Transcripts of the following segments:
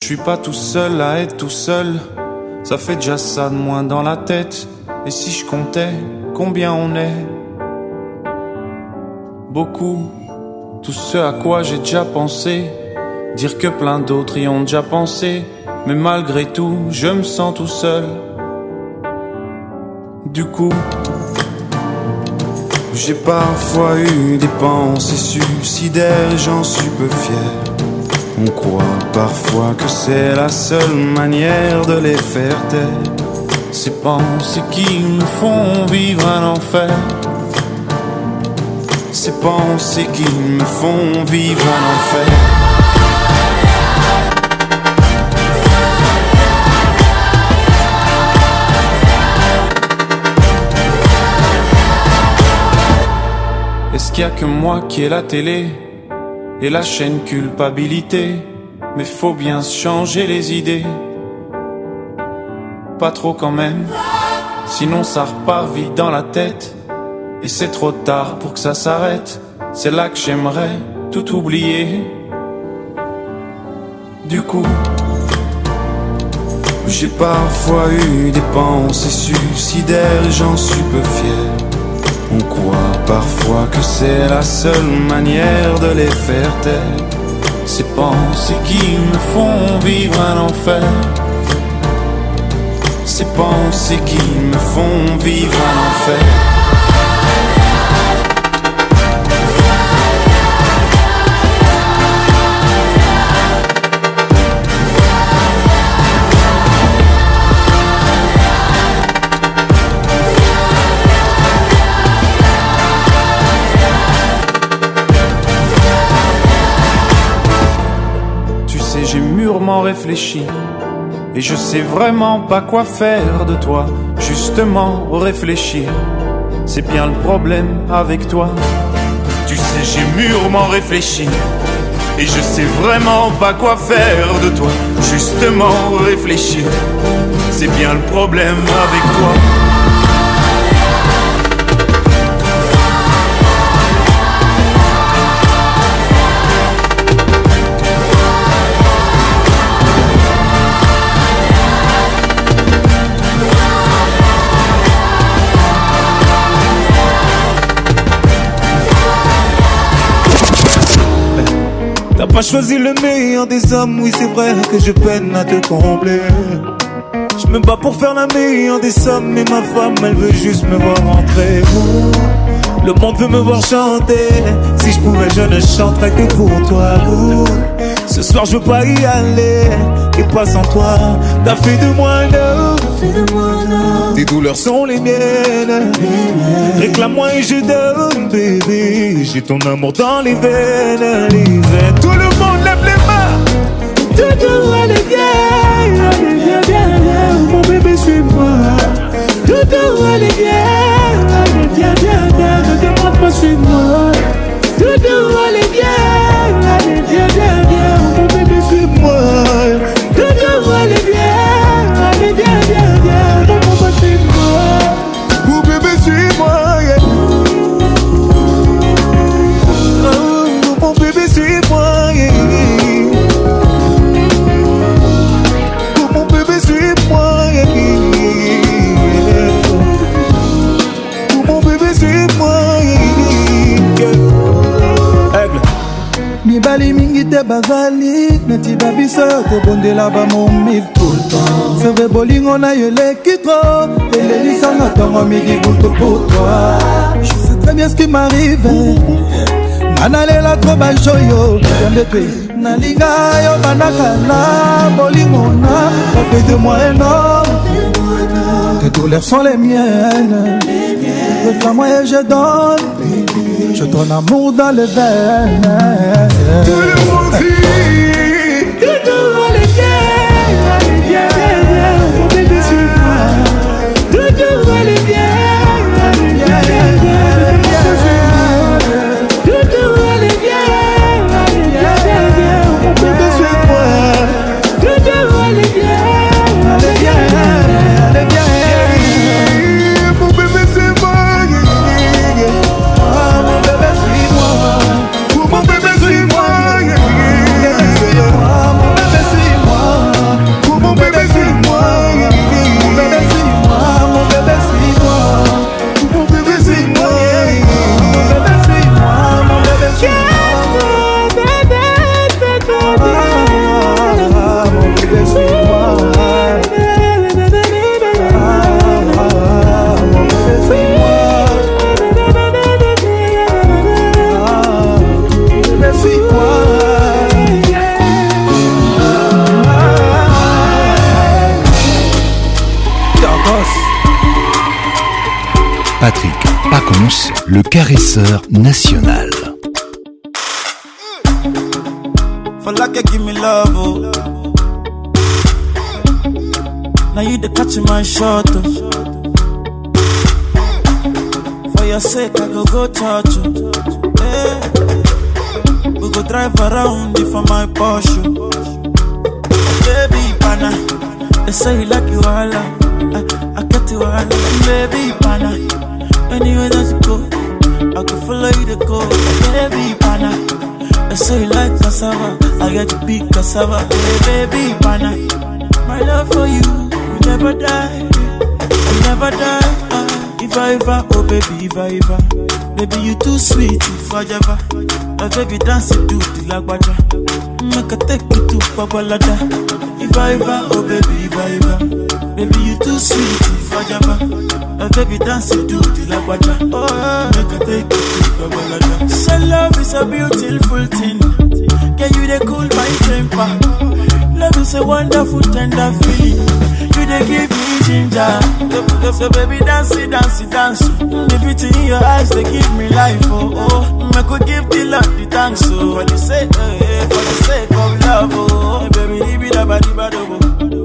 suis pas tout seul à être tout seul. Ça fait déjà ça de moins dans la tête. Et si je comptais combien on est? Beaucoup. Tout ce à quoi j'ai déjà pensé. Dire que plein d'autres y ont déjà pensé. Mais malgré tout, je me sens tout seul. Du coup, j'ai parfois eu des pensées suicidaires et j'en suis peu fier. On croit parfois que c'est la seule manière de les faire taire. Ces pensées qui me font vivre un enfer. Ces pensées qui me font vivre un enfer. Est-ce qu'il y a que moi qui ai la télé et la chaîne culpabilité? Mais faut bien se changer les idées. Pas trop quand même, sinon ça repart vite dans la tête. Et c'est trop tard pour que ça s'arrête. C'est là que j'aimerais tout oublier. Du coup, j'ai parfois eu des pensées suicidaires et j'en suis peu fier. On croit parfois que c'est la seule manière de les faire taire. Ces pensées qui me font vivre un enfer. Ces pensées qui me font vivre un enfer. J'ai mûrement réfléchi et je sais vraiment pas quoi faire de toi. Justement réfléchir, c'est bien le problème avec toi. Tu sais, j'ai mûrement réfléchi et je sais vraiment pas quoi faire de toi. Justement réfléchir, c'est bien le problème avec toi. T'as pas choisi le meilleur des hommes, oui c'est vrai que je peine à te combler. Je me bats pour faire la meilleure des sommes, mais ma femme elle veut juste me voir rentrer. Le monde veut me voir chanter, si je pouvais je ne chanterais que pour toi. Ce soir je veux pas y aller, et pas sans toi. T'as fait de moi un homme, tes douleurs sont les miennes. Réclame-moi et je donne, bébé. J'ai ton amour dans les veines, Tout le monde lève les mains. Doudou, allez viens, viens, viens. Mon bébé suis-moi. Doudou, allez viens, viens, viens. Ne demande pas suis-moi. Doudou, allez viens, viens, viens. Mon bébé suis-moi. Doudou, allez viens, viens. Ne demande pas suis-moi. Mon bébé suis-moi. Mon bébé suis-moi. Mon bébé suis-moi. Mon bébé suis-moi. Aigle. Mibali mingi te bazali neti babiso te bondela ba momil tout le temps. Serve bolingo na yo lekitro elelisanga tongo midi butu pour toi. Je sais très bien ce qui m'arrive. Analela trop bajoyo yande tue nalinga yo banakala bolingo na ça fait de moi un homme. Tes douleurs sont les miennes. Réclame-moi et je donne. Je donne amour dans les veines. Tout le monde dit Doudou, allez viens, viens, viens. Mon bébé suis-moi. Doudou, allez viens, viens, viens. Doudou, allez viens, viens, viens. Mon bébé suis-moi. Doudou, allez viens, viens, viens. Mon bébé c'est moi. Mon bébé suis-moi. Mon bébé suis-moi. Patrick Pacons, le caresseur national. For like you give me love, oh. Now you the catch my shot, oh. For your sake I go church, oh. Hey. We go drive around it for my Porsche. Baby pana, they say you like you all, I get you all. Baby pana, anywhere that you go, I can follow you to go. Baby pana, they say you like cassava, I get to be cassava. Hey, baby pana, my love for you will never die, will never die. If I ever, oh baby, if I ever, baby you too sweet, if I ever, baby dance it to the lagwaja, make a take you to Babalada. If I ever, oh baby, if I ever, baby you too sweet, if I ever, baby dance it to the lagwaja, oh make a take you to Babalada. So love is a beautiful thing, can you they cool my temper? Love is a wonderful tender feeling, you they give me ginger. So baby dance it, dance it, dance. The beauty in your eyes they give me life, oh oh. I could give the Lord the thanks, oh. For the sake of love, oh. Baby, leave it up, leave it up,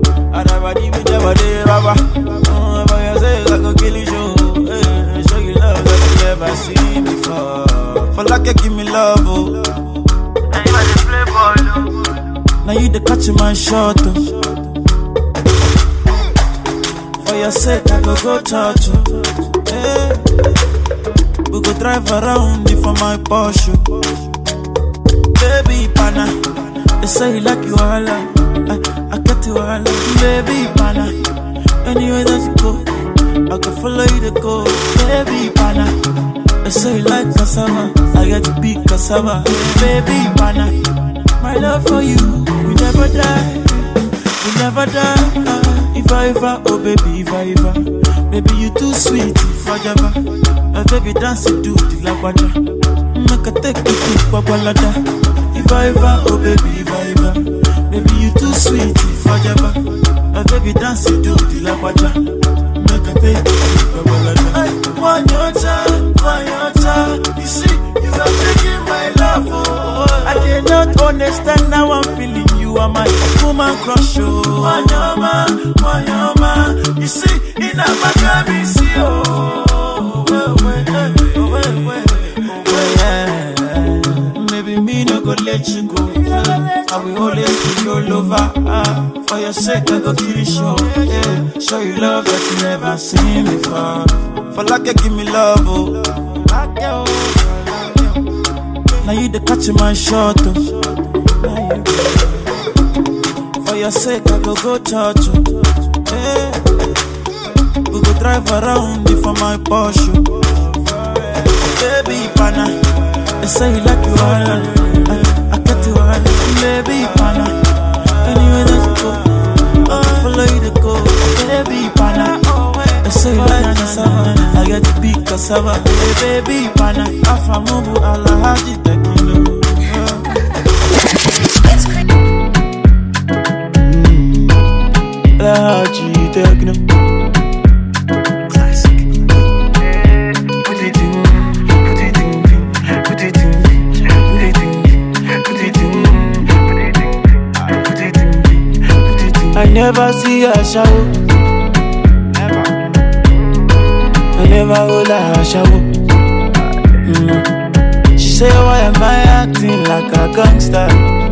oh. For your sake I could kill you, show. Show you love that you never seen before. For like you give me love, oh. Now you are the play ball, oh. Now you the catch my shot, oh. For your sake, I go church, hey. We go drive around it for my Porsche. Baby pana, they say you like you all, I get you all. Baby pana, anywhere that you go, I can follow you to go. Baby pana, they say you like cassava, I get to be cassava. Baby pana, my love for you will never die, will never die. If I ever, oh baby, if I ever, baby you too sweet, if I ever, baby dance it to the lagwaja, make a take you to Babalada. If I ever, oh baby, if I ever, baby you too sweet, if I ever, baby dance it to the lagwaja, make a take you to Babalada. One your child, you see, you are taking my love, oh. I cannot understand how I'm feeling. You are my woman crush, oh. Wanyama, you see, in a Maccabi, see, oh. Maybe me no go let you go. I will always be your lover. For your sake, I go kill you, show. Yeah. Show you love that you never seen before. For like you give me love, oh. Now you the catch my shot, oh. For your sake, I go church, hey. We go drive around it for my Porsche. Baby pana, they say you like you all, I get you all. Baby pana, anywhere that you go, I follow you to go. Baby pana, they say you like cassava, I get to be cassava. Hey, baby pana, afamubu alahaji tekilo. Alahaji tekno. Classic. Put it in, put it in, put it in, put it in, put it in, put it in, put it in. I never see her shower. I never hold her shower. She say, why am I acting like a gangster?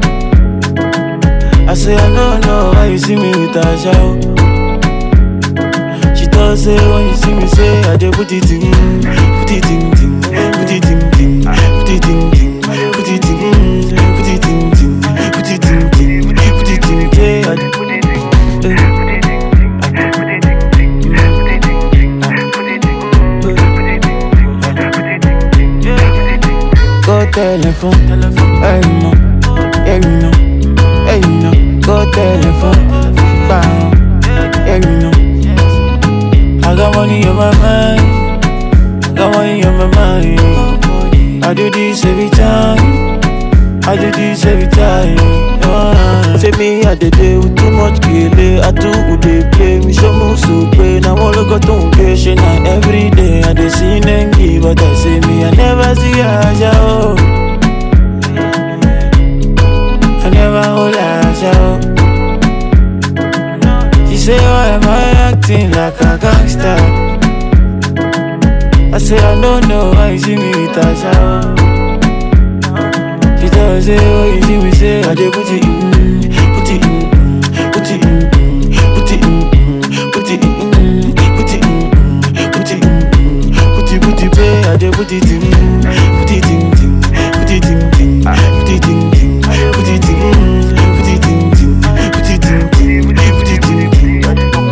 I say, I don't know why you see me with a shower. She does say, when you see me say, I dey put it in, put it in, put it in, put it in, put it in, put it in, put it in, put it in, yeah, I dey put it in, put it in, put it in, go telephone, hey no, hey no, hey no, go telephone, bang, hey no. I got money on my mind, got money on my mind. I do this every time, I do this every time. Say me I did it, day with too much kele. I too good they play. Me show me so pay. Now all I got to pay. She now every day I dey see Nengi, but I say me I never see Aja. Oh, I never hold Aja. Oh. She say why am I acting like a gangster? I say I don't know why you see me with Aja. Oh. She tell me say oh you see me say I dey put it in. Put it in, put it in, put it in, put it in, put it in, put it in, put it pay. I dey put it in, put it in, put it in, put it in, put it in, put it in, put it in, put it in, put it in.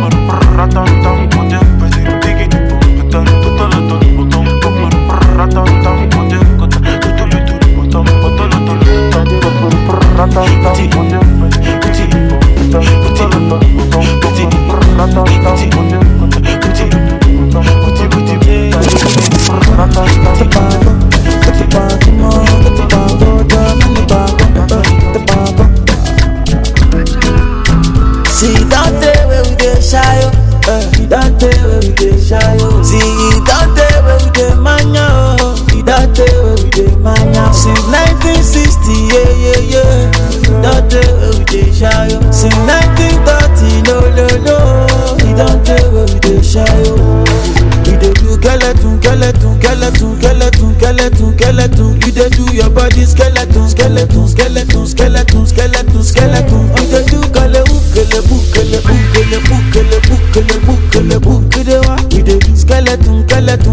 See that day where we dey shy, that day where we dey shy. See that day where we dey mania, that day where we dey mania. Since 1960, yeah. That day where we dey shy. Since 1930, no. That day where we dey shy. We dey do skeleton. You dey do your body skeleton. You dey do kelebu. You dey what? We dey do skeleton.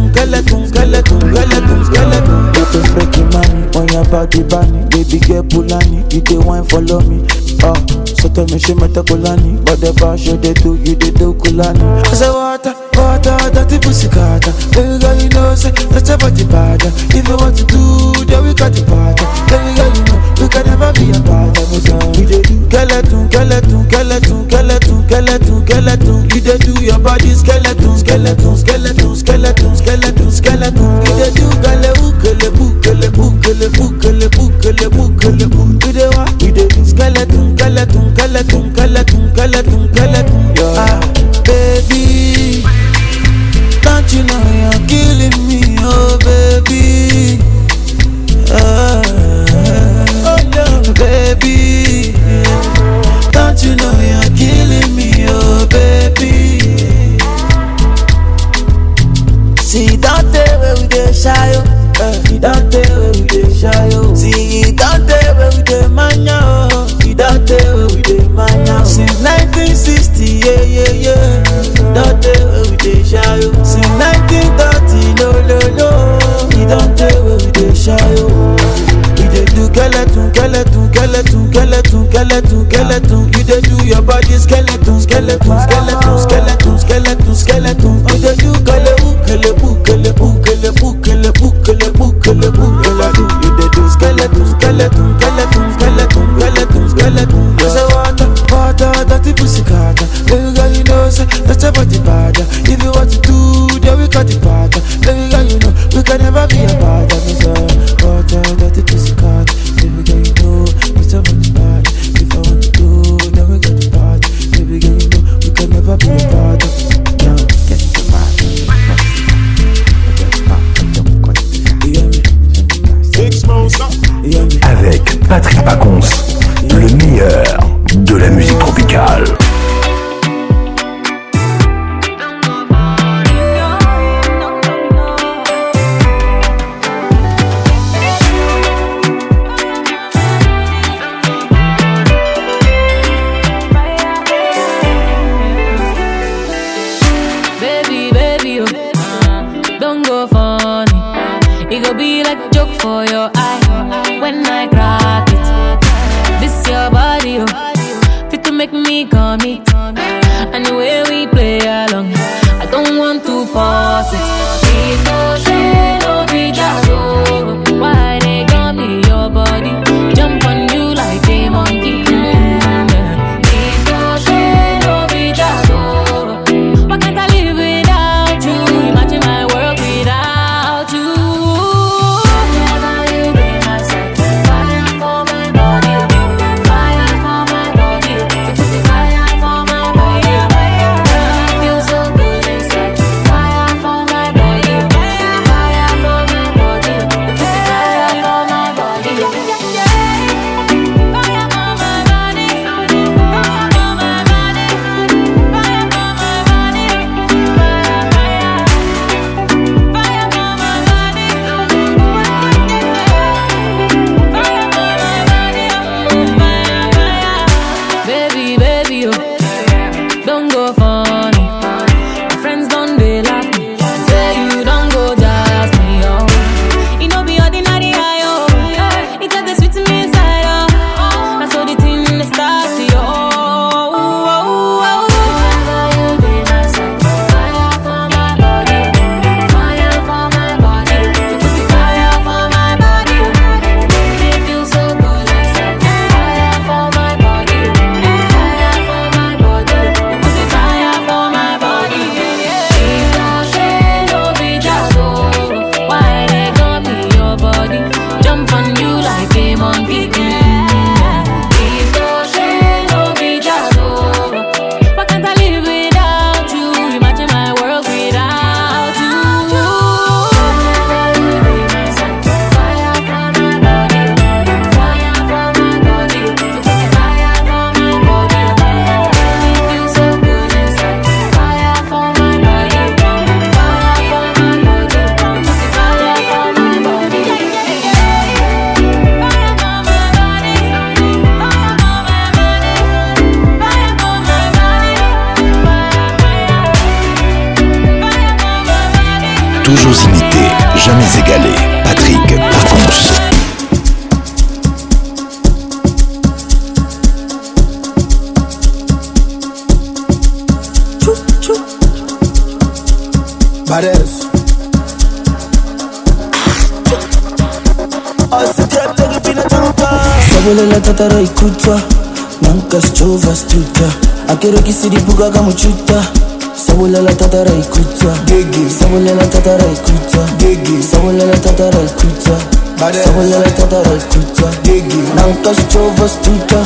Get a freaking money on your body, bunny. Baby girl Pulani, you dey wine follow me. So tell me she met a Kulani, but the bar show they do, you they do Kulani. I say water, dirty pussy carter. Baby girl you know say that's about the bad. If you want to do, then we got the party. Baby girl you know we can never be apart. We dey do skeleton. You dey do your body skeleton. You dey do kelebu. You dey what? You dey do skeleton. Yeah. Baby, don't you know you're killing me, oh baby. Oh no, baby, don't you know you're killing me, oh baby. See that day where we dey shy, that day where we dey shy. See that day where we dey mania, that day where we dey mania. Since 1960, yeah. That day where we dey shy. Since 1930, no. That day where we dey shy. We dey do skeleton. You dey do your body skeleton. You dey do kelebu. You dey do skeleton. I say water, dirty pussy carter. Baby girl you know say that's about the bad. If you want to do, then we got the party. Baby girl you know we can never be apart. I say water, dirty pussy carter. Baby girl you know it's about the bad. If I want to do, then we got the party. Baby girl you know we can never be apart. Now get the party. Avec Patrick Pacons, le meilleur de la musique tropicale. Baby, don't go funny. It go be like joke for your eye when I crack it. This your body, fit to make me commit. And the way we play along, I don't want to force it. Please don't say no be just so. Why they got me your body? Jump on you like a monkey. Please don't say no be just so. Why can't I live without you? Imagine my world without you. Whenever you be my side, fire for my body, fire for my body. toujours imité, jamais égalé. Patrick Pacons. Badass. Sabolela tatara ikuta Nanka schova stuta Akero kisiri buga kamuchuta Sabolela tatara ikuta Gigi. Sabolela tatara ikuta Gigi. Sabolela tatara ikuta Badass. Sabolela tatara ikuta Gigi. Nanka schova stuta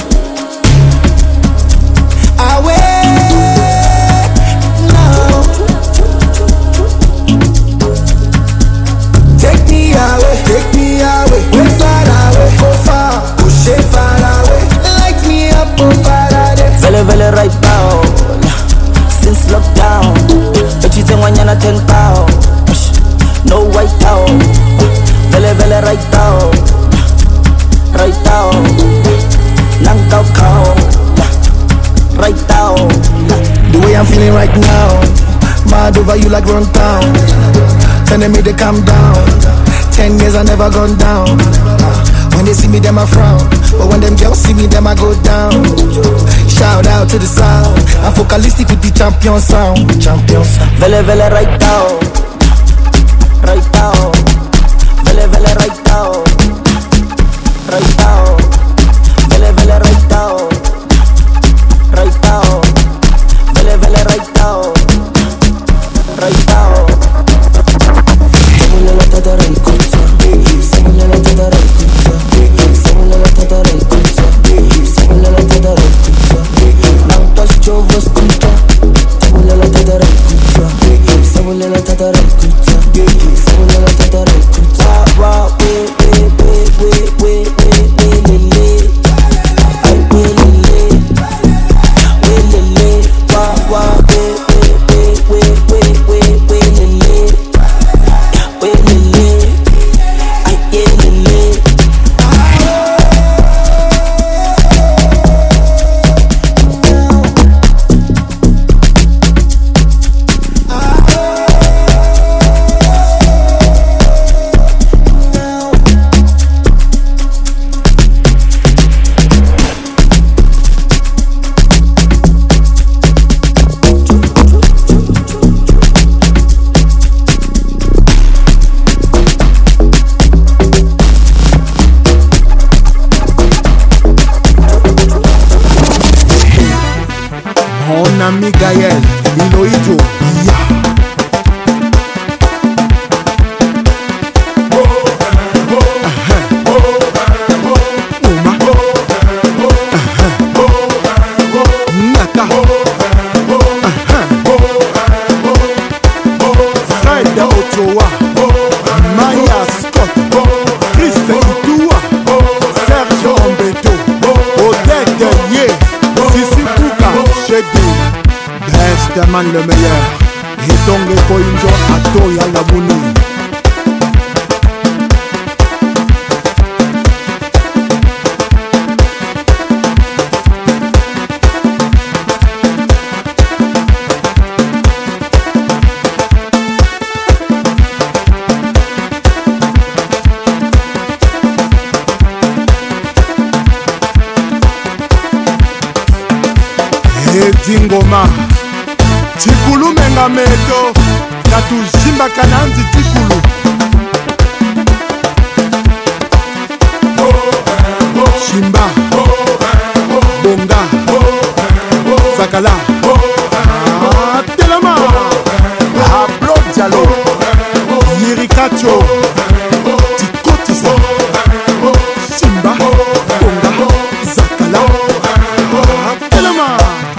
Take me away, way far away, go far, push it far away, light me up, oh Faraday. Vele right now, since lockdown, but you think when you're not 10 pounds, no white out. Vele right now, Nanka cow, right now. The way I'm feeling right now, mad over you like run town, telling me to calm down. 10 years I never gone down. When they see me, them I frown. But when them girls see me, them I go down. Shout out to the sound. I'm focalistic with the champion sound. Champion sound. Vele right now. Right now. Vele right now. Right now. Vele right now. Right now. Vele right now. Right now. Sabolela tatara ikuta Sabolela tatara ikuta Sabolela tatara ikuta Sabolela tatara ikuta Nanka schova stuta Sabolela tatara ikuta Sabolela tatara ikuta Sabolela tatara ikuta Wa we lele Ay we lele Wa ami Gaël, Iloïdjo, ya. Nata Fred Ochoa, Maya Scott, Chris Itua, Serge Ombeto, Odette Ye, Sissi Kouka, Chedi, Best man le meilleur, et donc Koinjo Atoya Labouni. Dingoma Tikulu menga meto Tatu jimba kananzi tikulu Shimba Bonga Zakala Telema Ablo Diallo Yirikacho Tikotisa Shimba Bonga Zakala Telema.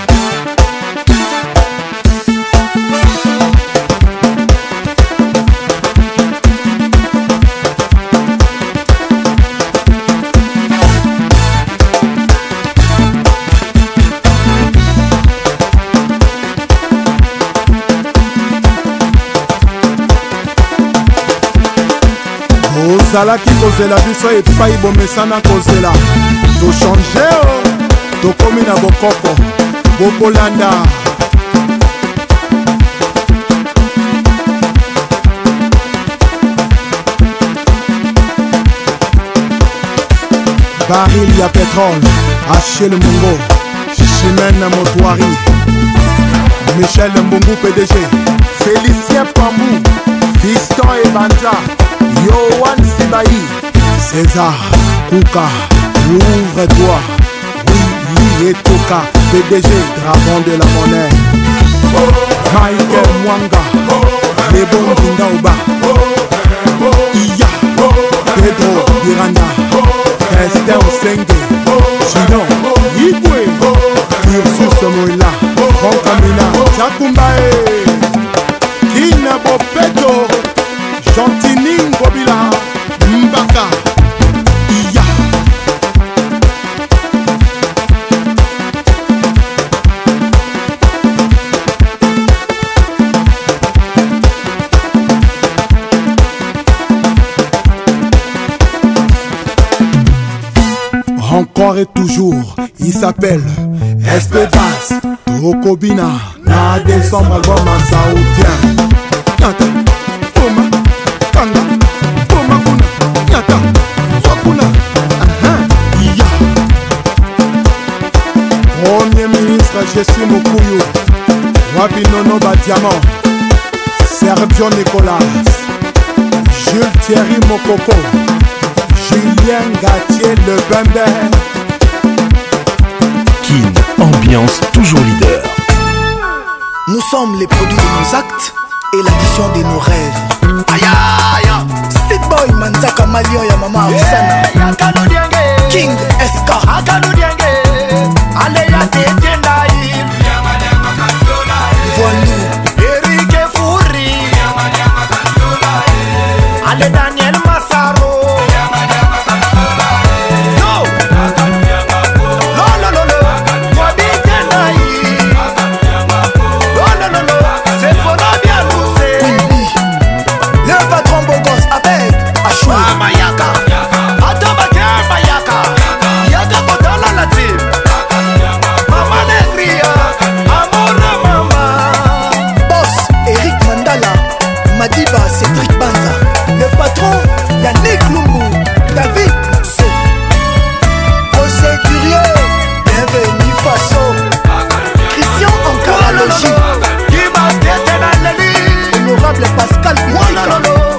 Ozalaki kozela biso epai bomesana kozela tochange tokomi na bokoko bokolanda baril ya pétrole, Achille Mungo, Chimène Motoari, Michel Mbungu PDG, Félicien Pambou, Fiston et Banza, Yohan Sibaï, César Kouka, ouvre-toi, oui et Toka, PDG, dragon de la monnaie, Michael Mwanga, les bons Kindaouba, Iya, Pedro Irana, Esther Osenge, Gino, Igwe, Ursus Moïla, Franck Amina, Jakumbae, Kina Bopeto, Gentini Bobila, Mbaka, Iya. Encore et toujours, il s'appelle Espédas, Tokobina, na décembre album en saoudien. Nyata, Poma, Kanga, Poma Kuna, Nyata, Wakuna, Iya. Premier ministre Jessie Mokuyu, Wabinono Badiamant, Sergio Nicolas, Jules Thierry Mokoko, Julien Gatier Le Bembe. Kin, ambiance toujours leader. Nous sommes les produits de nos actes et l'addition de nos rêves. Aïe aïe, State Boy Manzaka Malion ya Mama Osana, King SK, Voinou, Eric Fouri, Ale Daniel Massaro. Cédric Banza, le patron Yannick Lumbu, David Mousse, José Curieux, bienvenue Faso, Christian Ankaralogie, honorable Pascal Bitika,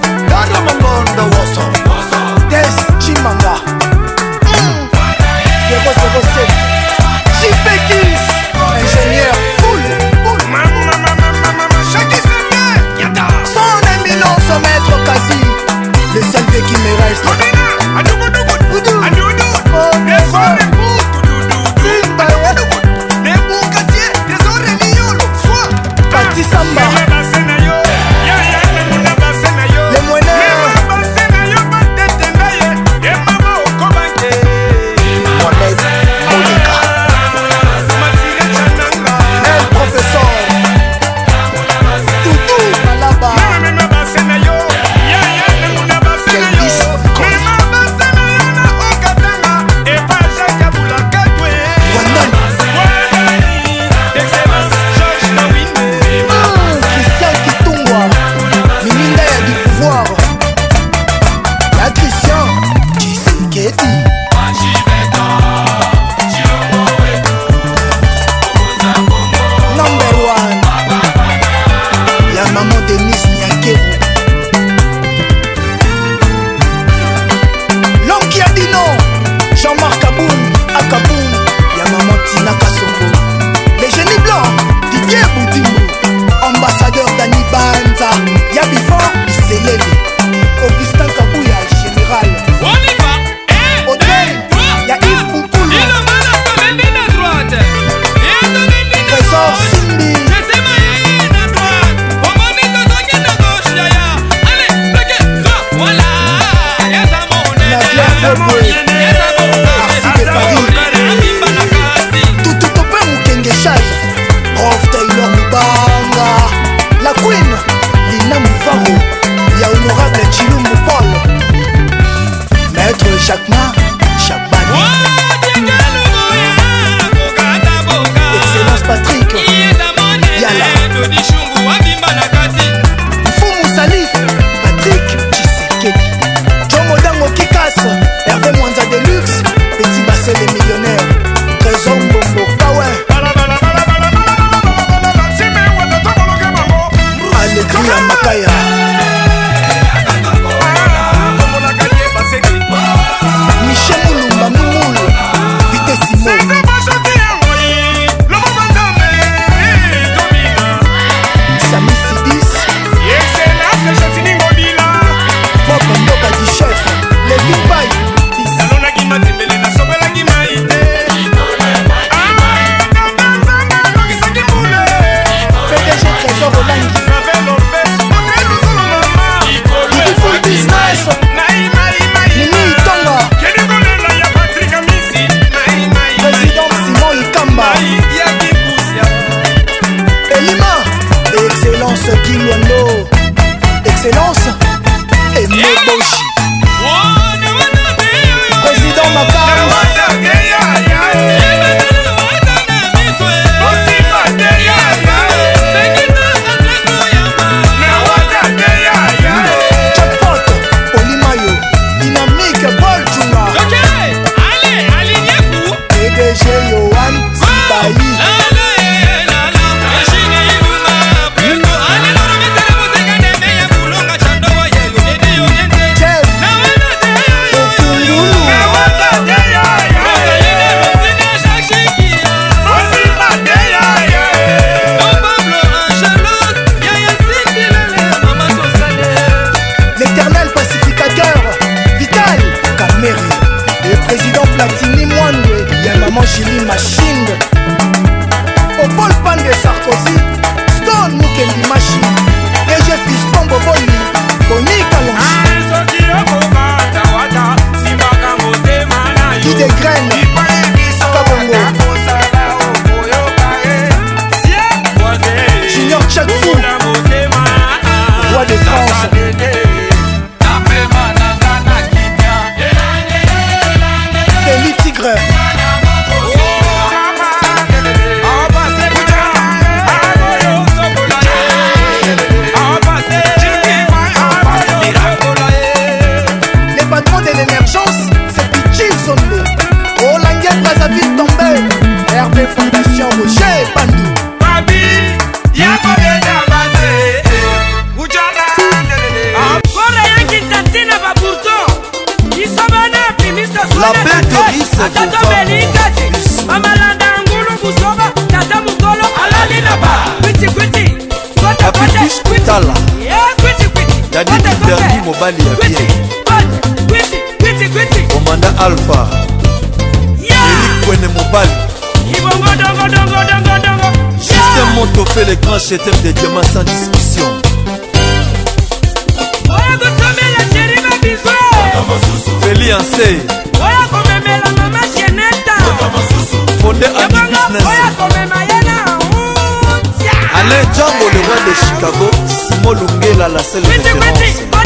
Tess Chimanga, 007, JP Kiss, ingénieur full. Son maître quasi, le seul fait qui me reste. Pati Samba, les moyens. El professeur Toutou Malaba. Ambassadeur Dani Banza, Yabifan, Iselele, Augustin Kabouya, général. Hôtel, Y'a Yves Boukoulou. Trésor Simbi. Nadia Feboué, Arsi de Paris. Toutou Topé Moukenge Chai, Prof Taylor Mubanga, la Queen, Lina Mouvaro, Y'a honorable Chilumbu Paul, Maître Jacquemin, Chabani, Excellence Patrick. Sarkozy, Stone Mukendi Machi, DG Fiston Boboli, Tony Kalonji, Guy des Graines, Kabongo, Junior Tchadfou, Roi de France, Kelly Tigre, les patrons de l'émergence, c'est Pichi Zombe, Olangia Brazzaville Tombé, RB Fondation Roger Bandou. La bête de riz Tala Yadi Interdi Mobali ya bien Komanda Alpha Eric Kwene Mobali Système Moto fait les grands chéteurs des diamants sans discussion. Feli Ansei Fondé Ami Business Alain Django, le roi de Chicago, Simo Lungela, la seule référence.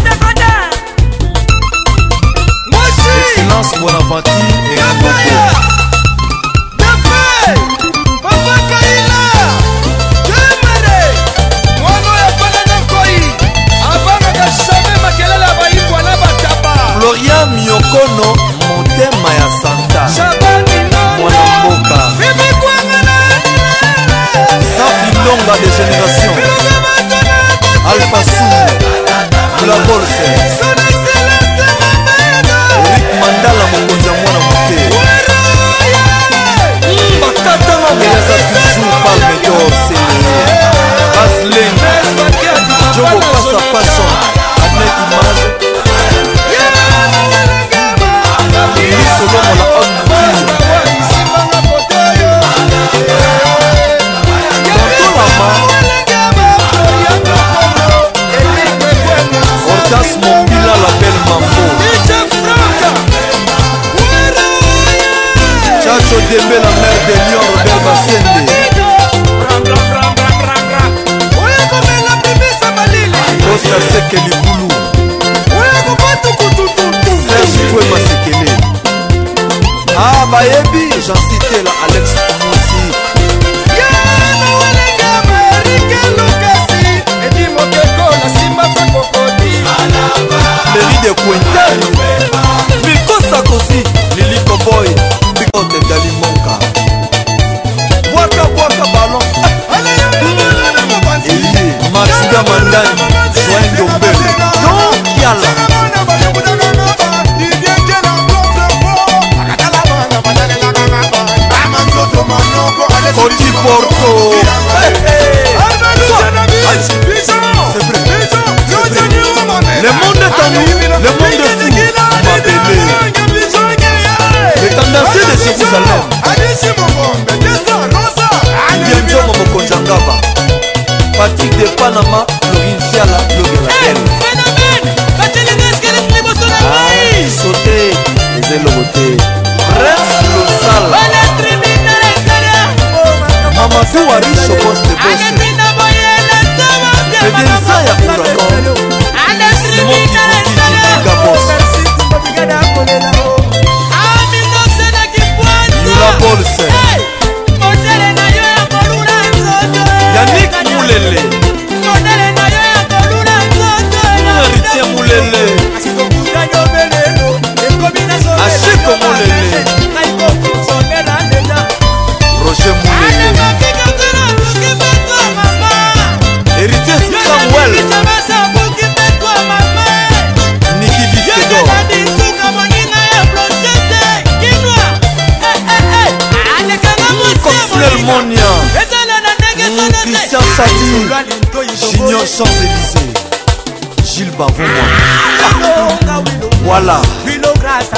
Excellence Bonaventure et Ngoko. Florian Miokono, Motema ya Santa Mwanamboka Safi Longa des générations Alpha Soul Mula Bolse Eric Mandala Mokonza Mwana Mote Bakatanga Meza toujours Palme d'Or Basleng Jogo Passa Fashion Adnet Image Solomon la homme Ortas Mobila la belle Mambo Chacho Dembe la mère de Lyon Robert Bassende Costa Seke Libulu Serge Toué Masekele Ah Bayebi j'en cité la Alex Moussi Mairie de Quintel Miko Sakosi Lili Koboy Bikote Dali Monka Waka Waka Ballon Elie Matsuda Mandani Join Dombele Don Kiala Koti Porto Le monde est en nous, le monde est fou, Mabélé. Le tendancier de Jérusalem Bienjo Momoko Jangaba Patrick de Panama, Florine Siala, Logelael Sauté, les élobotés Prince Losal Mamadou Ari Chobos de Bosse Fedenza ya Kuragon Simon Kibouki Gabos Yula Bolse Yannick Moulele Héritier Moulele Achiko Moulele Roger Moulele Héritier Samuel Niki Biskedor Consuel Monia Christian Chati Junior Champs-Élysées Gilles Bavouma Voilà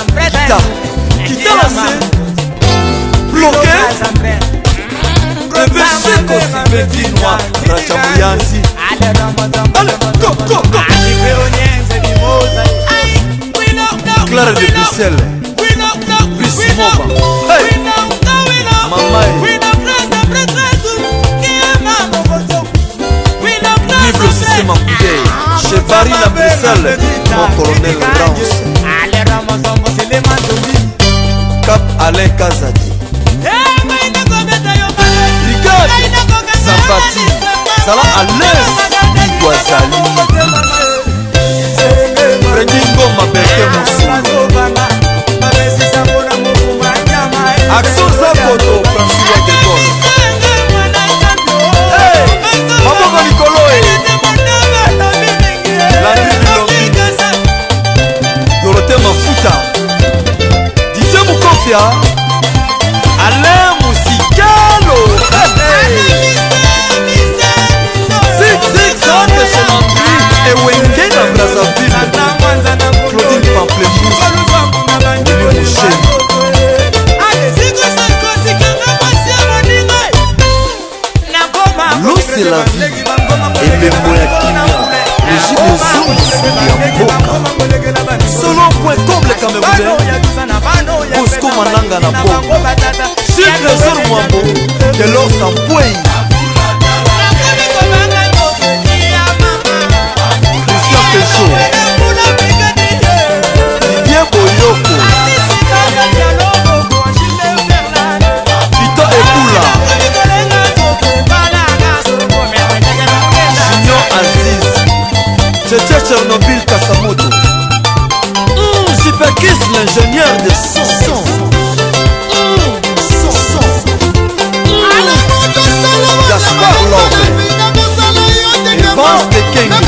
Kita lancé Bloqué bébé Chico Sibetinois Rachamuyanzi. Allez, go, go, go. Clara de Bruxelles. Brice Moba. Hey. Mamaï. Libre au système Moudé. Chez Paris à Bruxelles. Mon colonel Rance. Cap Alain Kazadi. Regarde Zapati. Zala à l'aise. Iguazali. Freddy Ngoma Berke Moussou. Action Zakoto François de Gaulle. Hey, Maboko Nicolo. Landry Bilombi. Dorothée Mafuta. Didier Moukofia. Alain Mousikalo. Zig Zag chez Landry. Et Wenge dans Brazzaville. Claudine Pamplemousse. L'eau c'est la vie. Et Bembo ya Kimia. Régime aux hommes ya Mboka. Selon point comble Camerounais. Bosco Mananga na Boka. Sur Trésor Mwambo. De l'or sans poigne. Christian Peugeot. Didier Boyoko. Vito Eboula. Junior Aziz. Tchétché Tchernobyl Kassamoto. Super Kiss l'ingénieur de Sanson. Gaspard Love. Evans de Kengi.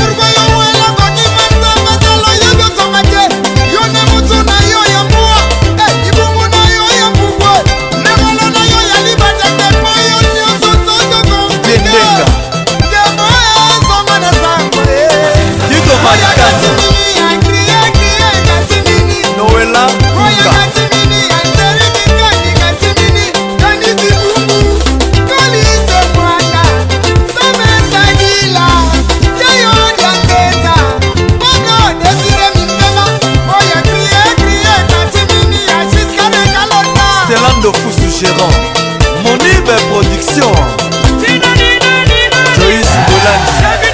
Bendenga. Dido Marikani. Noëlla Kuka. Stelando Foussou Gérant. Monibe Production. Joyce Bolandi.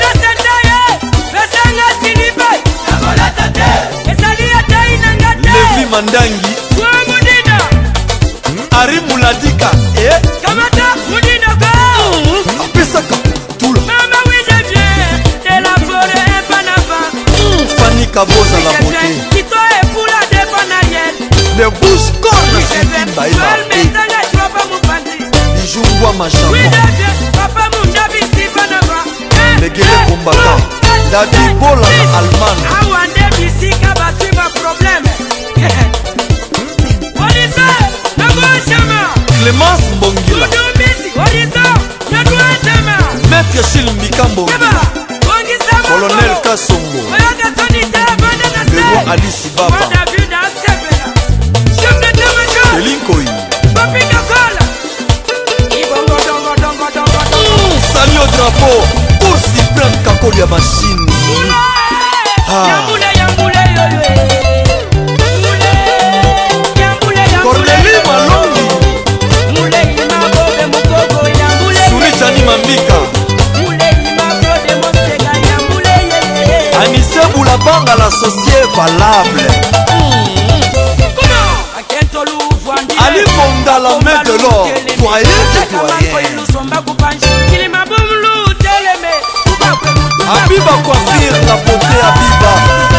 Levi Mandangi. Ari Mouladika. Apesaka Tula. Fanny Kaboza la beauté. Les bouches cornes Simba et Bijouwa Machamon. Les guerriers combattants. David Bola Allemagne. Clémence Mbongila. Maître Chil Mikambo. Colonel Kassongo. Le roi Ali Sibaba. Elinkoyi. Salut au drapeau. Aussi plein de Kakoli à machine. Cornélie Malongi. Souris Jani Mambika. Anissé Boulabanga l'associé valable. Ali Bonda la main de l'or. Doyen de doyen. Abiba Coiffure la beauté Abiba.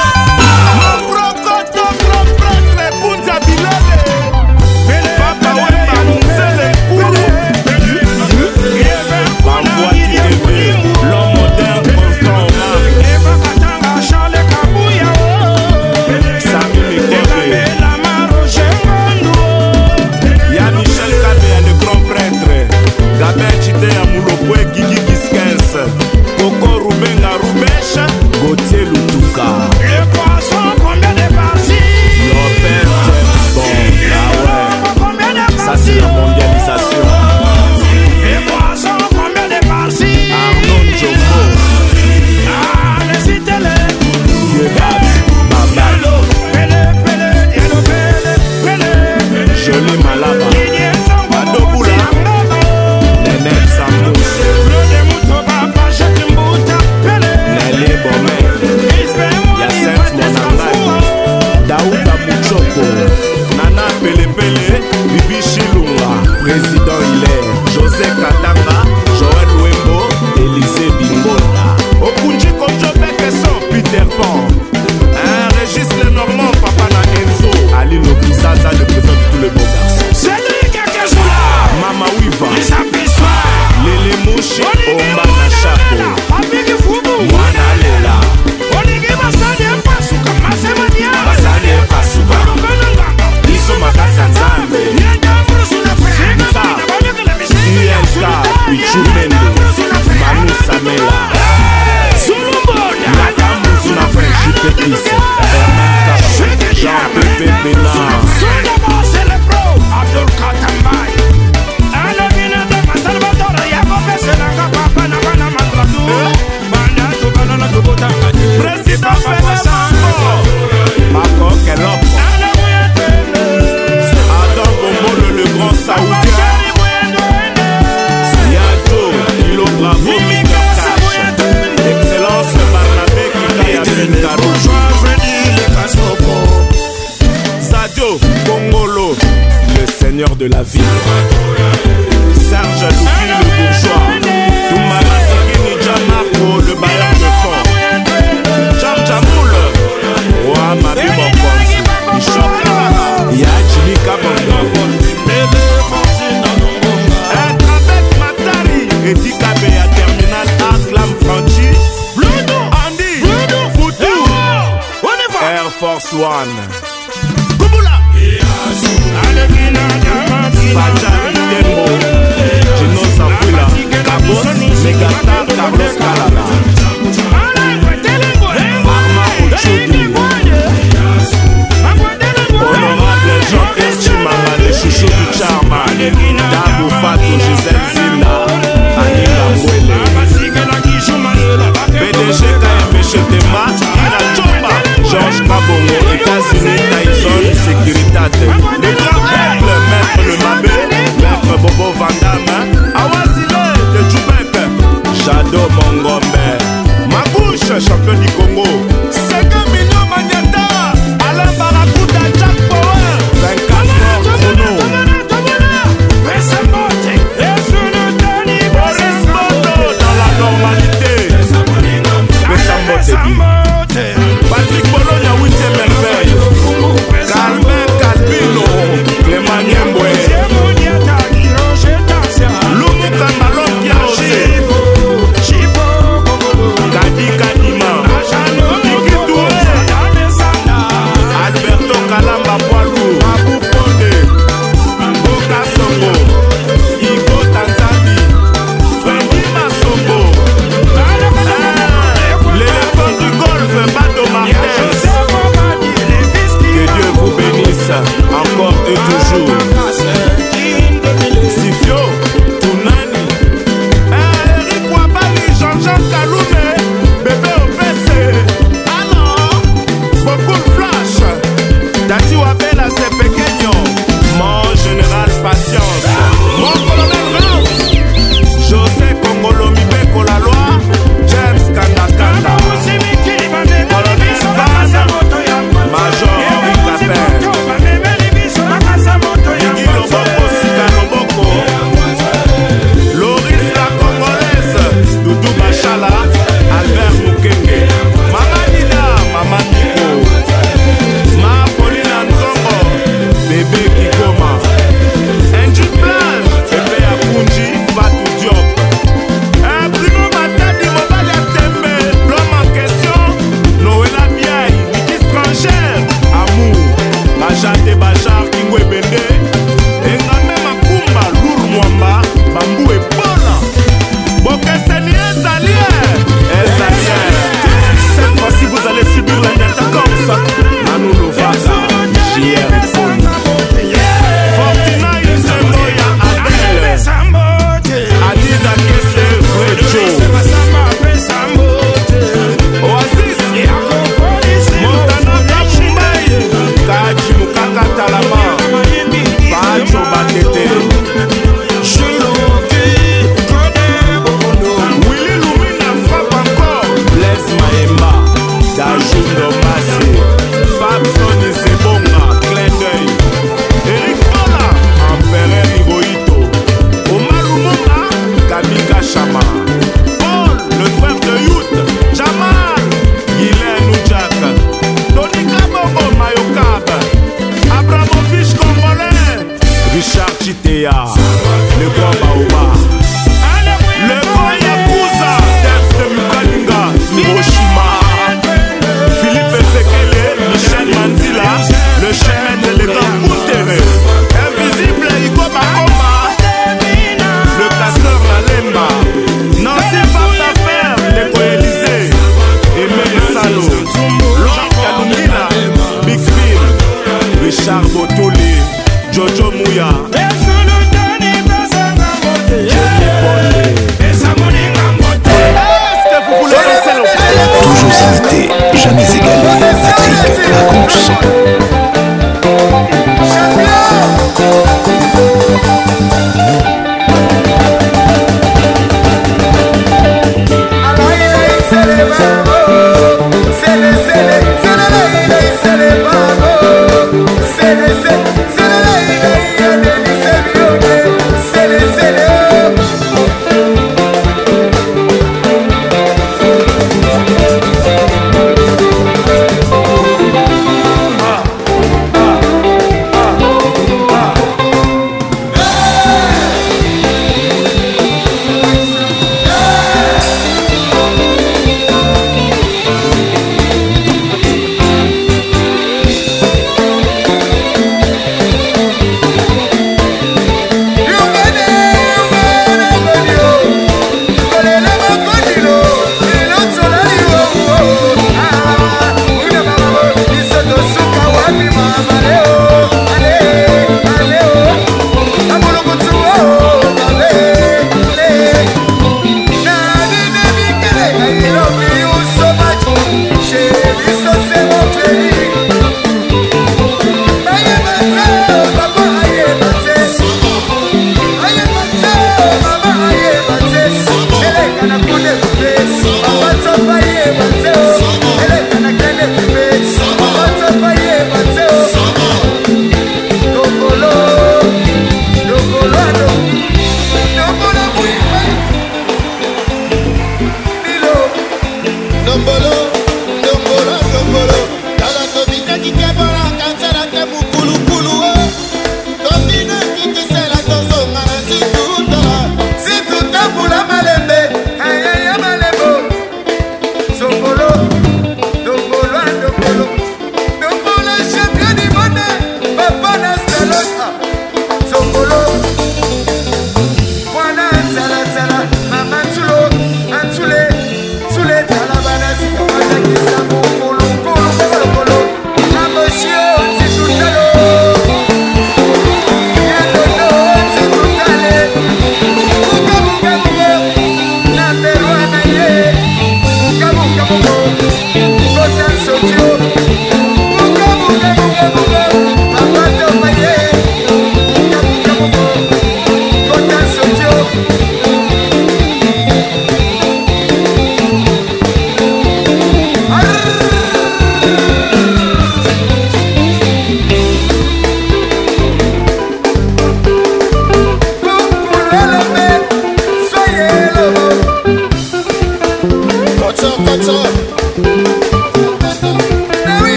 Gauthier Lutuka. Le poisson, combien de parties? Lopez James Bond. Ah ouais. Ça c'est la mondialisation. Le poisson. de la vie. Serge Loupi le bourgeois, Touma Masikini Djamarco le bailleur de fond, Jam Jamoul, Roi Mabi Mokonzi, Ishokala, Yajili Kabondo, être avec Matari, Edi Kabeya Terminal Aklam Franchi, Andy, Foutou, Air Force One. Bajari Tembo, Gino Safula, Cabos, Megastar, Carlos Calada, Arma Ochoudi, Honorable Jean-Pierre Chimanga, le chouchou du Charma, Dabou Fatou, Gisèle Zinda, Anila Mwele, PDG KMB Chetema, Ina Chomba, Georges Kabongo, États-Unis, Tyson, Sécuritate, le grand peuple, Maître Le Mabé, Maître Bobo Vandame, Awazile de Djoubek, Jado Mongombe, Magouche, champion du Congo, 50 millions Magnata, Alain Barakuta, Jack Power, 24 morts chrono, Boris Moto dans la normalité, Patrick Bologna, 8e merveille, Calvin Calvino, Clément Niembwe, Loumou Kambalon Kiaose, Kadi Kadima, Kiki Touré, Alberto Kalamba Poilou, Abou Ponde, Boka Songo, Igo Tanzani, Freddy Masongo, l'éléphant du golf, Bato Martens. Que Dieu vous bénisse encore et toujours. Sifio, Tounani, Eric Wabali, Jean-Jean Kaloumé, bébé OPC. Alors, beaucoup de flash. Dati Wabela, c'est pequeño. Mon général Patience, mon colonel Rance, José Kongolo Mibeko la loi, James Kandakanda, colonel Vaz, Major Henri Capel, Guy Loboko, Sika Loboko, Loris la Congolaise, Doudou Bachala, Albert Mukenge, Mama Nina, Mama Nico, Ma Paulina Nzongo, Bébé Kikoma, Angie Plan, Bébé Akunji, Fatou Diop, Primo Matadi, Mobali Atembe, l'homme en question, Noëlla Biaï, Miki Strangère, Amour, Bajate Bajar, Kingwe Bende, Engame Makumba, Lour Mwamba, Bambou et Bola, Bokeseni Ezalier, cette fois-ci vous allez subir la neta comme ça, Manu Lovaza, JR Fone, Fortina Yusemboya Adele, Adida Kese Rejo, Oasis, Montana Kabumbaye, Kaji Mukaka Talama, Pacho Batete, Willy Lumina frappe encore, Blaise Maemba, Dajundo Massé, Fabson Isebonga, Clin d'œil, Eric Bola, Empereur Hirohito, Omar Lumumba, Kamika Chama, Paul,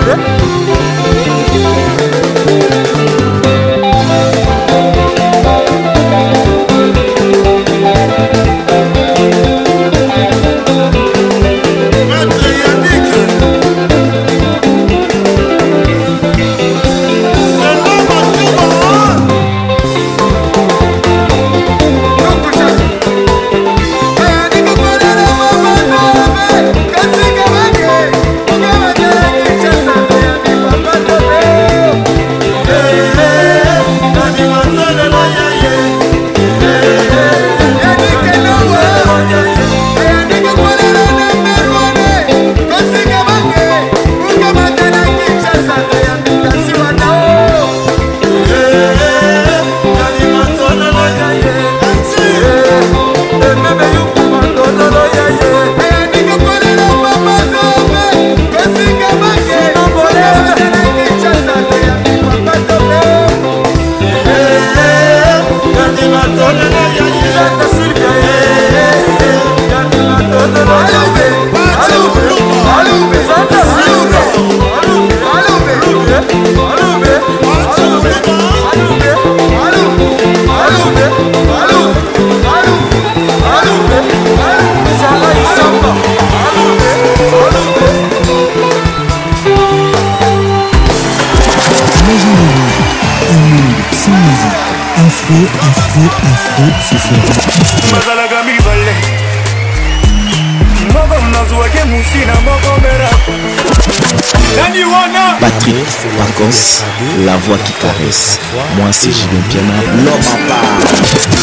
Patrick Pacos, la voix qui caresse. Moi c'est Julien Piana, l'homme à part.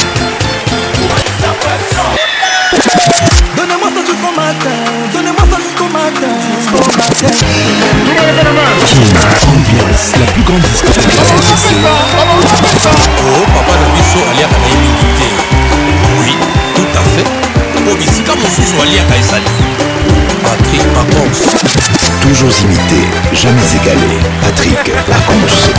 Donnez-moi ça jusqu'au matin, donnez-moi ça jusqu'au matin, jusqu'au matin. Ambiance, la plus grande discothèque. Oh, papa de Bisso, Alia Kanaïmité. Oui, tout à fait. Obisika Mosusu, Alia Kaisali. Patrick Pacos. Toujours imité, jamais égalé. Patrick Pacos.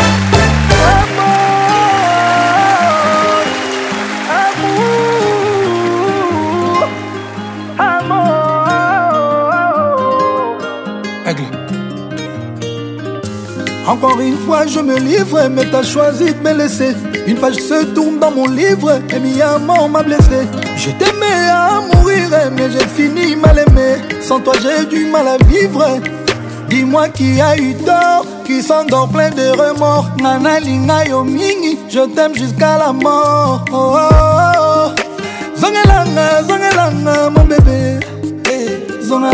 Encore une fois je me livre, mais t'as choisi de me laisser. Une page se tourne dans mon livre, et mi amour m'a blessé. Je t'aimais à mourir, mais j'ai fini mal aimé. Sans toi j'ai du mal à vivre. Dis-moi qui a eu tort, qui s'endort plein de remords. Nana linga yo mingi, je t'aime jusqu'à la mort. Oh, oh, oh. Zongelanga, zongelanga mon bébé. Zonga.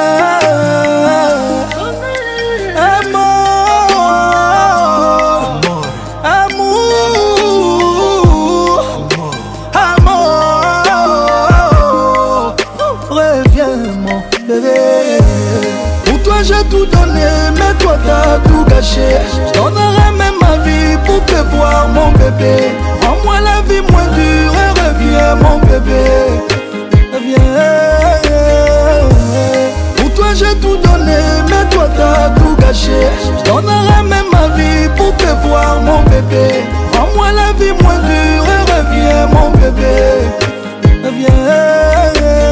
J'ai tout donné, mais toi t'as tout gâché. Je donnerai même ma vie pour te voir mon bébé. Rends-moi la vie moins dure et reviens mon bébé. Reviens. Pour toi j'ai tout donné, mais toi t'as tout gâché. Je donnerai même ma vie pour te voir mon bébé. Rends-moi la vie moins dure et reviens mon bébé. Reviens.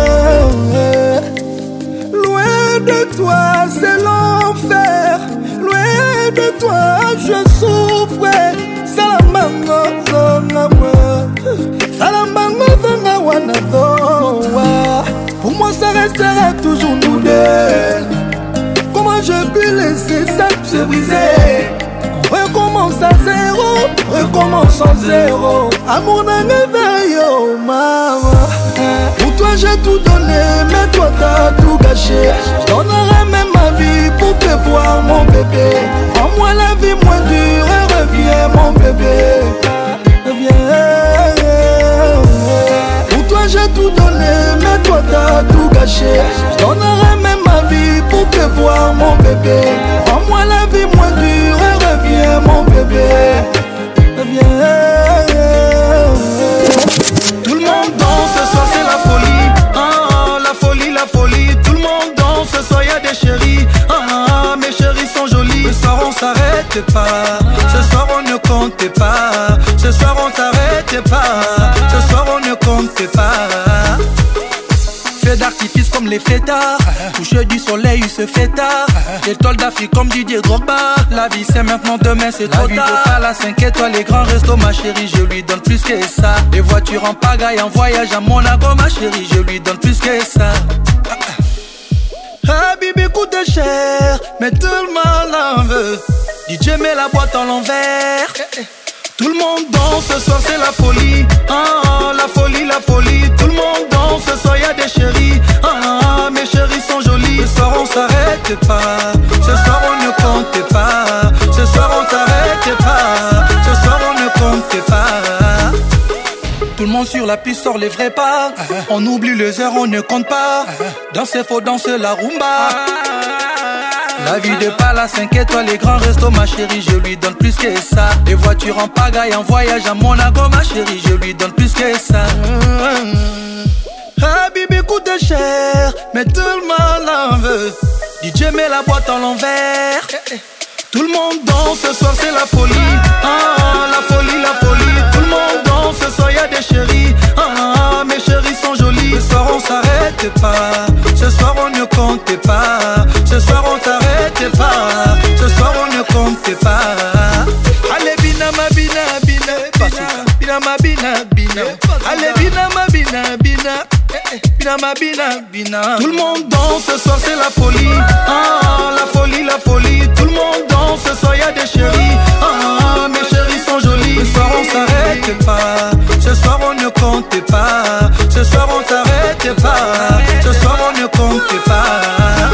De toi c'est l'enfer, loin de toi je souffre. Salamanga zonga wa, salamanga zonga wa na zoa. Pour moi ça restera toujours nous deux. Comment je peux laisser ça se briser? On recommence à zéro, recommence à zéro. Amour n'a yo maman. Pour toi j'ai tout donné, mais toi t'as tout gâché. Je donnerai même ma vie pour te voir mon bébé. Rends-moi la vie moins dure et reviens mon bébé. Reviens. Pour toi j'ai tout donné, mais toi t'as tout gâché. Je donnerai même ma vie pour te voir mon bébé. Rends-moi la vie moins dure et reviens mon bébé. Reviens. Tout le monde danse, ce soir c'est la folie. Ah, la folie, la folie. Tout le monde danse, ce soir y'a des chéris. Ah, mes chéris sont jolis. Ce soir on s'arrête pas. Ce soir on ne compte pas. Ce soir on s'arrête pas. Ce soir on ne compte pas. Fais d'artifice bêtises comme les fêtards. Coucher du soleil, il se fait tard. Étoile d'Afrique comme Didier Drogba. La vie c'est maintenant, demain c'est trop tard. À la 5 étoiles, les grands restos, ma chérie, je lui donne plus que ça. Les voitures en pagaille, en voyage à Monaco, ma chérie, je lui donne plus que ça. Ah, Bibi coûte cher, mais tout le monde en veut. DJ met la boîte en l'envers. Tout le monde danse, ce soir c'est la folie. Ah, la folie, la folie. Tout le monde danse, ce soir y'a des chéris. Ah, mes chéris sont jolis. Ce soir on s'arrête pas. Ce soir on ne compte pas. Ce soir on s'arrête pas. Ce soir on ne compte pas. Tout le monde sur la piste sort les vrais pas. On oublie les heures, on ne compte pas. Danser faut danser la rumba. La vie de Pala 5 étoiles, les grands restos, ma chérie, je lui donne plus que ça. Les voitures en pagaille, en voyage à Monaco, ma chérie, je lui donne plus que ça. Ah, Bibi coûte cher, mais tout le monde en veut. DJ met la boîte en l'envers. Tout le monde danse, ce soir c'est la folie. Ah, la folie, la folie. Tout le monde danse, ce soir y'a des chéris. Ah, mes chéris sont jolis. Ce soir on s'arrête pas. Ce soir on ne compte pas. Ce soir on s'arrête pas. Ce soir on ne compte pas. Allez bina ma bina bina. Bina ma bina bina. Allez bina ma bina bina. Bina ma bina bina. Tout le monde danse, ce soir c'est la folie. Ah, la folie, la folie. Tout le monde danse, ce soir y'a des chéris. Ah, mes chéris sont jolis. Ce soir on s'arrête pas. Ce soir on ne compte pas. Ce soir on s'arrête pas. Ce soir on ne compte pas.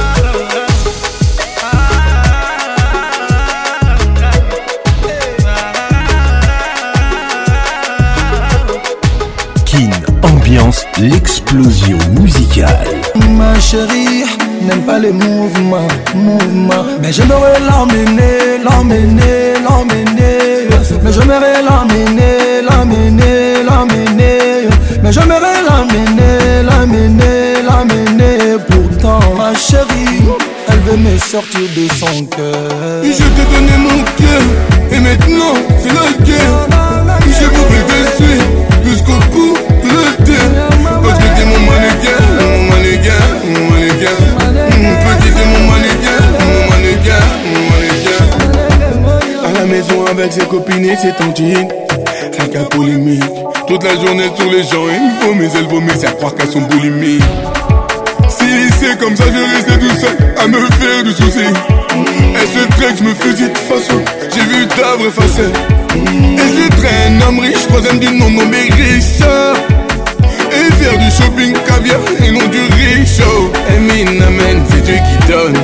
Kin ambiance l'explosion musicale. Ma chérie n'aime pas les mouvements, mais j'aimerais l'emmener, l'emmener, l'emmener. Mais j'aimerais l'emmener, l'emmener, l'emmener. Mais j'aimerais l'emmener, l'emmener, l'emmener. Pourtant ma chérie, elle veut me sortir de son cœur. Je t'ai donné mon cœur, et maintenant c'est la guerre. Je voudrais te suivre jusqu'au bout de la terre. Parce que t'es mon mannequin, mon mannequin, mon mannequin. Petit t'es mon mannequin, mon mannequin, mon mannequin. À la maison avec ses copines et ses tontines, rien qu'à polémique. Toute la journée sur les gens, il faut mais elle vomit, c'est à croire qu'elles sont boulimiques. Si c'est comme ça, je restais tout seul à me faire du souci. Elle se traite, je me faisais de façon. J'ai vu ta vraie facette. Et je traîne un homme riche, troisième du nom nommé Richard. Et faire du shopping caviar et non du riche. Emin, amen, c'est Dieu qui donne.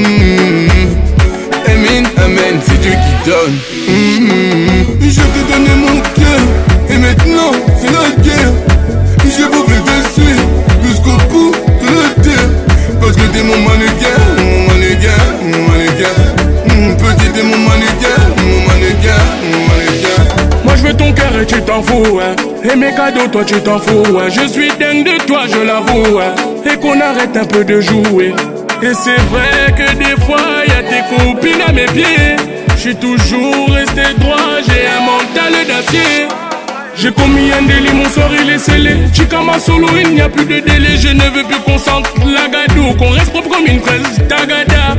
Emin, amen, c'est Dieu qui donne. Je t'ai donné mon cœur, et maintenant c'est la guerre. Je voudrais te suivre jusqu'au bout de la terre. Parce que t'es mon mannequin, mon mannequin, mon mannequin. Petit t'es mon mannequin, mon mannequin, mon mannequin. Moi je veux ton cœur et tu t'en fous, hein. Et mes cadeaux toi tu t'en fous, hein. Je suis dingue de toi, je l'avoue, hein. Et qu'on arrête un peu de jouer. Et c'est vrai que des fois y'a tes copines à mes pieds. Je suis toujours resté droit, j'ai un mental d'acier. J'ai commis un délit, mon sort il est scellé. Chikama solo, il n'y a plus de délai. Je ne veux plus qu'on sente la gadou, qu'on reste propre comme une fraise tagada.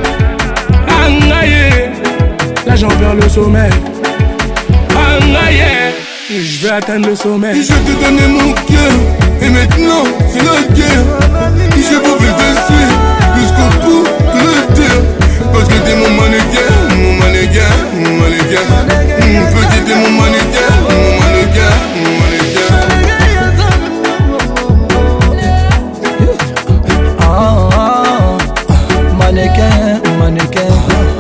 Angaye, là j'en perds le sommeil. Angaye, je vais atteindre le sommet. Je t'ai donné mon cœur, et maintenant c'est la guerre. Je voudrais te suivre jusqu'au bout de la terre. Parce que t'es mon mannequin, mon mannequin, mon mannequin. Petit t'es mon mannequin, mon mannequin, mon mannequin. Mannequin, mannequin.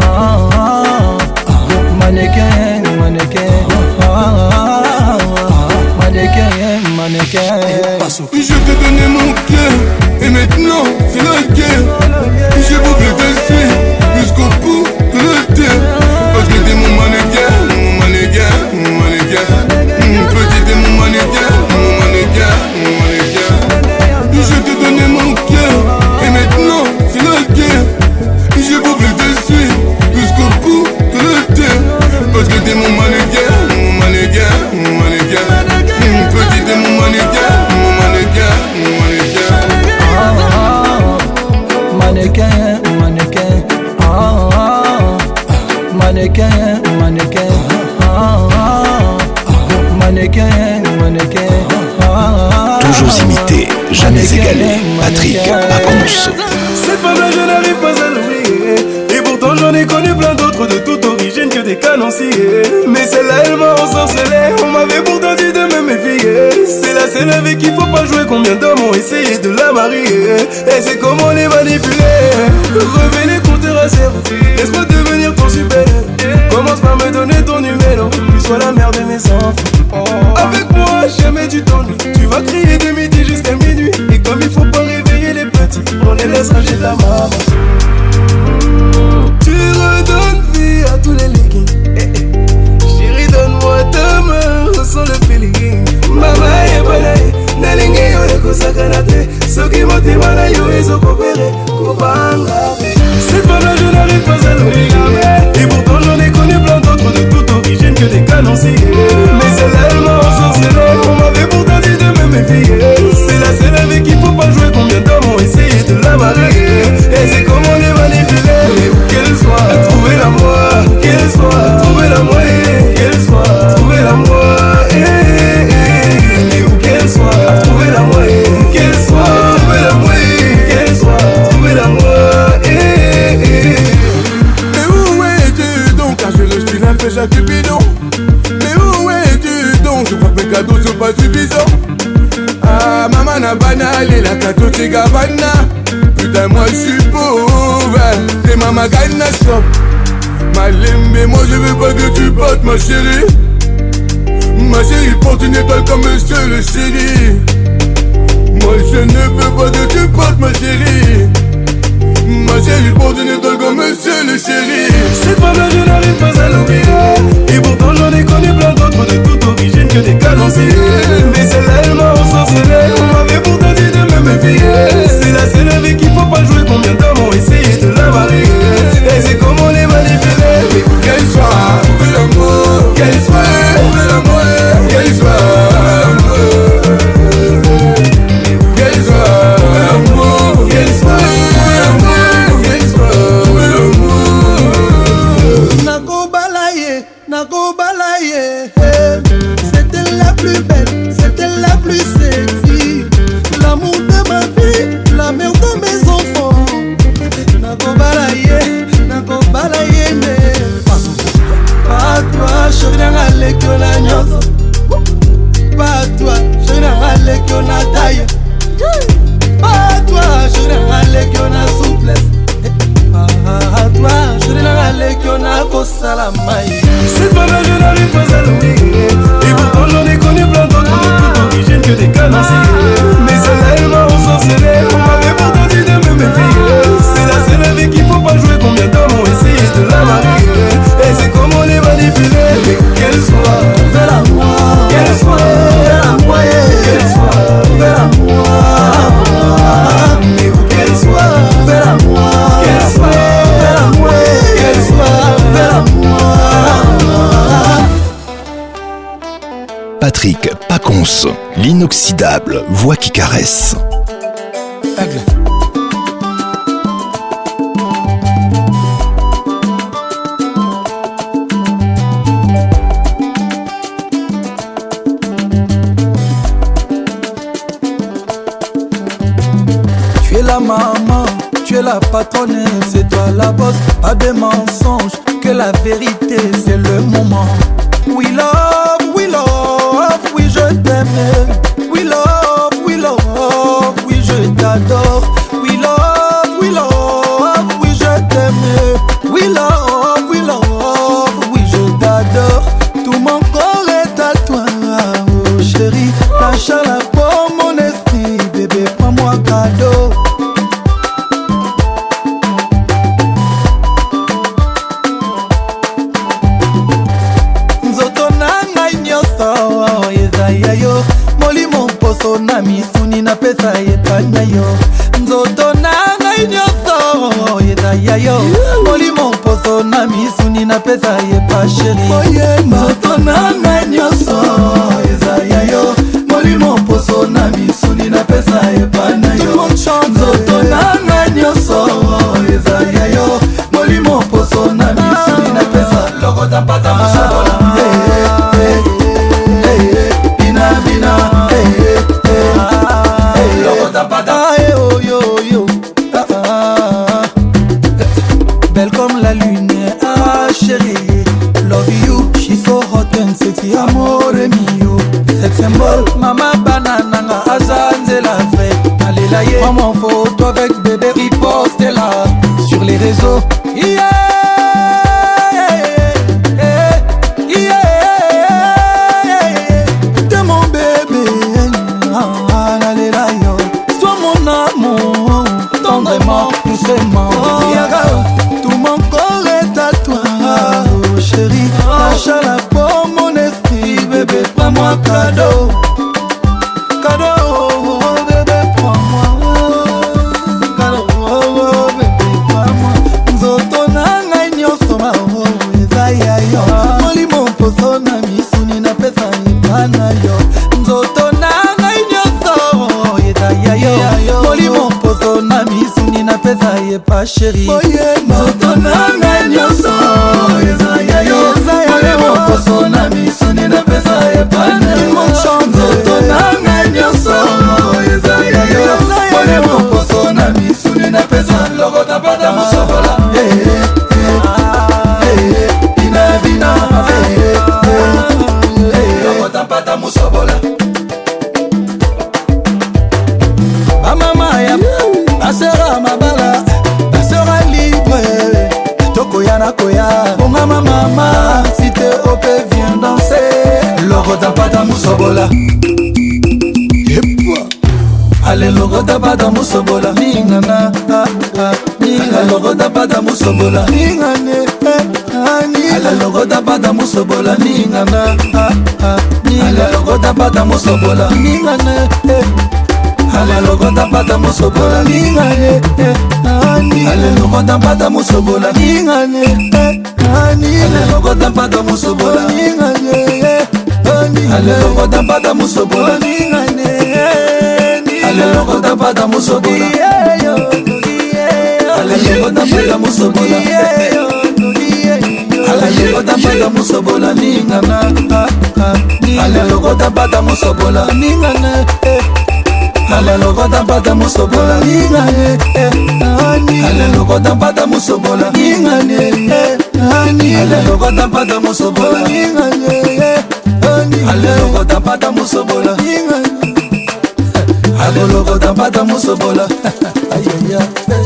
Mannequin, mannequin. Mannequin, mannequin. Je t'ai donné mon cœur, et maintenant c'est la guerre. Je voudrais te suivre jusqu'au bout de la terre. Parce que t'es mon mannequin, mon mannequin, mon mannequin. Petit t'es mon mannequin, mon mannequin, mon mannequin. Je t'ai donné mon cœur, et maintenant c'est la guerre. Je voudrais te suivre jusqu'au bout de la terre. Parce que t'es mon mannequin, mon mannequin, mon mannequin. Petit t'es mon mannequin, mon mannequin, mon mannequin. égalés. Patrick Pacons. Cette femme-là, je n'arrive pas à l'oublier. Et pourtant, j'en ai connu plein d'autres de toute origine que des canonciers. Mais celle-là, elle m'a ensorcelé. On m'avait pourtant dit de me méfier. C'est la seule avec qui faut pas jouer. Combien d'hommes ont essayé de la marier. Et c'est comment les manipuler. Remets les compteurs à zéro. Laisse-moi devenir ton super. Commence par me donner ton numéro. Puis sois la mère de mes enfants. Avec moi, jamais tu t'ennuies. Tu vas crier de midi jusqu'à minuit. Et comme il faut pas réveiller les petits, on les laisse ranger de la maman. Tu redonnes vie à tous les leggings. Chérie, donne-moi ta main, ressens le feeling. Mama et balaye, nalinge yo eko sakanate. Soki motema na yo ezo kopere, kopanga. Cette femme-là, je n'arrive pas à l'oublier. Et pourtant, j'en ai connu plein d'autres de toute origine que des canonciers. Mais celle-là, elle m'a ensorcelé. On m'avait pourtant dit de me méfier. C'est la seule avec qui faut pas jouer. Combien d'hommes ont essayé de la marier. Et c'est comment les manipuler. Mais où qu'elle soit, trouvez-la moi. Qu'elle soit, trouvez-la moi. Qu'elle soit, trouvez-la moi. Mais où qu'elle soit, trouvez-la moi. Qu'elle soit, trouvez-la moi. Qu'elle soit, trouvez-la moi. Mais où es-tu donc? Car je le style un peu chaque bidon. Mais où es-tu donc? Je crois que mes cadeaux sont pas suffisants. Ah, maman n'a banal et la cadeau t'es gavana. Putain, moi je suis pauvre. T'es maman gana stop. Malembe, moi je veux pas que tu partes, ma chérie. Ma chérie porte une étoile comme monsieur le chéri. Moi je ne veux pas que tu partes, ma chérie. Ma chérie porte une étoile comme monsieur le chéri. Cette femme-là, je n'arrive pas à l'oublier. Et pourtant, j'en ai connu plein d'autres de toute origine que des canonciers. Mais celle-là, elle m'a ensorcelé. On m'avait pourtant dit de me méfier. C'est la seule avec qui faut pas jouer. Combien d'hommes ont essayé de la marier. Et c'est comment les manipuler. Mais où qu'elle soit, trouvez l'amour. Qu'elle soit, trouvez l'amour. Qu'elle soit, mais où qu'elle soit, trouvez l'amour. Qu'elle soit. C'était la plus belle, c'était la plus sexy. L'amour de ma vie, la mère de mes enfants. Nako balaye ne. Pas toi, chérie n'a l'école à nyonso. Pas toi, chérie n'a l'école à taille. Pas toi, chérie n'a l'école à souplesse. Pas toi, chérie n'a l'école à kosalamai. Cette femme-là, je n'arrive pas à l'oublier. Et pourtant, j'en ai connu plein d'autres de toute origine que des canonciers. Mais celle-là, elle m'a ensorcelé. On m'avait pourtant dit de me méfier. C'est la seule avec qui faut pas jouer. Combien d'hommes ont essayé de la marier. Et c'est comment les manipuler. Mais qu'elle soit, trouvez-la moi. Qu'elle soit, trouvez-la moi. Qu'elle soit, trouvez-la moi. Mais où qu'elle soit, trouvez-la moi. Qu'elle soit, trouvez-la moi. Qu'elle soit, trouvez-la moi. Patrick Pacons, l'inoxydable voix qui caresse. Aigle. Tu es la maman, tu es la patronne, c'est toi la boss, pas de mensonges, que la vérité c'est le moment. We love, oui je t'aime. We love, oui je t'adore. We love, oui je t'aime. We love, oui je t'adore. Tout mon corps est à toi, oh chérie. La chaleur pour mon esprit, bébé prends-moi cadeau. Molimo poso na misuni na pesa yepanya yo. Nzoto nanga inyoso yedaya yo. Molimo poso na misuni na pesa yepa sheri. Nzoto nanga inyoso yedaya yo. Molimo poso na misuni na pesa yepanya yo. Nzoto nanga inyoso yedaya yo. Molimo poso na misuni na pesa. Logo tampata musabola. Bina, logo da belle comme la lune. Ah chérie, love you, she's so hot and sexy, amore mio. Sex symbol, mama banana nga azanze la fête. Allez là, prends mon photo avec bébé, riposte-la sur les réseaux. Yeah. Doucement, tout mon corps est à toi, oh, chérie. Lâche la peau, mon esprit, bébé, prends-moi cadeau. Cadeau, oh, bébé, prends-moi. Cadeau, oh, bébé, prends-moi. Nzoto nanga nyonso ma oh, ezaya yo. Molimo poso na misuni na pesa ipana yo. Nzoto nanga nyonso ezaya yo. Molimo poso na misuni na pesa ye pa chérie. Nzoto nanga nyonso ezaya yo. Molimo poso na misuni na pesa ye pa nzoto nanga nyonso ezaya yo. Molimo poso na misuni na pesa logo tapata musobola. Bina bina logo tapata musobola. Mama ya basera mabala, basera libre. Tokoyana koya, bonga mama, si te opé viens danser. Logo tapata musobola. Ale logo tapata musobola. Ningana, ningana logo tapata musobola. Ningane, ale logo tapata musobola. Ningana, ale logo tapata musobola. Ningane. Ale logo tapata musobola ningane ale logo tapata musobola ningane ale logo tapata musobola ningane ale logo tapata musobola ningane ale logo tapata musobola ale logo tapata musobola ale logo tapata musobola ningana ale logo tapata musobola ningane ale logo tapata musobola ningane ale logo tapata musobola ningane ale logo tapata musobola ningane ale logo tapata musobola ningane ale logo tapata musobola ay ay ay.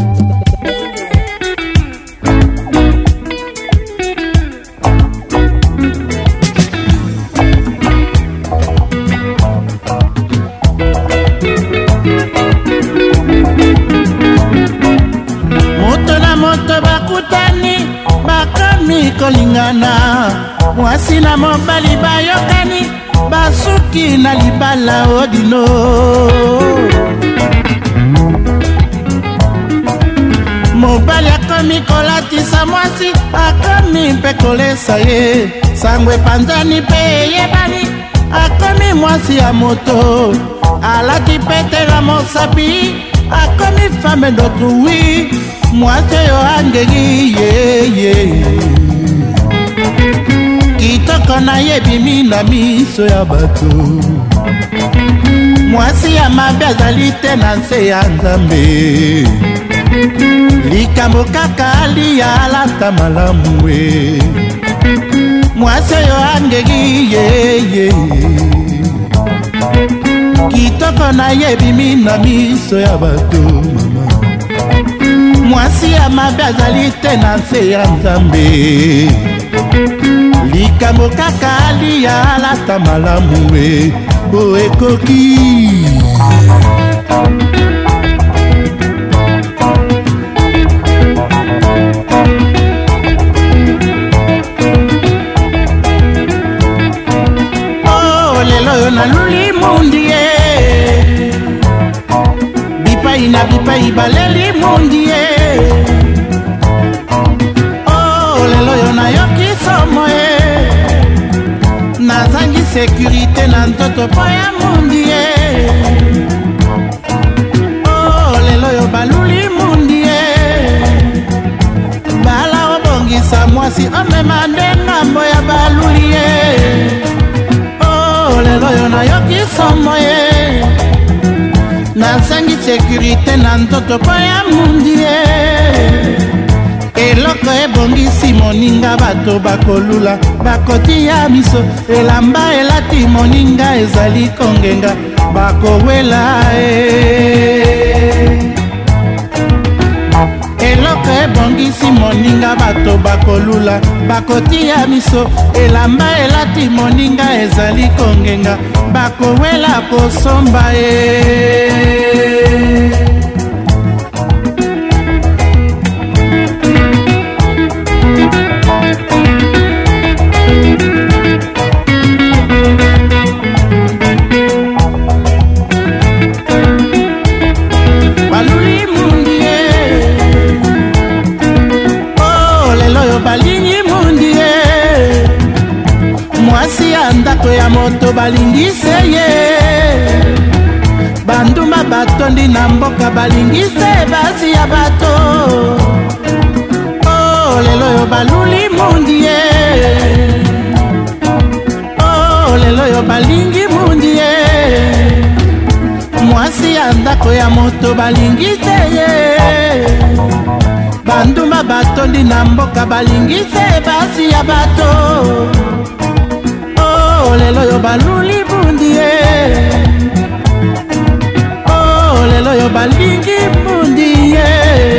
Kolingana mwasi na mobali bayokani basuki na libala odino mobali akomi kolatisa mwasi akomi mpe kolesa ye sango epanzani mpe eyebani akomi mwasi ya moto alaki petela mosapi akomi femme d'autrui mwasi oyo angeli yeye kitoko na ye bimi na miso ya bato mwasi ya mabe azali te na nse ya nzambe likambo kaka aliya alata malamu e mwasi oyo angeli yeye kitoko na ye bimi na miso ya bato mama mwasi ya mabe azali te na nse ya nzambe likambo kaka aliya alata malamu e o ekoki oh lelo yo naluli mundi e bipai na bipai baleli mundi e oh lelo yo nayoki somo e nazangi sécurité na nzoto po ya mundi e oh lelo yo baluli mundi e bala obongisa mwasi omema nde ngambo ya baluli e oh lelo yo nayoki somo e nazangi sécurité na nzoto po ya mundi e eloko ebongisi moninga bato bakolula bakotia miso elamba elati moninga ezali kongenga bakowela eloko ebongisi moninga bato bakolula bakotia miso elamba elati moninga ezali kongenga bakowela kosomba ndako ya moto balingise ye bandumba batondi na mboka balingise basi ya bato oh lelo yo baluli mundi ye oh lelo yo balingi mundi ye mwasi ya ndako ya moto balingise ye bandumba batondi na mboka balingise basi ya bato lelo yo baluli bundi ye oh lelo yo balingi bundi ye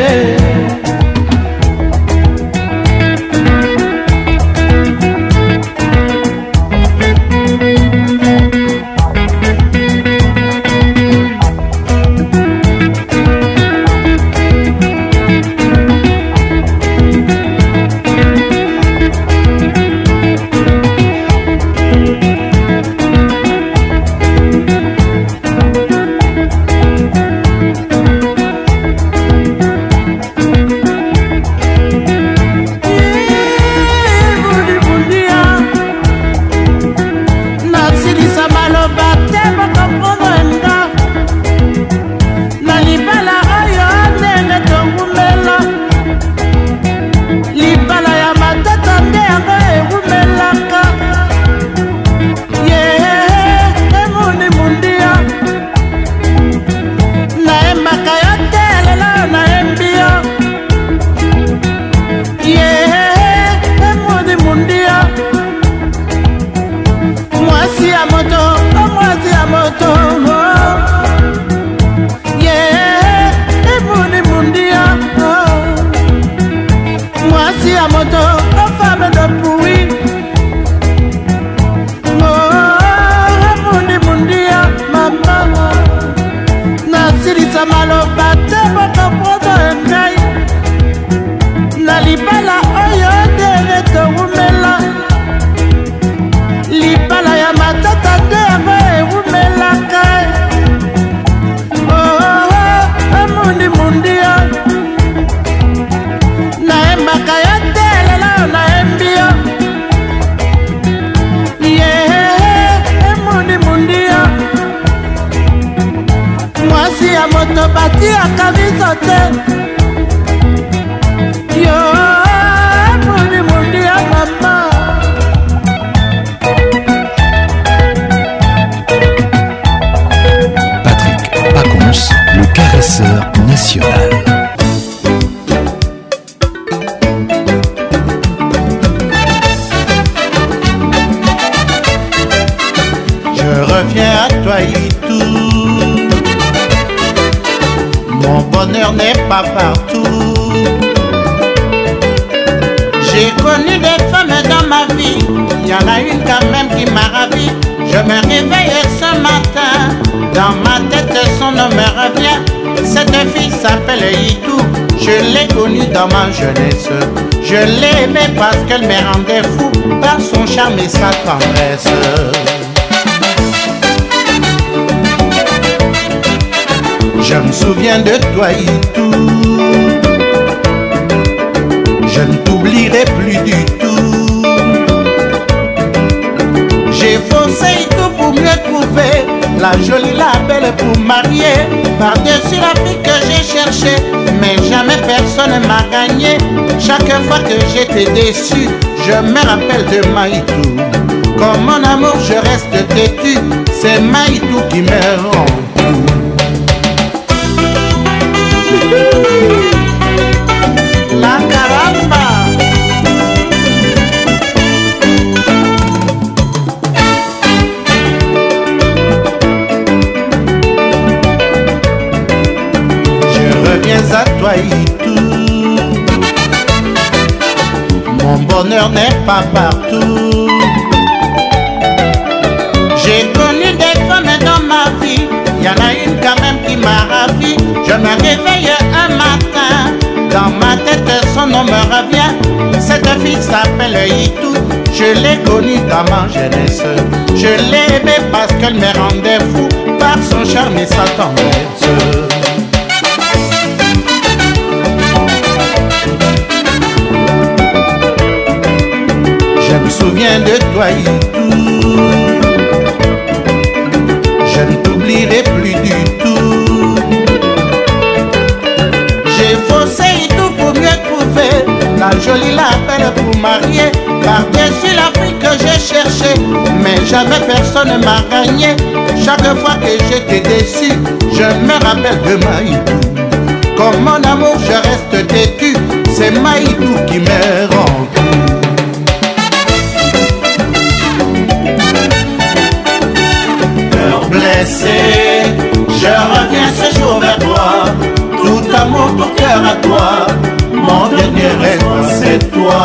dans ma jeunesse, je l'aimais parce qu'elle me rendait fou par son charme et sa tendresse. Je me souviens de toi et tout, je ne t'oublierai plus du tout. J'ai forcé et tout pour mieux trouver la jolie, la belle pour marier. Par-dessus la fille que j'ai cherchée, mais jamais personne m'a gagné. Chaque fois que j'étais déçu, je me rappelle de Maïtou. Comme mon amour, je reste têtu, c'est Maïtou qui me rend fou. La caramba. mon bonheur n'est pas partout. J'ai connu des femmes dans ma vie, y en a une quand même qui m'a ravi. Je me réveille un matin, dans ma tête son nom me revient. Cette fille s'appelle Itou, je l'ai connue dans ma jeunesse. Je l'ai aimée parce qu'elle me rendait fou par son charme et sa tendresse. Je me souviens de toi Itou, je ne t'oublierai plus du tout. J'ai faussé Itou pour mieux trouver la jolie, la belle pour marier. Par-dessus l'Afrique que j'ai cherché, mais jamais personne ne m'a gagné. Chaque fois que j'étais déçu, je me rappelle de Maïtou. Comme mon amour je reste têtu, c'est Maïtou qui me rend tout. Cœur blessé, je reviens ce jour vers toi. Tout amour, tout cœur à toi. Mon dernier rêve, c'est toi.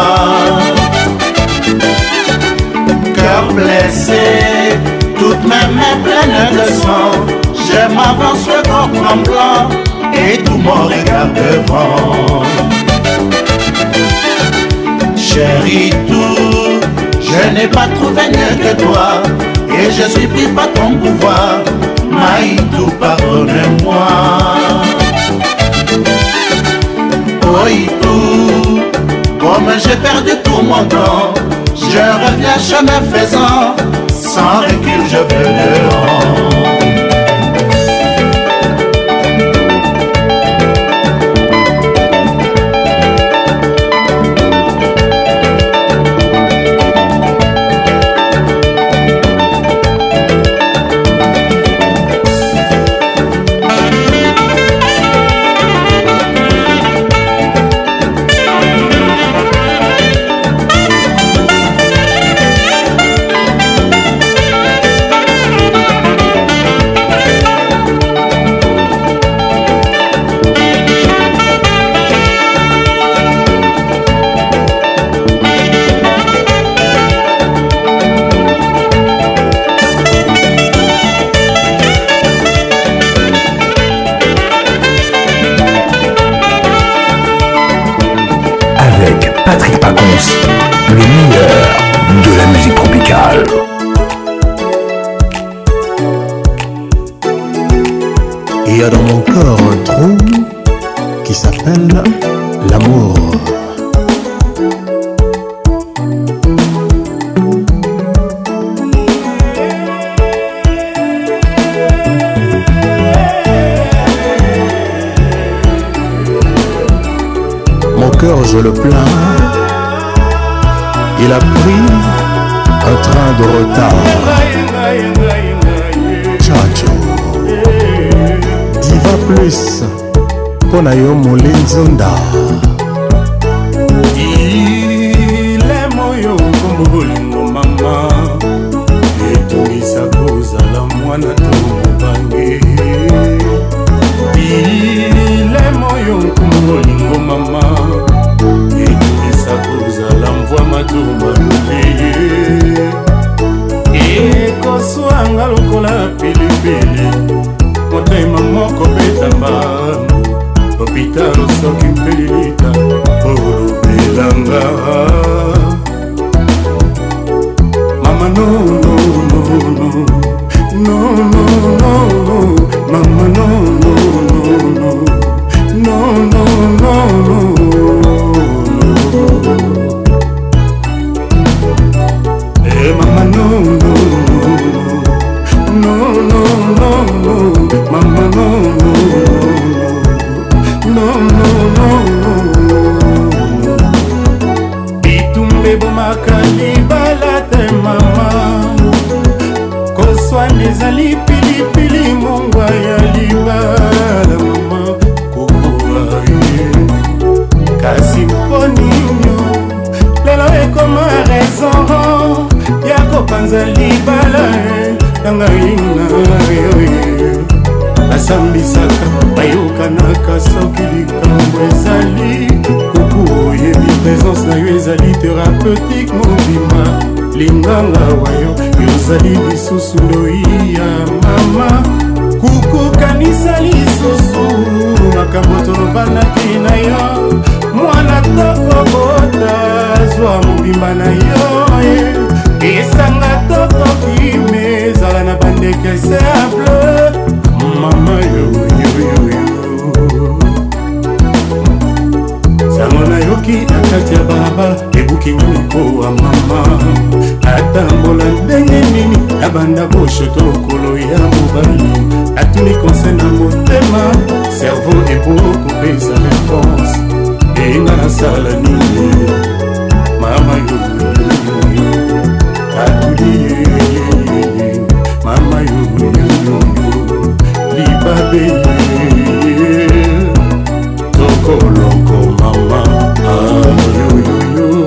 Cœur blessé, toutes mes mains pleines de sang. Je m'avance le corps tremblant et tout mon regard devant. Chérie, tout, je n'ai pas trouvé mieux que toi et je suis pris par ton pouvoir. Maïtou, pardonne-moi. Oh Itou, comme j'ai perdu tout mon temps, je reviens chemin faisant, sans recul je veux dehors. Patrick Pacons, le meilleur de la musique tropicale. Il y a dans mon corps un trou qui s'appelle l'amour. Mon cœur, je le plains. Il a pris un train de retard. Chacho, Diva Plus, Ponayo Molinzunda. Il est moyo kumbulingo mama. Etumisa kozala mwana tobange. Il est moyo kumbulingo mama. Etumisa kozala mvua matuma lupeye. Ekoswanga lokola pilipili. Motema moko betamba. Hôpital soki mpelilita olobelanga. Mama no no no no no no no no. Mama no no no no no no no. Eh mama no no no no no no. Mama no no no no no no. Bitumbe bomakali balate mama. Koswa nezali pilipili mongwa ya libala mama. Kukuaye kasi mponinyo lelo ekoma raison ya kopanza libala nanga ina yoye. basambisaka bayokanaka soki likambo ezali kuku oyebi présence na yo ezali thérapeutique mobima linganga wayo yozali lisusu loi ya mama kuku kanisa lisusu makambo tolobanaki na yo mwana tokobota zwa mobimba na yo esanga tokoki me ezala na bandeke simple mama yoyoyoyo sango nayoki na kati ya balabala ebuki nyoniko wa mama atambola ndenge nini nabanda boshoto lokolo ya mobali atuni konse na motema cerveau ebokopesa réponse enga nasala nini mama yoyoyoyo atuli mama yoyoyoyo libabe tokoloko mama yoyoyo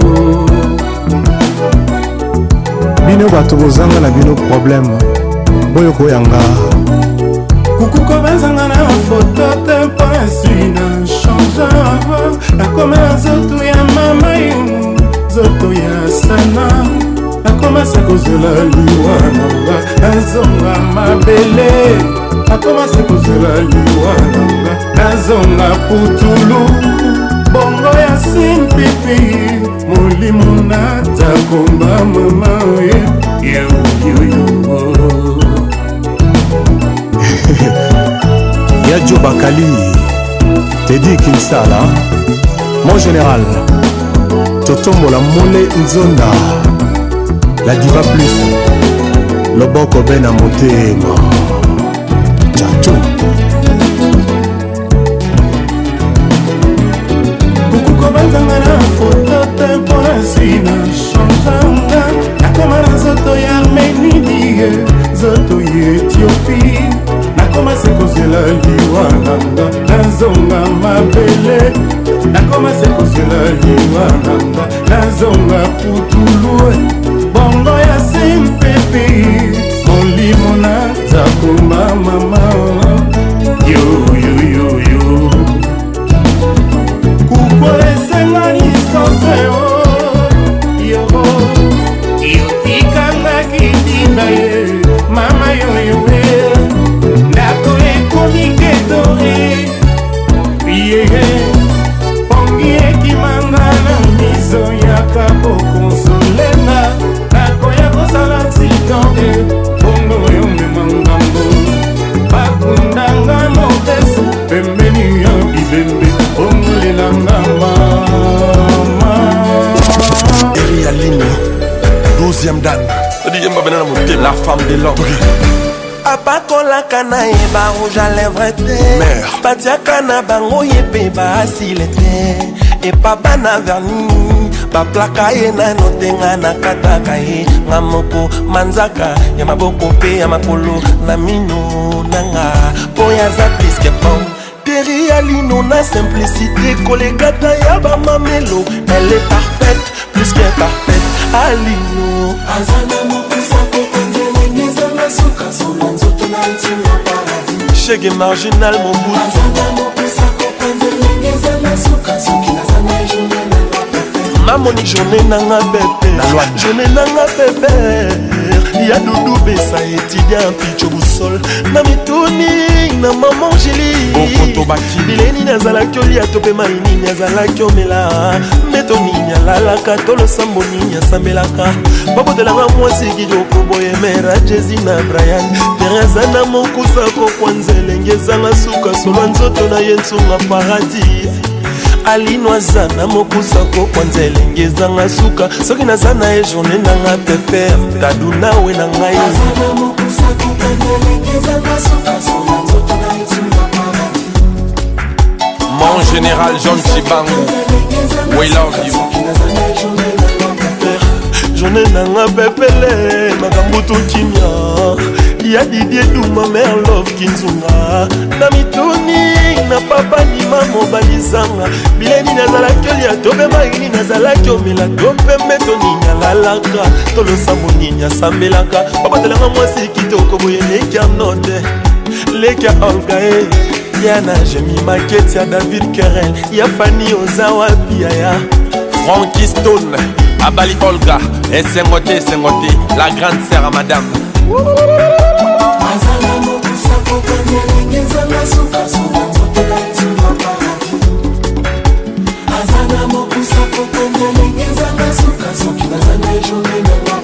bino bato bozanga na bino problème boyo koyanga kukuko bazanga na foto te mpasi na change nakoma na zoto ya mama yo zoto ya sana nakomasa kozela liwa nanga nazonga mabele nakomasa kozela liwa nanga nazonga putulu bongo ya simpipi molimo natakomba mama yoyoyo Yadjo Bakali Teddy Kinsala mon général Totombola Mole Nzonda la diva plus Loboko Bena Motema Chacho Kukuko banzanga na foto tempo na sina changeanga nakoma na zoto ya Arménie zoto ya Éthiopie nakomase kozela liwa nanga nazonga mabele nakomase kozela liwa nanga nazonga putulu bongo ya simpepe molimo nazakoma mama yoyoyoyo kuko esenga distance yoro yotikanga kitinda ye mama yoyoe ndako ekomikedore yeye pongi ekimanga na miso yaka pokonsolenga ndako ya kosala accidente bongo yomema ngambo bakundanga mopesi pembeni ya bibembe bongolelanga mama Eri Aline 12e dan la femme de l'homme apakolaka na ye barouge à lèvre te batiaka na bango ye mpe baasile te epa bana verni baplaka ye nano te nga nakataka ye nga moko manzaka ya maboko mpe ya makolo na mino nanga mpo yaza pliske pom Teri Alino na simplicité kolekata ya bamamelo elle est parfaite plus que parfaite Alino azana mokisa kokonzele ngezanga suka sona nzoto na itina paradis chege marginal mon bout azana mokisa kokonzele ngezanga suka soki nazana journée na mamoni journée nanga bébé journée nanga bébé ya dudu besa étudiant picho busol na mituni na maman Angélie bileni nazalaki olia to mpe mainini azalaki omela mbeto nini alalaka to losambo nini asambelaka babotelanga mwasi kitoko boyemera jesi na brian tere aza na mokusa kokwa nzelenge ezanga suka solwa nzoto na ye nsunga paradis alino aza na mokusa kokwa nzelenge ezanga suka soki naza na ye journée nanga pepe tadu nawe na ngai mon général John Chibangu we love you journée nanga pepele makambo tokimia ya Didier Duma mère love kinzunga na mituni na papa nima mobalizanga bileni nazalaki olia tope maini nazalaki omela topembe tonini alalaka tolosambo nini asambelaka babotelanga mwasi kitoko boyeneki anote Leka Olga Yana Jemi Maquette ya David Kerel ya Fanny Ozawa Biaya Frankie Stone Abali Olga et Sengote la grande sœur à madame Azala mokusa kokanya lengeza masuka suka nzotela ituma paradi Azala mokusa kokanya lengeza masuka soki nazana ejone na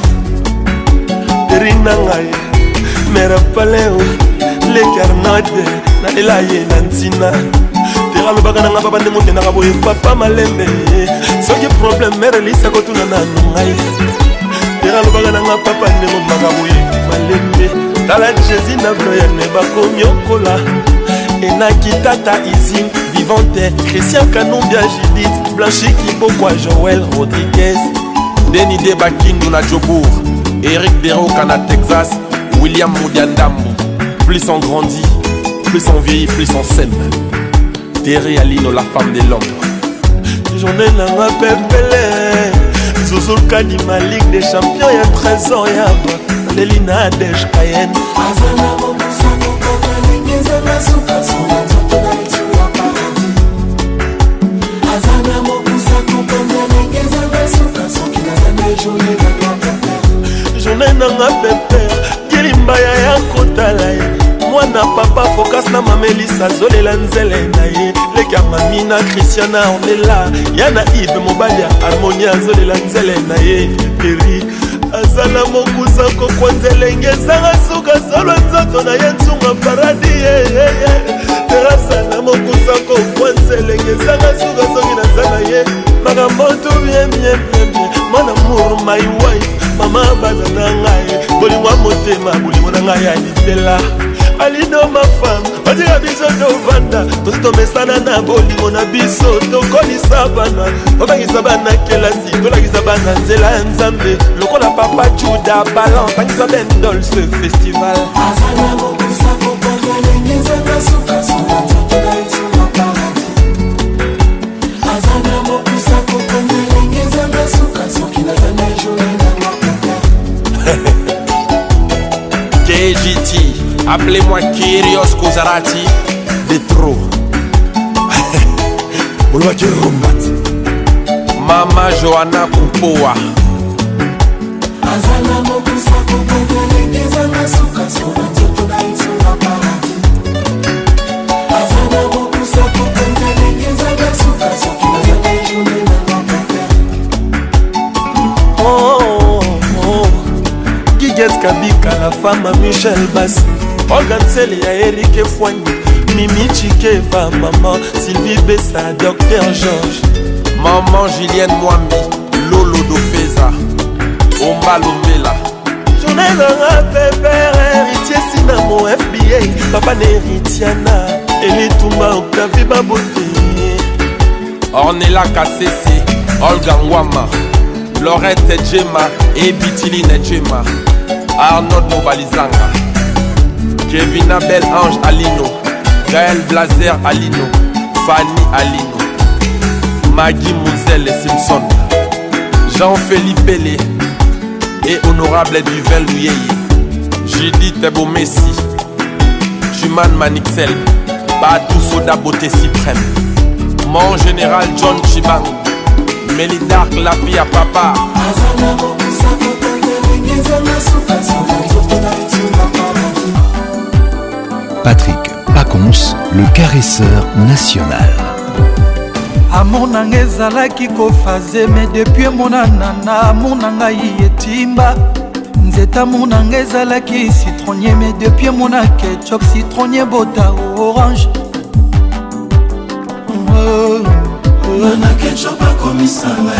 wapaka Rina ngai Mera paleo Le carnade Na elaye na ntina Tera lobaka na nga papa nde mote na kaboye papa malembe Soki problem mere lisa kotuna na nungai Tera lobaka na nga papa nde mote na kaboye malembe Tala Jésus na bloyane bakomi okola Enaki tata Izim Vivante Christian Kanumbia Judith Blanchi Kibokwa Joël Rodriguez Denis Debakindu na Jobour Eric Deroka na Texas William Moudiandambo Plus on grandit, plus on vieillit, plus on s'aime Terry Alino la femme de l'ombre Journée na ma pepele Zozo Kanima Ligue des Champions y'a 13 ans y'a Lelina Desh Cayenne Azala mokusa kokanya lengeza masuka suka nzotela ituma paradi Azala mokusa kokanya lengeza masuka soki nazana ejone na wapaka Journée na nga pepele Kilimbaya ya kotala ye Mwana papa focus na mamelisa zolela nzele na ye Leka mamina Christiana Ornella Yana Yves Mobalia Harmonia zolela nzele na ye Peri Azala mokusa kokwanzele ngezanga suka solo nzoto na ye nsunga paradi Azala mokusa kokwanzele ngezanga suka soki nazana ye Makambo tu bien Mon amour my wife Mama bana na ngai Bolingo motema bolingo na ngai alitela Alido ma femme Odira biso tovanda Tosi tomesana na bolingo na biso Tokolisa bana Tobangisa bana kelasi Tolakisa bana nzela ya nzambe Lokola papa Juda Balan Tangisa bendol ce festival Azala mokusa kokanya lengeza masuka suka nzotela ituma paradi Azala mokusa kokanya lengeza masuka soki nazana ejone na KGT, appelez-moi Kyrios Kozarati de trop. Mama Johanna Kupoa. Azala mokusa kokanya lengeza masuka suka nzotela ituma paradi Azala mokusa kokanya lengeza masuka soki nazana ejone na wapaka Guiguette Kabika, la femme à Michel Bassi Olga Nsele ya Eric Fouani Mimi Chikeva, maman Sylvie Bessa, Docteur Georges Maman Julienne Mwambi, Lolo Dofeza, Omba Lombela Journée Nanga Pépère, héritier Sinamo FBA Papa Neritiana, Elitumba Octavie Babote Ornella Kassese, Olga Nwama Lorette Djema et Bitiline Djema Arnaud Mobalizanga Kevin Abel Ange Alino Gaël Blazer Alino Fanny Alino Maggie Mouzel et Simpson Jean-Philippe Pelé et Honorable Duvel Louyeye Judith Messi Juman Manixel Badou Soda Beauté Suprême Mon général John Chibang Mélidark la vie à papa Azala mokusa kokanya lengeza masuka suka nzotela ituma paradi Patrick Pacons, le caresseur national. Amour nanga ezalaki kofaze mais depuis monana na amour nanga yetimba nzeta amour nanga ezalaki citronnier mais depuis mona ketchup citronnier bota orange na ketchup akomisanga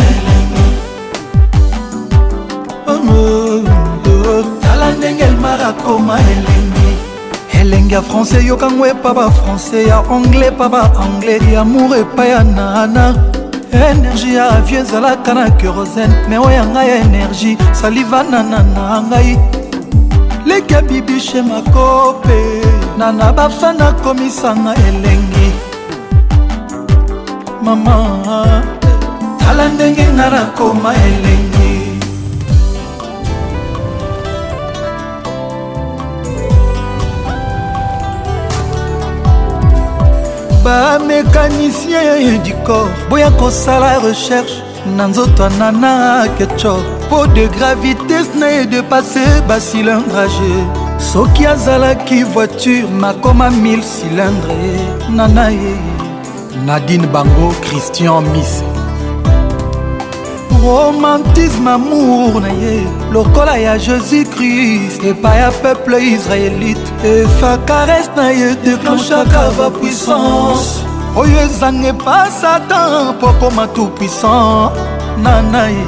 elengi tala ndenge elmara koma elenge ya français yokango epa ba français ya anglais epa ba anglais ya amour epa ya nana énergie ya avion ezalaka na kérosène me oyo ya ngai ya énergie saliva nanana ngai leka bibishe makope nana bafana komisanga elengi mama tala ndenge nga nakoma elengi Ba mécanicien du corps boya kosala recherche na nzoto nana ketchup po de gravité na de passer ba cilindrage soki azalaki voiture makoma 1000 cylindres nana ye Nadine Bango Christian Miss romantisme amour na ye lokola ya Jésus-Christ epai ya peuple israélite efa caresse na ye déclenchaka ba puissance oyo ezange pa Satan po koma tout puissant nana ye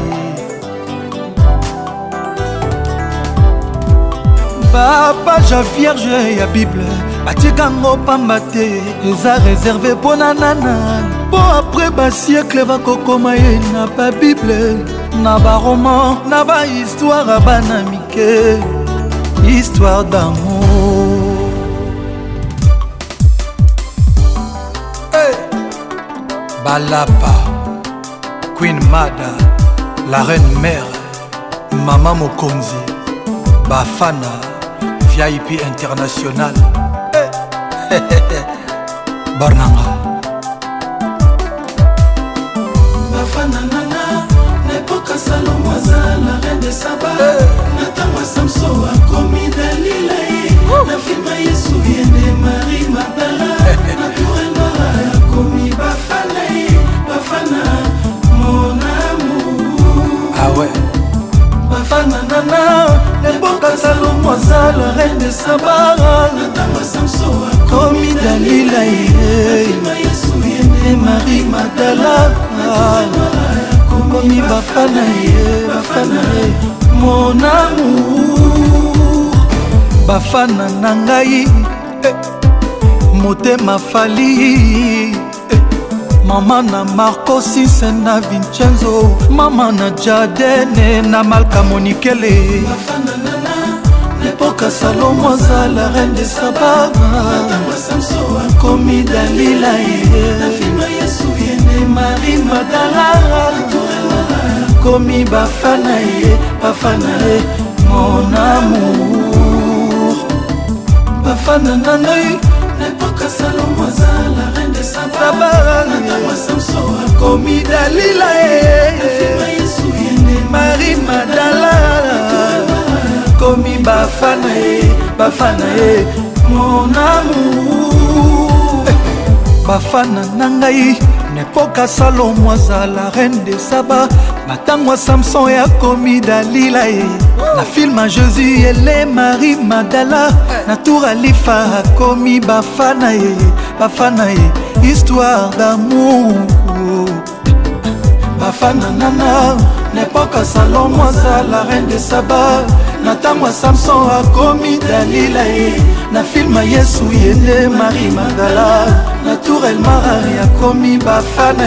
bapage vierge ya Bible batikango pamba te eza réservé mpo na nana po apres basiècle bakokoma ye na babible na baroman na bahistoire ya bana mike histoire d'amour hey. Balapa Queen Mada la reine mère Mama Mokonzi Bafana VIP international Barnanga Bafana nana n'époque Salomoisa la reine de Saba Natama Samso a commis Dalila na filma Yesu yende Marie Magdala naturellement a commis Bafana Bafana mon amour ah ouais Bafana nana l'époque Salomoisa la reine de Saba Natama Samso a commis Dalila et Marie Magdala commis Bafana mon amour Bafana nangai motema fali mama na Marco Sisse na Vincenzo mama na Jadene na Malka Monikele Bafana nana l'époque Salomoisa la reine de Saba commis Dalila et Marie Magdala commis Bafana mon amour Bafana nanai l'époque Salomoisa la reine de Saba commis Dalila et Marie Magdala commis Bafana mon amour Bafana nangai n'époque Salomoisa la reine de Saba matangwa Samson ya commis Dalila na film à Jésus et Marie Magdala na tour Alifa commis Bafana histoire d'amour Bafana nana n'époque Salomoisa la reine de Saba natangwa Samson a commis Dalila na film à Yesu yende Marie Magdala na tour El Mara a commis Bafana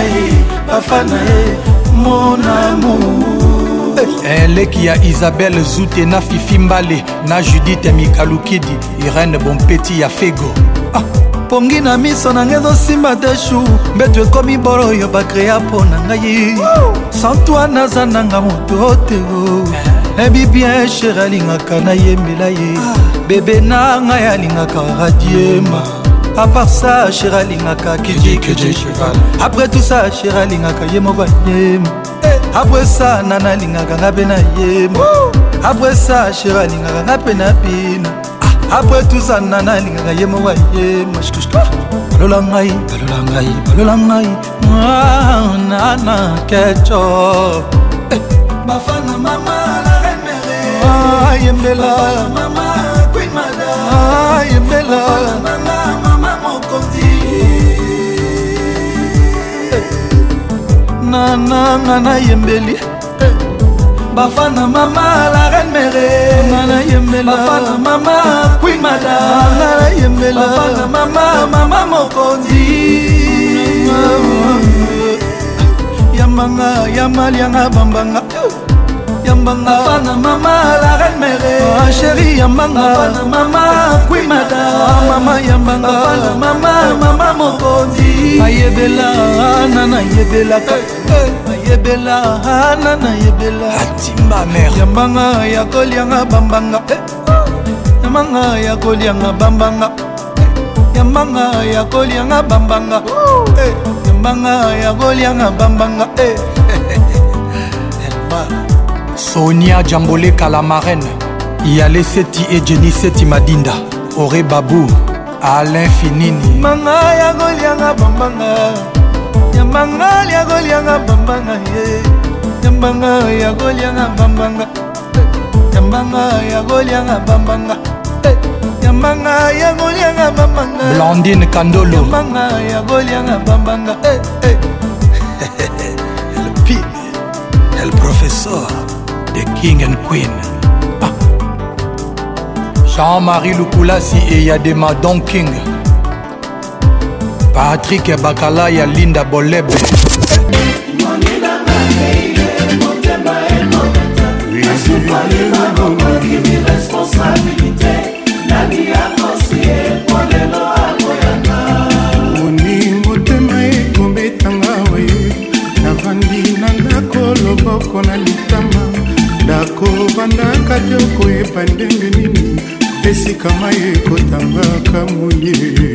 mon amour eleki ya Isabelle Zoute na Fifi Mbale na Judith Mikalukidi Irene Bompeti ya Fego pongi na miso na ngai ezosimba te shu mbeto ekomi bolo oyo bakrea mpo na ngai sans toi naza nanga moto te nayebi bien chéri alingaka nayembela ye bebe na ngai alingaka radiema à part ça chéri alingaka kidikeje cheval après tout ça chéri alingaka ye moko anyema après ça nana alingaka nga mpe na yema après ça chéri alingaka nga mpe na bina après tout ça nana alingaka ye moko ayema balola ngai nana kecho Bafana mama la reine mère yembela mama Queen Mada yembela mama Mokonzi nana yembeli Bafana mama la reine mère nana yembela Bafana mama Queen Mada nana yembela Bafana mama Mokonzi Yamanga yamalianga bambanga Yambanga Bafana mama la reine mère chérie Yambanga Bafana mama Queen Mada mama Yambanga Bafana mama Mokonzi ayebela nana yebela ayebela nana yebela atimba mère Yambanga yakolianga bambanga Yambanga yakolianga bambanga Nyambanga ya kolianga bambanga Nyambanga ya kolianga bambanga Sonia Djambole Kalamarène Yale Seti et Jenny Seti Madinda Ore Babou Alain Finini Manga ya kolianga bambanga Nyambanga ya kolianga bambanga Nyambanga ya kolianga bambanga Nyambanga ya kolianga bambanga Nyambanga ya kolianga bambanga Blandine Kandolo Nyambanga ya kolianga bambanga El Pin El Professeur The King and Queen Jean-Marie Lukulasi et Yadema Don King Patrick Bakala ya Linda Bolebe motema ekobetanga we navandi na ndako loboko na litama ndako bandaka te okoyeba ndenge nini esika mai ekotangaka moye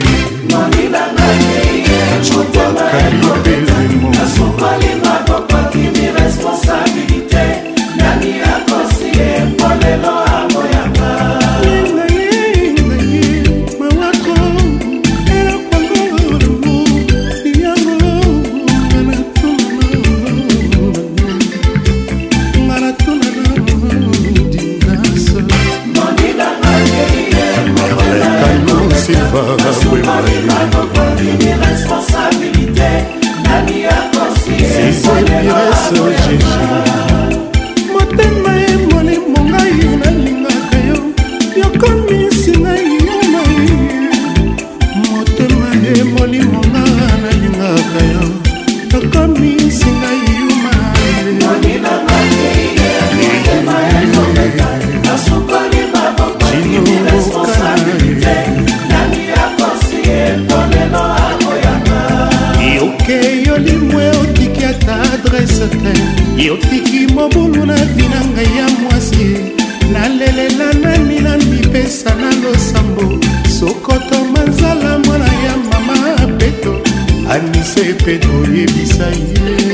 motema emoli mongai nalingaka yo yokomisi ngai yoma motema emoli monga nalingaka yo yokomisi ngai yoma yoke yolimwe otiki ata adrese te yotiki mobulu na vina ngai ya mwasi nalelela nani na mipesa na losambo sokoto manzala mwana ya mama peto anise peto yebisa ye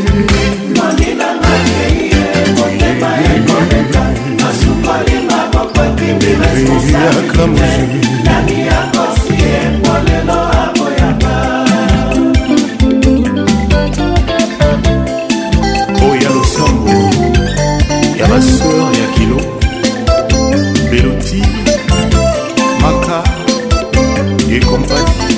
oya losambo ya baseur ya kilo Beloti Maka et compagnie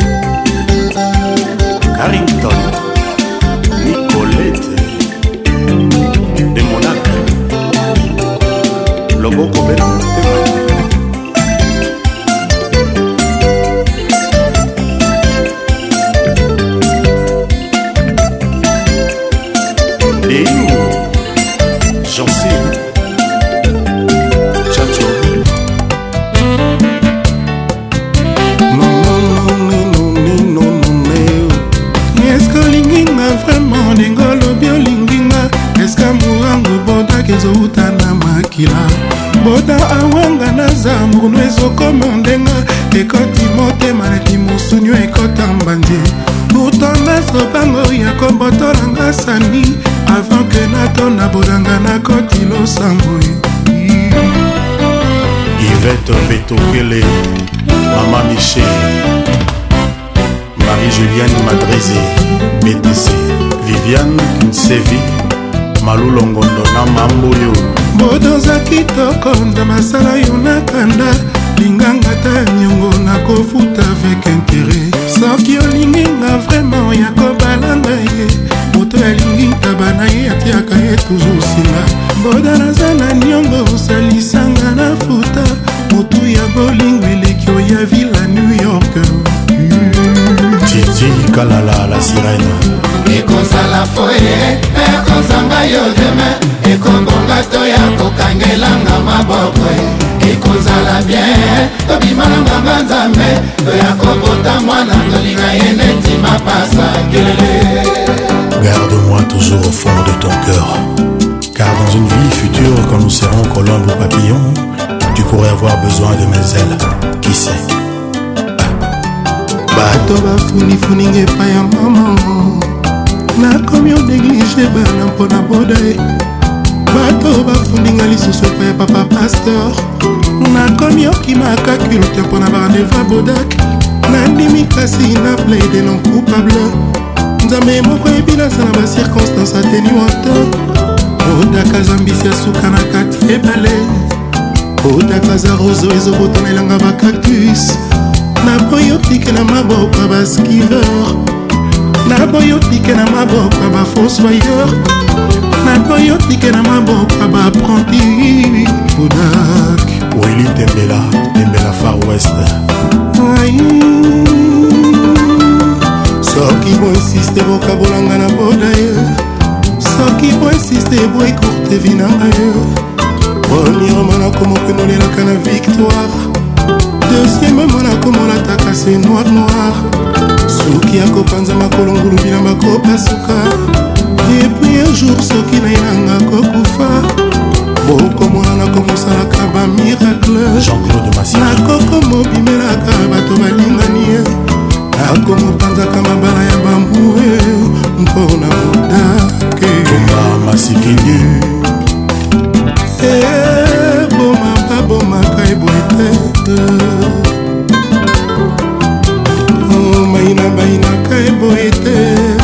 Carrington Nicolette de Monac Loboko Bela j'en sais Chacho Est-ce que linginga vraiment ndengolo bio linginga Est-ce que murango boda kezouta na makila Boda awanga na zambu nwezo komondenga Ekoti motema neti musunyo ekota mbandi Pourtant naso bango ya kombotolanga sani Avant que nato na bodanga na koti losambo Yvette Betokele Mama Michel Marie-Julienne Madrézé BTC Viviane Nsevi Malulongondo na Mamboyo Bodoza kitoko nda masala yo na kanda Linganga ta nyongo na kofuta avec intérêt Soki olinginga vraiment ya kobalanga ye Moto alingi tabana ye atiaka ye toujours singa Boda naza na nyongo osalisanga na futa Motu ya bolingo elekio ya villa New York Titi Kalala la sirène ekozala foye ekozanga yo demain ekombonga to ya kokangelanga maboko ekozala bien tobima na nganga nzambe toya kobota mwana tolinga ye neti mapasa kelele. Garde-moi toujours au fond de ton cœur, car dans une vie future quand nous serons colombes ou papillons, tu pourrais avoir besoin de mes ailes, qui sait. bato bafunifuninga epai ya mama nakomi onéglige bana mpona boda ye bato bafundinga lisusu epai ya papa pasteur nakomi okimaka culte mpona barandeva bodak nandimi kasi na plaide non coupable nzambe moko eyebi nasala bacirconstance ateni wata bodaka zambisi ya suka na kati ebale bodaka za roso ezobotanelanga bacactus naboyotike na maboko ya baskiveur naboyotike na maboko ya bafossoyeur naboyotike na maboko ya baapprenti bodak Willy Tembela Far West soki boinsiste bokabolanga na boda ye soki boinsiste boekourte vi nanga ye premièrement nakomopenolelaka na victoire deuxièmement nakomolataka se noir soki akopanza makolo ngulubi na makopasuka epuis un jour soki nainanga kokufa bokomona nakomosalaka bamiracle nakokomobimelaka bato balingani ye nakomopanzaka mabala ya bambue mpona modake masikini bomaka bomaka eboete maina bainaka eboete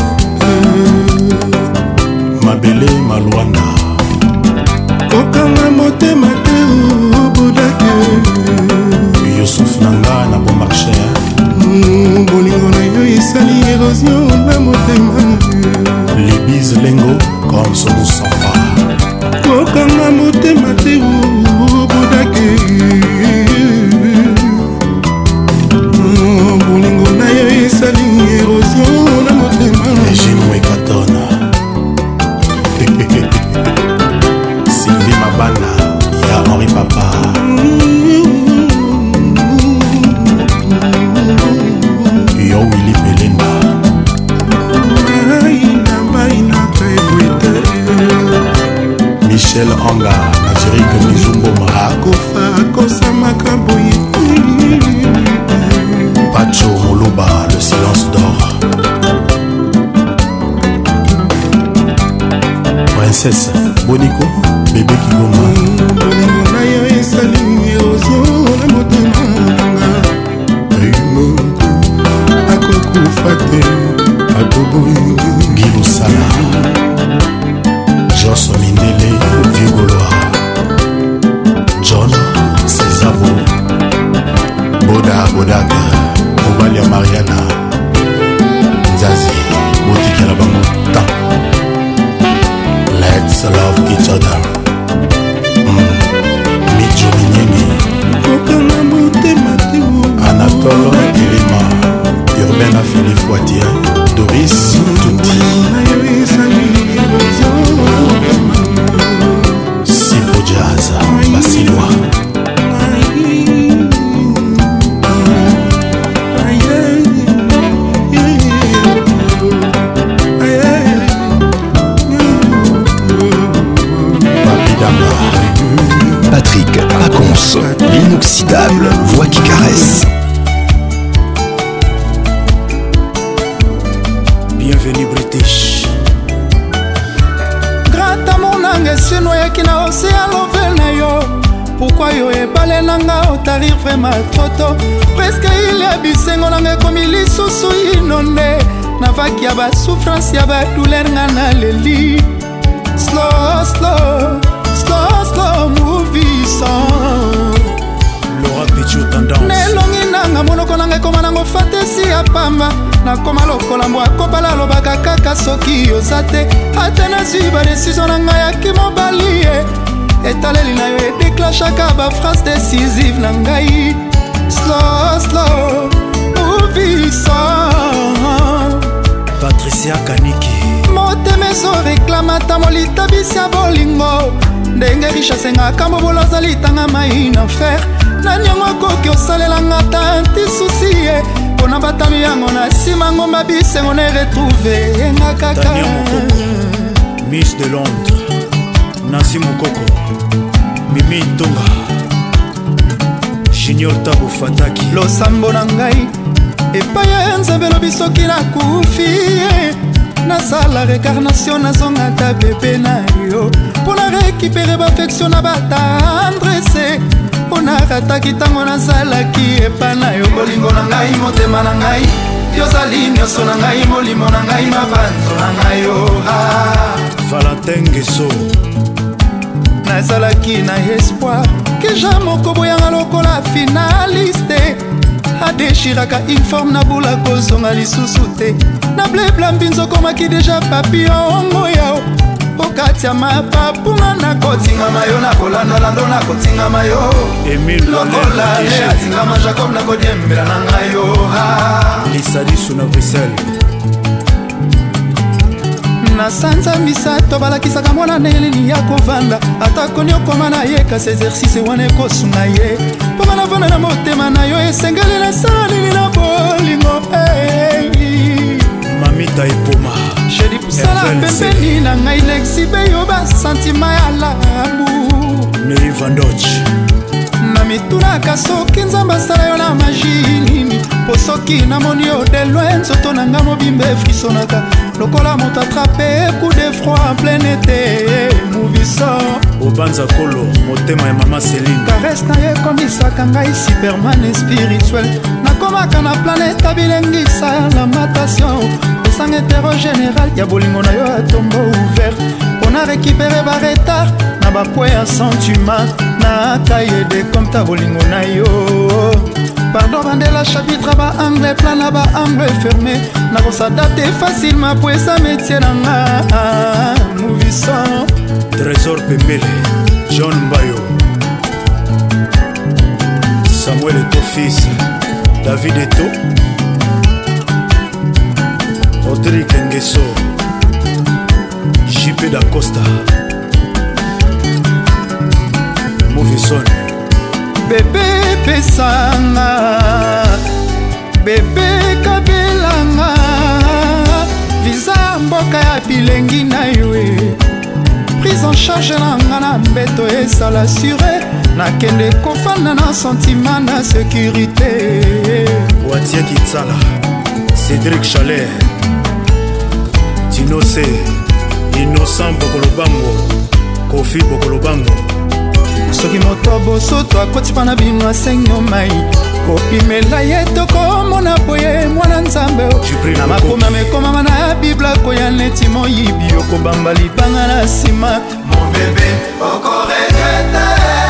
mabele malwanda kokanga motema te obodake yosuf nanga na bon marché bolingo na yo esali érosion na motema libise lengo comme somusafa kokanga motema te obodake bolingo na yo esali érosion na motema ejinoekatona Sylvie Mabana ya Henri Papa yo Willy Belinda Michel Anga Nazirike Mizumboma akofa akosamaka boye Pacho Moluba le silence d'or Princesse Boniko bébé Kigoma bolingo na yo esali érosion na motema nanga ayimoto akokufa te akoboyi Gilosala Jos Mindele Vieux Gaulois John Césabo Bodak Obalia Mariana Nzazi botikela bango ta Let's love each other. Mijo Minyeni kokanga motema te Anatole Kilima Urbain Philippe Poitier Doris Tuti Sipo Jazz Basilois Patrick Pacons, l'inoxydable voix qui caresse. Bienvenue British. Grata monanga esinoyaki na océan lovel na yo. Pourquoi yo ebale nanga otarir vraiment trop tôt. Presque il y a bisengo nanga ekomi lisusu inonde. Navaki ya basouffrance ya badouleur nga na leli. Slow movie song Laura Pichot tendance nelongi nanga monoko nanga ekoma nango fantasi ya pamba nakoma lokola mbwa akobala alobaka kaka soki oza te ate nazwi badesizio na ngai yaki mobali ye etaleli na yo edeklashaka baphrase décisive na ngai slow movie song Patricia Kaniki motema ezoreklamata molitabisi ya bolingo ndenge richesse ngaka mobolo azali tanga mai na fer nani yango akoki osalelanga tanti susi ye mpona batami yango na nsima ngomba bisengo na eretrouve yenga kaka Miss de Londres Nancy Mukoko Mimi Ntonga Junior Tabo Fataki losambo na ngai epai ya nzambe lobi soki nakufi nasala récarnation nazonga ta bebe na yo mpo na récupere baaffection na batandrese mpo narataki ntango nazalaki epa na yo bolingo na ngai motema na ngai yozali nyonso na ngai molimo na ngai mabanzo na ngai yo Valentin Ngeso nazalaki na espoir keja moko boyanga lokola finaliste adeshiraka informe na bula kozonga lisusu te na bleblambi nzokomaki deja papiongo yao okati ya mapapunga nakotingama yo nakolandalando nakotingama yo lokola le atingama jacob nakodiembela na ngai yo lisadisu na Bruxelles na sanza misato balakisaka mwana nelini ya kovanda atako nyokoma na ye kasi exercice wana ekosunga ye mpo banavanda na motema na yo esengeli nasala nini na bolingo mamita epoma jedi pusala pembeni na ngai lexibe yo basantima ya labu Neri Vandoch na mitunaka soki nzambe asala yo na magi nini po soki namoni yo de loin nzoto na nga mobimba efrisonaka lokola moto atrape coup de froid en plein été mouvissant obanza kolo motema ya mama Céline caresse na ye ekomisaka ngai superman spirituel nakomaka na planete abilengisa lamentation esanga etero général ya bolingo na yo atombo ouvert mpona récupere baretard na bapoi ya sentiment na kaye de comme ta bolingo na yo pardon bandela chapitre ba angle plan na ba angle fermé nakosadapte facilement po esa métier na nga mouvissant Trésor Pembele John Mbayo Samuel Eto fils David Eto Rodrigue Ngeso JP da Costa Mouvison bebe pesanga bebe kabelanga visa mboka ya bilengi na yo prise en charge nanga na mbeto esala sure nakende kofanda na sentiment na sécurité Watia Kitsala Cédric Chalet Tinose Innocent Bokolobango Kofi Bokolobango soki moto bosoto akoti mpa na bino asenyo mai kopimela ye tokomona boye mwana nzambe na makoma mekomama na bibla koya neti moyibi okobamba libanga na nsima mobebe okoregrete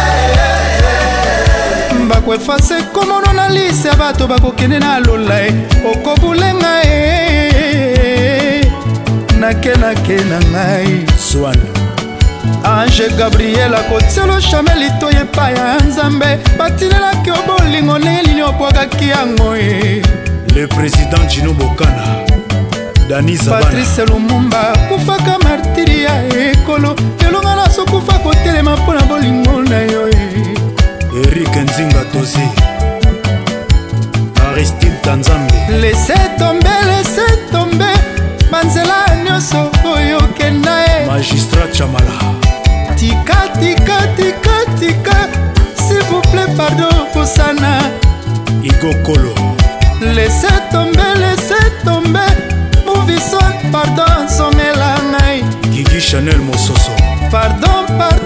bakoefase komono na lise ya bato bakokende na lola e okobulenga e nakenake na ngai swan Ange Gabriel akotielo chamel ito epai ya nzambe batinelaki obolingo nelini obwakaki yango e le président Gino Bokana Dani Zabana Patrice Lumumba kufaka martiri ya ekolo elonga na sokufa kotelema mpo na bolingo na yo e Eric Nzinga Tozi Aristide Tanzambe laissez tomber banzela nyonso oyo kenda e Magistrat Chamala tika s'il vous plaît pardon posana Igo Kolo laissez tomber mouvison pardon songela ngai Gigi Chanel Mososo pardon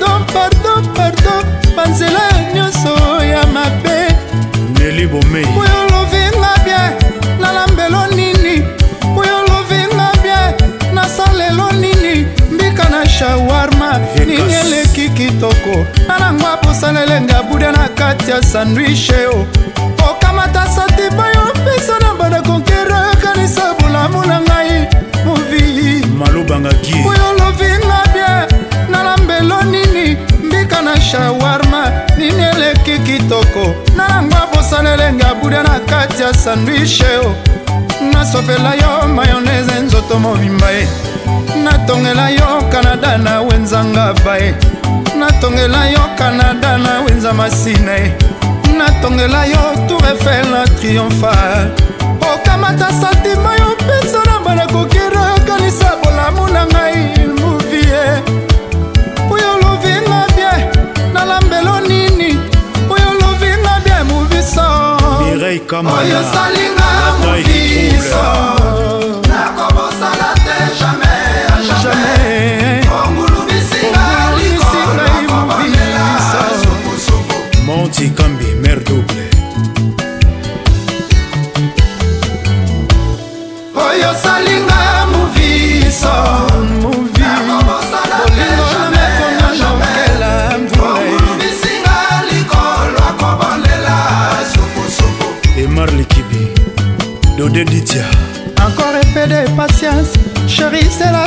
banzela nyonso ya mabe Nelly Bomei oyo lovinga bien nalambelo nini oyo lovinga bien nasalelo nini mbika na shawarma nini eleki kitoko nanango aposalelenga buda na kati ya sandwiche o okamata satiba yo pesa na bana konkera kanisa bulamu na ngai movi malobanga gi oyo lovinga bien nalambelo nini mbika na shawarma nini eleki kitoko nanango aposalelenga buda na kati ya sandwiche o nasopela yo mayonnaise nzoto mobimba e natongela yo Canada na wenzanga bae natongela yo Canada na wenza masina e natongela yo Tour Eiffel na triomphal okamata santima yo pesa na bana kokira kanisa bolamu na ngai movie oyo lovinga bien nalambelo nini oyo lovinga bien movie so Mireille Kamala oyo salinga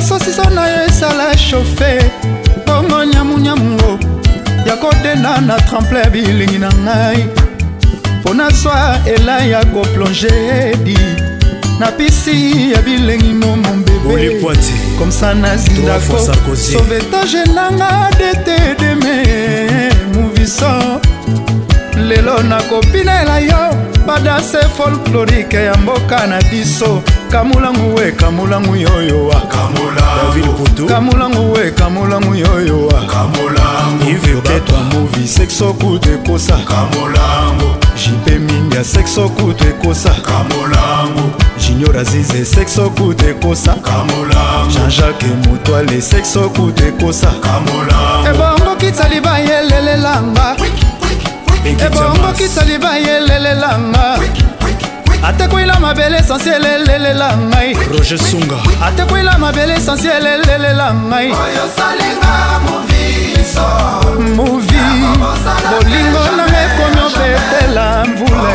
sosiso na yo esala chauffe bongo nyamunyamungo ya kodenda na tremple bilingi na ngai mpo nazwa ela ya koplonge edi na pisi ya bilengi no mon bébé comme ça nazindako sauvetage nanga dete deme moviso lelo nakopinela yo badase folklorike ya mboka na biso kamulangu we kamulangu yoyowa kamulangu we kamulangu yoyowa iveketwa movi sexo kutu ekosa jipe minga sexo kutu ekosa junior azize sexo kutu ekosa Jean-Jacques Mutwale sexo kutu ekosa ebongo kitaliba yelelelanga ebongo kitaliba yelelelanga atekwila mabele essentiel elelelanga Roger Sunga atekwila mabele essentiel elelelanga oyo salinga moviso movi bolingo na ekomi opetela mvula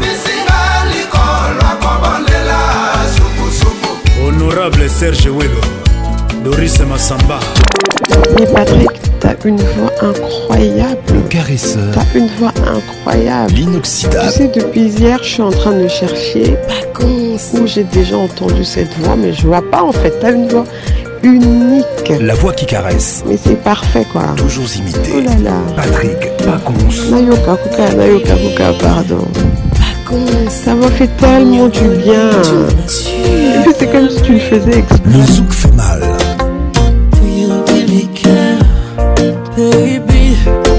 honorable Serge Welo Doris Massamba. Mais Patrick, t'as une voix incroyable. Le caresseur. T'as une voix incroyable. L'inoxydable. Tu sais, depuis hier, je suis en train de chercher où j'ai déjà entendu cette voix, mais je vois pas en fait. T'as une voix unique. La voix qui caresse. Mais c'est parfait quoi. Toujours imité. Oh là là. Patrick Pacons. Nayoka Kuka, pardon. Ça m'a fait tellement du bien. Et puis c'est comme si tu le faisais exprès. Le zouk fait mal. Do you really care, baby?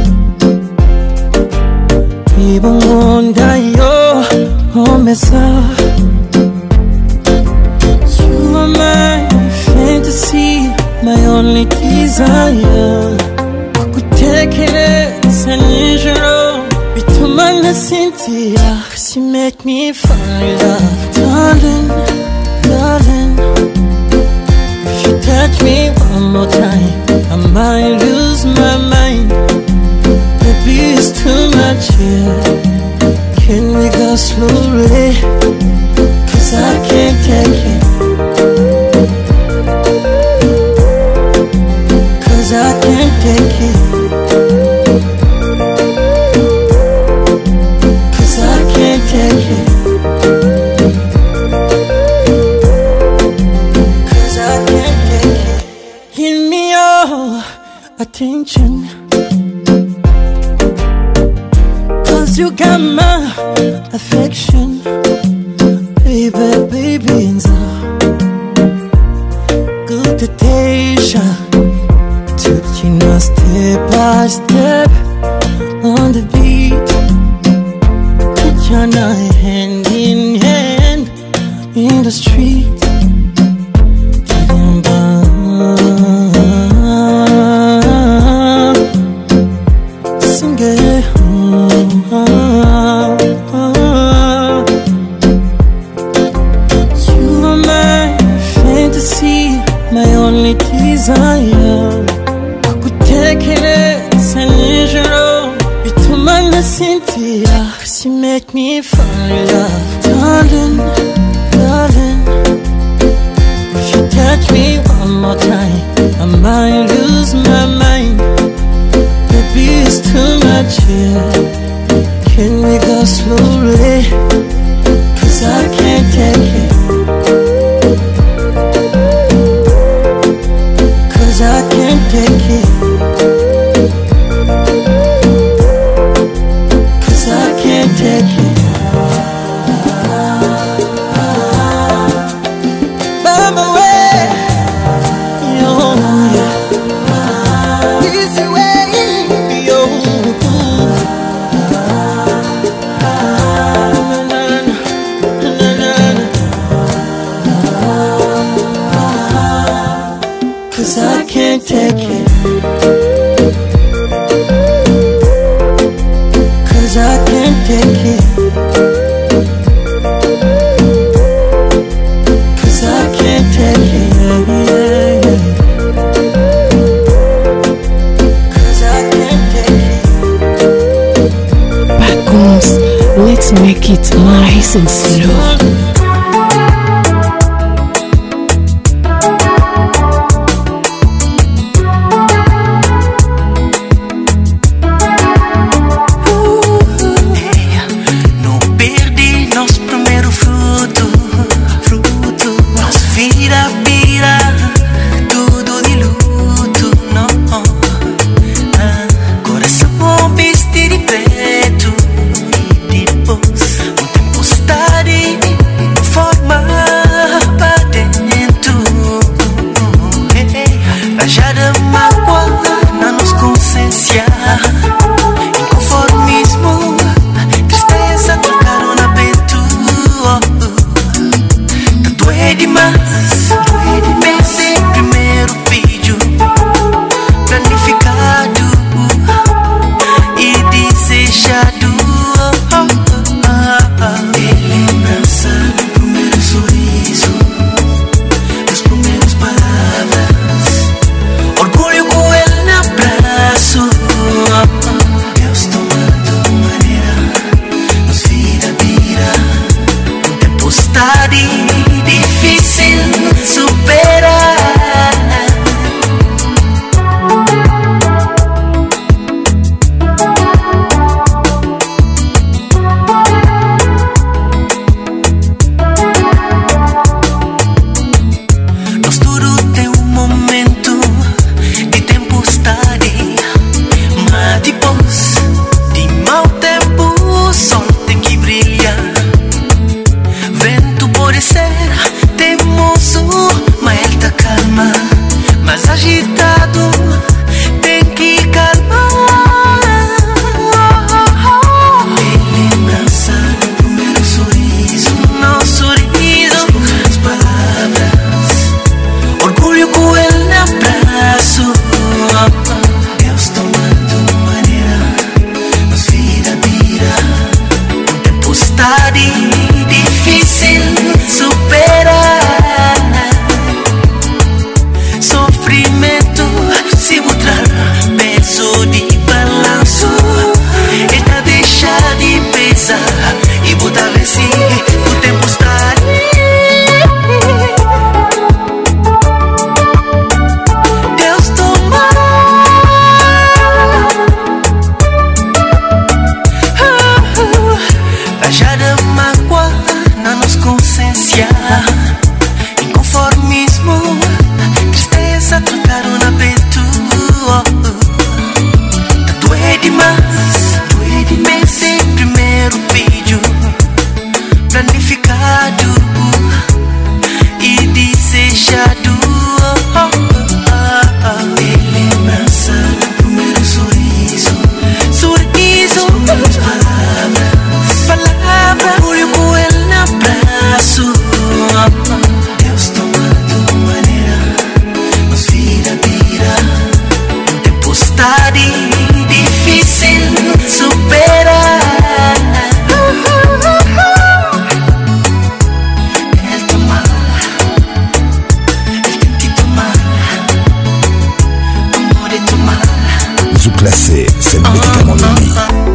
Ibongondayo, omesa. You are my fantasy, my only desire. Kukutekereza nijoro, bitumana Cynthia. 'Cause you make me fall in love, darling, darling. If you touch me one more time, I might lose my mind. Baby, it's too much here. Can we go slowly? 'Cause I can't take it. 'Cause I can't take it. 'Cause I can't take it. 'Cause I can't take it. Give me your attention. 'Cause you got my affection. Baby, baby, good to Deja. Taking us step by step on the beat. Put your hand in hand in the street. Sing it. You are my fantasy, my only desire. Kukutekereza nijoro, bitumana Cynthia. 'Cause you make me fall in love, darling, darling. If you touch me one more time, I might lose my mind. Baby, it's too much here. Can we go slowly? 'Cause I can't take it. 'Cause I can't take it. 'Cause I can't take it. By my way, yo, yeah. Easy way, yo. Cause I can't take it. Cause I can't take it. Cause I can't take it. Yeah, yeah. Cause I can't take it. Pacons, let's make it nice and slow. inconformismo, tristeza trocaram na peito. Doer demais, pensei primeiro vídeo planificado e desejado. E lembrança do primeiro sorriso, das primeiras palavras, orgulho com ele no abraço. Deus tomando maneira, nos vira. Tempestade difícil superar. Nós tudo tem momento de tempestade, mas depois de mau tempo o sol tem que brilhar. Vento pode ser teimoso, mas ele tá calma. Mas agitado tem que calmar. E lembrança do primeiro sorriso, não sorriso, as primeiras palavras, orgulho com ele no abraço. Deus tomando maneira, nos vira. Tempestade difícil superar. Sofrimento se mostrar peso de balanço, ele deixa de pesar e botar vence o tempestade. Deus toma rajada mágoa na nossa consciência, inconformismo, tristeza trocaram na peito. Doer demais, pensei primeiro vídeo planificado e desejado. E lembrança do primeiro sorriso, as primeiras palavras, orgulho com ele no abraço. Deus tomando maneira, nos vira. Tempestade difícil superar. Ele toma, ele tem que tomar, amor de tomar. Zou classé, c'est le médicament de vie.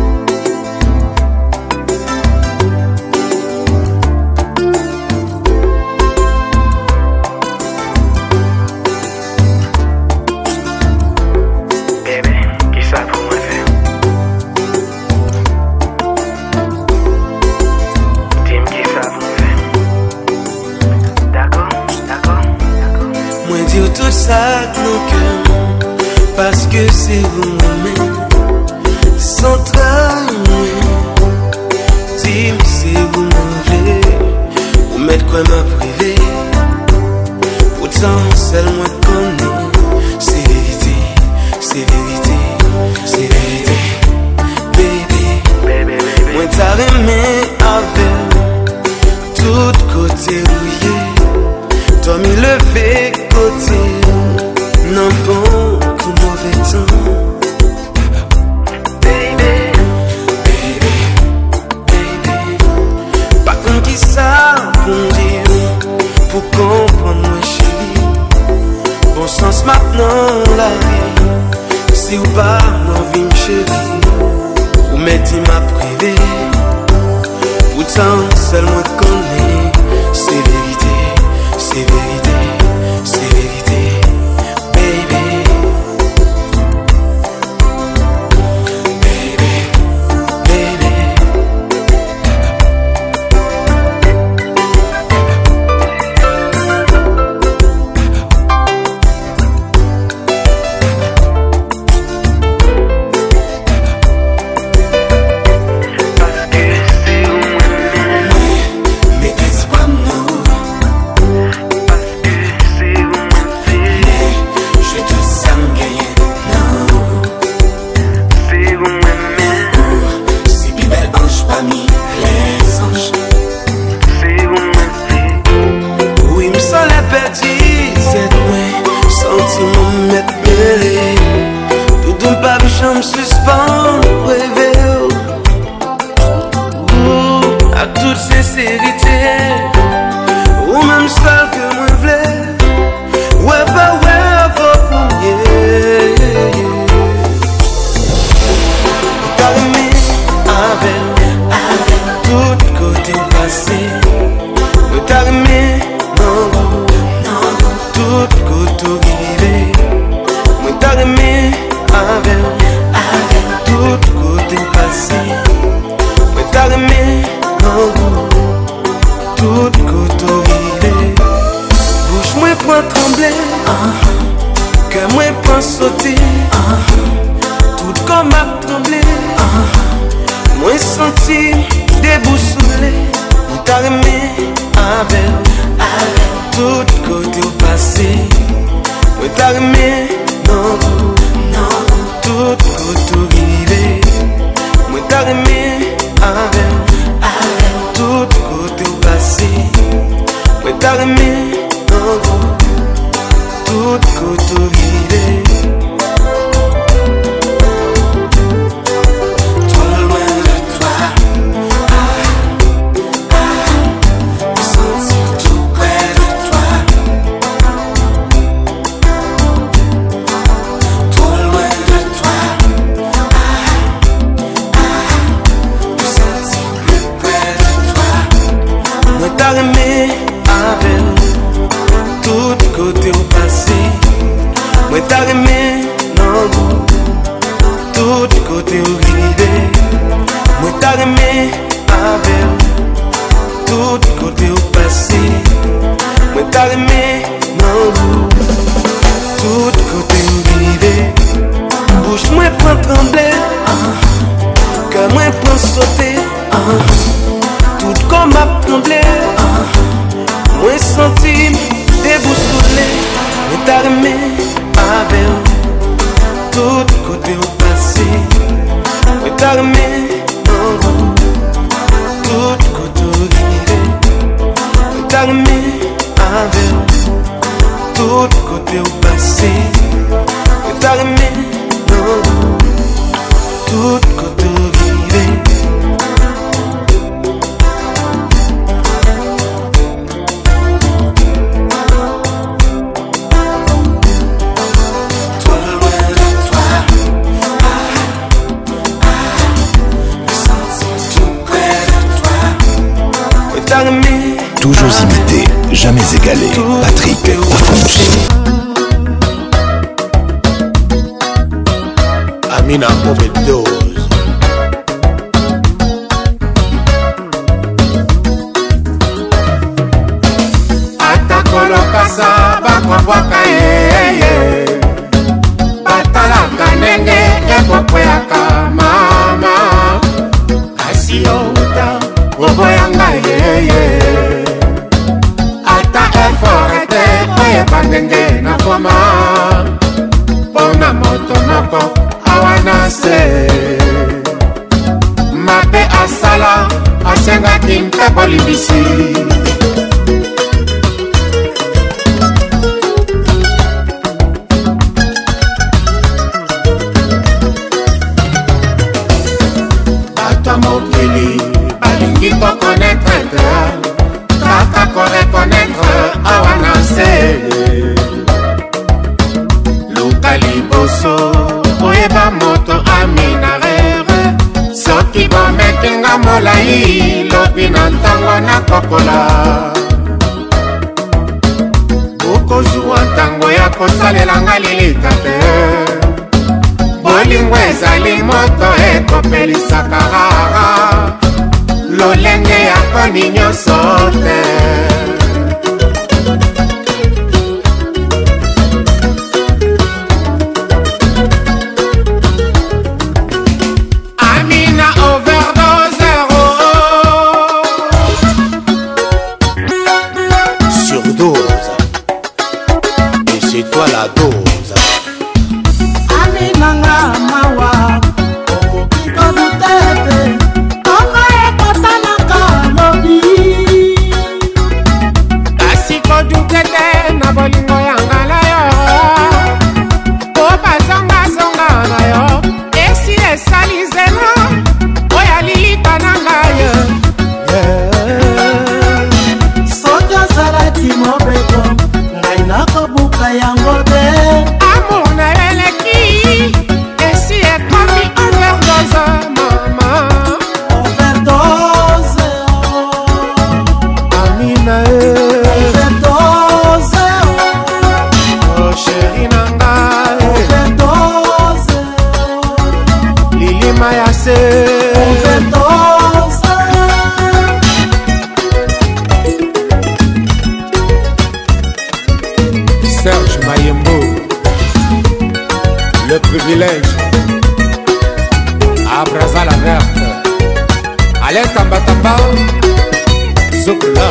Moi dire tout ça que nos cœurs, parce que c'est vous-même, sans travail. Dis-moi si vous m'enlevez, ou mettre quoi m'a privé. Pourtant, seul moi connais, c'est vérité, c'est vérité, c'est vérité. Baby, moi t'as aimé avec tout côté rouillé. Toi m'y levé côté, non bon comme mauvais temps. Baby, pas comme qui ça pour dire, pour comprendre moi chérie. Bon sens maintenant la vie, si ou pas non vie chérie, ou mettez ma privée. Pourtant seul moi connais, c'est vérité, c'est vérité, c'est vérité, baby. Parce que c'est où chambre suspend, rêver à toute sincérité, ou même seul que moi voulais, ouais pas ouais faut pour t'as aimé avec tout côté passé, t'as aimé non tout côté arrivé, t'as aimé avec tout côté passé, t'as aimé tout côté arrivé. Bouche moi point trembler, que moi point sauter, tout comme a tremblé, moi senti déboussolé. T'as aimé avec tout côté au passé, t'as aimé non tout côté arrivé, t'as aimé avec tout côté au passé, t'as aimé non tout côté arrivé. Trop loin de toi, me sentir tout près de toi. Trop loin de toi, me sentir plus près de toi. Moi t'as aimé avec tout côté au passé, moi t'as aimé non tout côté au rivé, moi t'as aimé avec tout côté au passé, moi t'as aimé non tout côté au rivé. Bouche moi prend trembler, que moi prend sauter, tout comme a tremblé, moi senti déboussolé, mais t'as aimé avec tout côté au passé, mais t'as aimé tout côté au rivé, mais t'as aimé avec tout côté au passé, mais t'as aimé tout côté au rivé. Toujours imité, jamais égalé. Patrick Pacons. Amina overdose. Atakolokasa bakwabwaka yeye, batalaka ndenge ekokweaka mama, kasi outa oboyanga yeye. Ata effort ete oyeba ndenge nakoma, pona moto moko awana se, mabe asala asengaki mpe bolimbisi. Bato mokili balingi kokonetre te, kaka korekonetre awana se. Luka liboso oyeba moto aminarere, soki bomekinga molai lobi na ntango na kokola. Bokozwa ntango ya kosalelanga lilita te, bolingo ezali moto ekopelisaka rara, lolenge ya koni nyonso te. Amina overdose Surdose. Et c'est toi la dose. Amina nga mawa okokikobutete, konga ekotanaka lobi. mayase overdose. Serge Mayembo, le privilège à Braza la verte. Allez tamba tamba, Zoukla.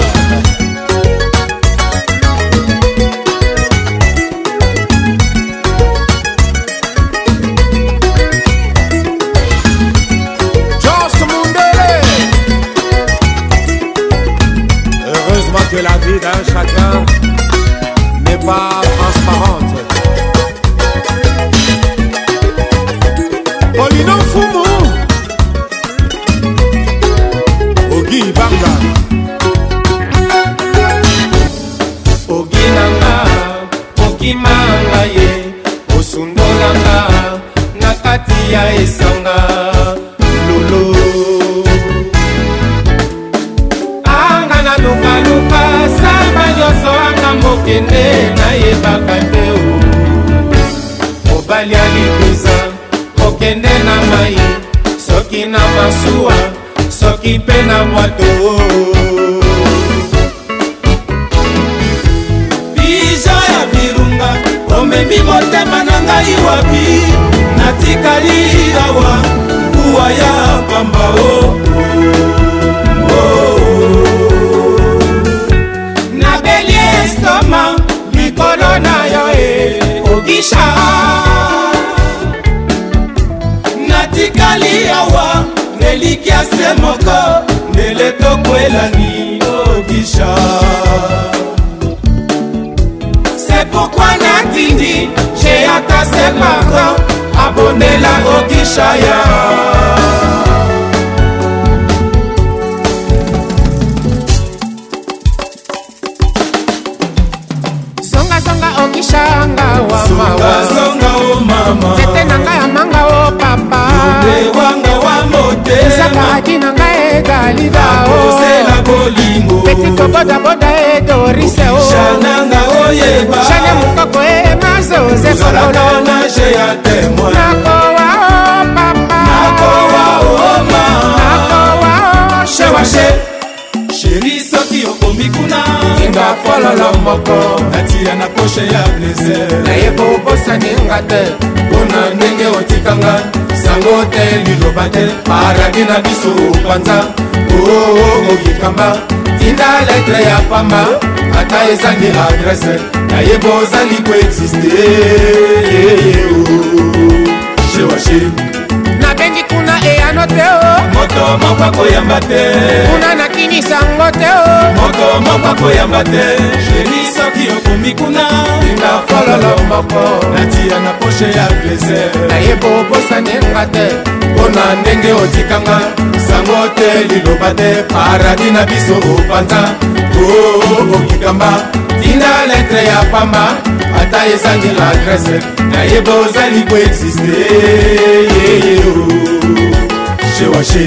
Heureusement que la vie d'un chacun n'est pas transparente. Polino Fumu Ogi Banga Ogi Nanga Ogi Manga ye Osundolanga Nakati ya esanga Lolo Luka luka samba nyoso anga mokende na yebaka te o mobali alipeza mokende na mai soki na masuwa soki mpe na bwato bija ya virunga omemi motema na ngai wapi natikali awa kuwa ya pamba o mikolo na yo ogisha natikali awa nelikia se moko ndele tokwelani ogisha c'est pourquoi natindi j'ai hâte ses parents abonnez-la ogisha ya Okishanga wa mawa Songa o mama Tete nanga ya manga o papa Yule wanga wa mote Saka haki nanga e galida o Nakose la bolingo Petito boda boda e dorise o Shananga o yeba Shane mukoko e mazoze kololo Nage ya temwa Nako wa o papa Nako wa o mama Nako wa o shewashe Sheri soki okomikuna Inga fololo moko Natia na poche ya plaisir Nayebo bosa ninga te Bona nenge otikanga Sango te liloba te Paradi na biso panza Oh yikamba Tinda letre ya pamba Ata ezangi adresse Nayebo zali ko existe Shewashi Nabengi kuna e anote o Moto mokwa koyamba te Kuna nakinisa ngote o Moto mokwa koyamba te Sheri soki okomi kuna Inga fololo moko Natia na poche ya plaisir Nayebo bosa nenga te Bona ndenge otikanga Sango te liloba te Paradi na biso opanza Oh okikamba Tinda letre ya pamba Ata ezangi l'adresse Nayebo zali ko existe Shewashi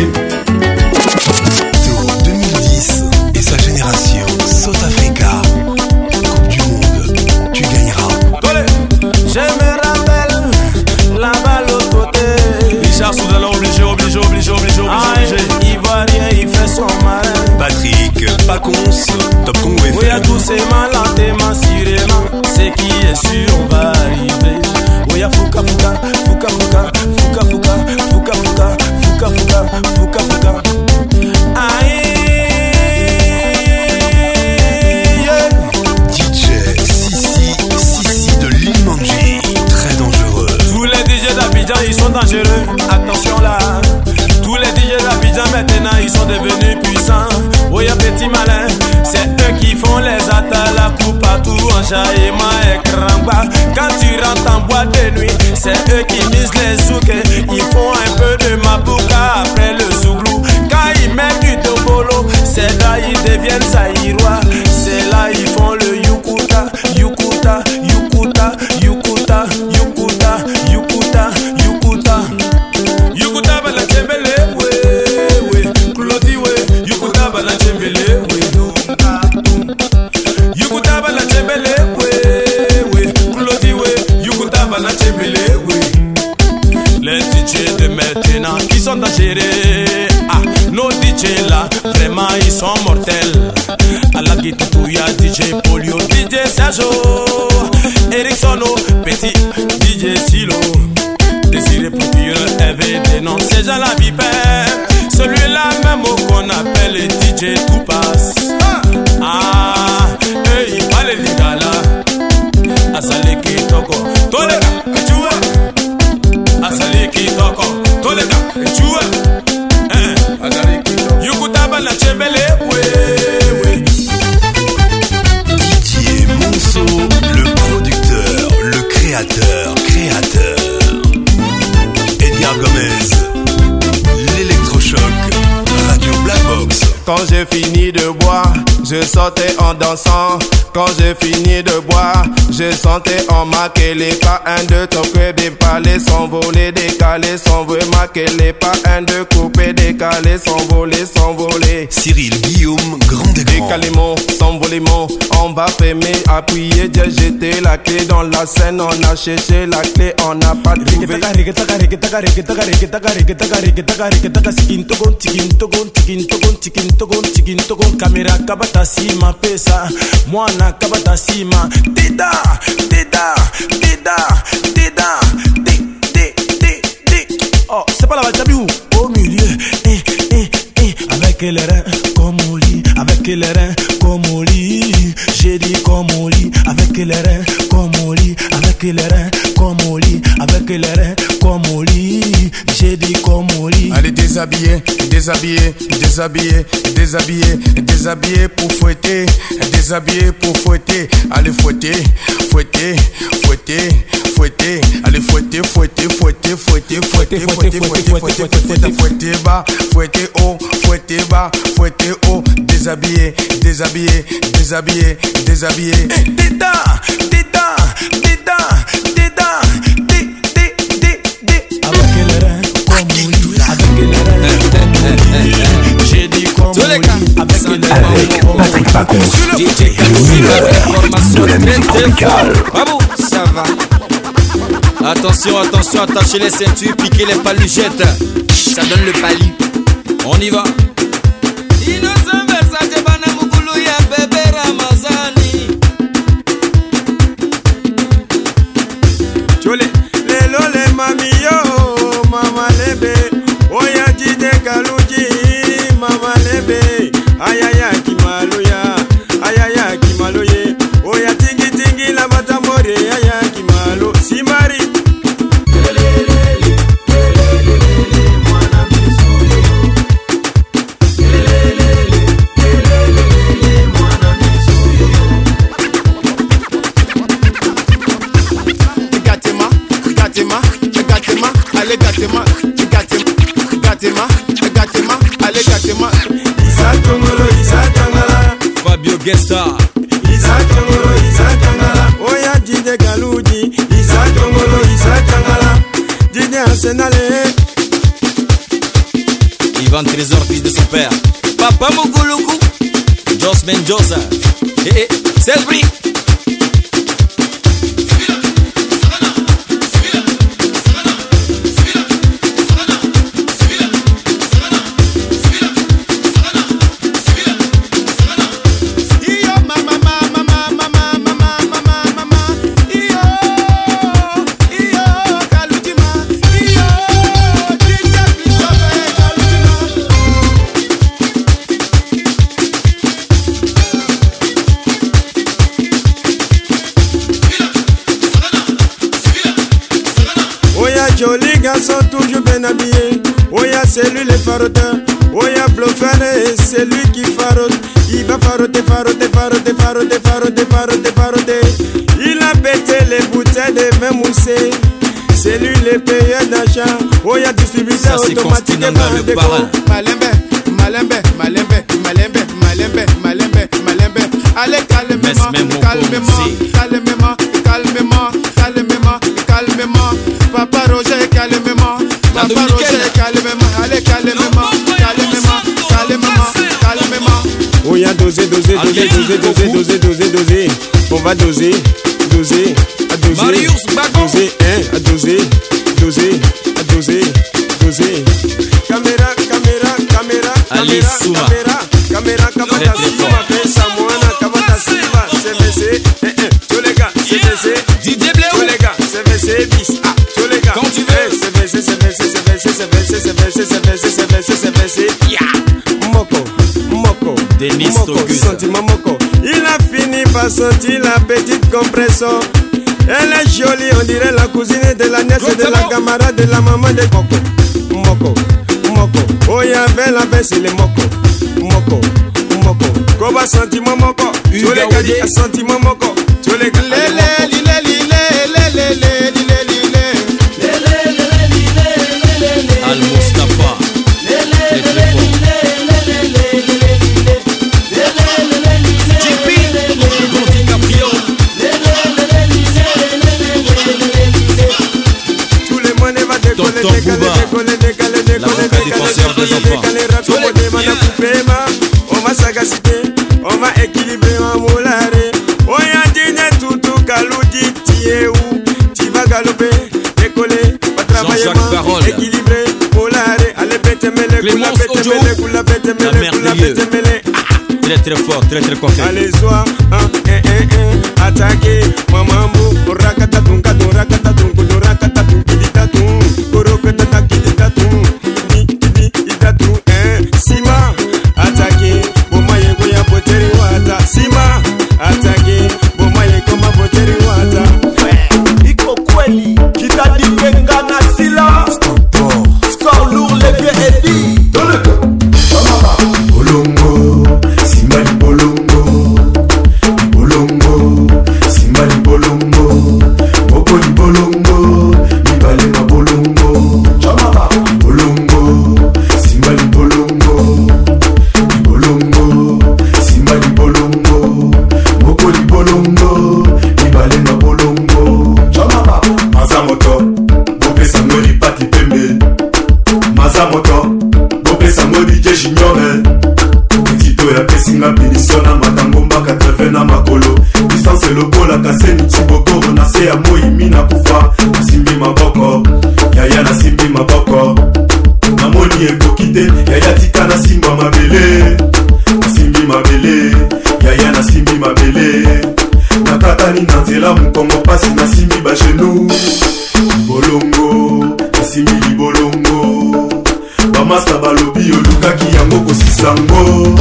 2010 et sa génération South Africa Coupe du monde Tu gagneras Je me rappelle là-bas l'autre côté Richard Soudala obligé Ivoirien il fait son malin Patrick Pacons Top Congo FM Oui à tous ces malins émancirément C'est qui est sûr on va arriver Oui à Fouka Fouka Fouka Fouka Fouka Fouka Fouka Fouka Fouka Fouka Fouka Fouka Aïe DJ Sissi de Limanji Très dangereux Tous les DJ d'Abidjan ils sont dangereux Attention là Tous les DJ d'Abidjan maintenant ils sont devenus puissants Oui à petit malin C'est eux qui font les attaques La coupe à tout en jaillement et cramba Quand tu rentres en boîte de nuit C'est eux qui misent les souks Ils font un peu de mabouka après le souglou Quand ils mettent du tobolo C'est là ils deviennent saïrois C'est là ils font le yukuta Yukuta Yukuta Yukuta Yukuta Yukuta Yukuta Yukuta bala chembele we Klodi we Yukuta bala chembele we Yukuta bala chembele we Klodi we Yukuta bala chembele we Les DJ de maintenant, ils sont dangereux. Ah, nos DJ là, vraiment ils sont mortels. À la guitare, il y a DJ Polio, DJ Sergio, Eric Sono, Petit, DJ Silo, Désiré Procureur, RVD, non, c'est Jean la Vipère. Celui-là même qu'on appelle le DJ Toupas. Ah, il fallait les gars là. Asale qui toko, tolega, tu vois. Asale qui toko, tolega, tu vois. Yukutaba na chembele, ouais. Didier Monceau, le producteur, le créateur. Edgar Gomez, l'électrochoc, Radio Black Box. Quand j'ai fini de boire, je sortais en dansant. Quand j'ai fini de boire, je sentais en maquer les pas. 1, 2, toquer, dépaler, s'envoler, décaler, s'envoler, maquer les pas. 1, 2, couper, décaler, s'envoler. Cyril Guillaume, grand et grand. Décalement, s'envolement, on va fermer, appuyer, j'ai jeté la clé dans la scène, on a cherché la clé, on n'a pas trouvé. Kamera kabata sima pesa mwana kabata sima dida oh c'est pas la bachabiou au milieu avec les reins comme au lit avec les reins comme au lit j'ai dit comme au lit avec les reins comme au lit avec les reins comme au lit avec les reins comme au lit j'ai dit comme au lit. Allez déshabiller pour fouetter, déshabiller pour fouetter, allez fouetter, allez fouetter bas, fouetter haut, déshabiller. Avec les reins comme au lit, avec les reins. J'ai dit comme au lit, avec Patrick Pacons, le meilleur de la musique tropicale. Bravo, ça va. Attention, attachez les ceintures, piquez les paluchettes. Ça donne le pali. On y va. Innocent Versace bana mukulu ya bébé Ramazani. Chole, lelo le mami yo, mama lebe. Oya jide kaluji, mama lebe. Ayaya kimaloye. Oya tingi la batamore, ayaya kimalo. Simari. Fabio Gesta Isa Tangala Oya Jide Galuji Isa Tangala Jide Arsenale Ivan Trésor, fils de son père. Papa Muguluku Jos Mendoza Selbri. Joli garçon toujours bien habillé. Oya c'est lui le faroteur. Oya Blofane c'est lui qui farote. Il va faroter. Il a pété les bouteilles de vin moussé. C'est lui le payeur d'achat. Oya distributeur automatique et Malembe. Allez calmement. Papa Roger calmement. Allez calmement. Oya doser. On va doser. Marius Bagon. Doser. José. Caméra, caméra, caméra, Alice Souma. caméra, Kabata Siva, Pesa Moana, Kabata Siva, CVC, tous les gars, CVC, DJ Bléo, tous les gars, CVC, bis, tous les gars, quand tu veux, CVC, Moko, Denis Togus, sentiment Moko, il a fini par sentir la petite compression. Elle est jolie, on dirait la cousine de la nièce de la camarade de la maman de Moko. Oh, il y avait la baisse, les Moko. Koba sentiment Moko. Tous les gars disent sentiment Moko. Tous les gars. Al Mustafa, on m'a sagacité, on m'a équilibré, on m'a moulare. On a dit tout Kaloudi, tié où tu vas galoper, décoller, pas travailler, équilibré, moulare. Allez, pété mêlé, koula pété mêlé. Il est très fort, très confiant. Allez, sois attaqué, maman mou, rakatatum, rakatatum, kiditatum, korokatatum, kiditatum, kiditatum, Sima, attaqué, bomaye goya poteri wata. Sima, attaqué, bomaye koma poteri wata. Iko kweli, kitadipenga na sila. Score lourd, les vieux Eddie. Bolongo, Simali Bolongo, Simali Bolongo, Bokoli Bolongo, Mibale ma Bolongo, Bolongo, Simali Bolongo, Simali Bolongo, Bokoli Bolongo, Mibale ma Bolongo, Mazamoto, Bobe Samori Pati Pembe, Mazamoto, Bobe Samori Junior. Ya pesinga bilisona matangomba 80 na makolo distance lokola kaseni tibokoro na se ya moimi na kufa nasimbi maboko yaya nasimbi maboko namoni ekokite yaya tika nasimba mabele nasimbi mabele yaya nasimbi mabele nakatani na nzela mokongo pasi nasimbi bagenu bolongo nasimbi libolongo bamasta balobi olukaki yango kosisango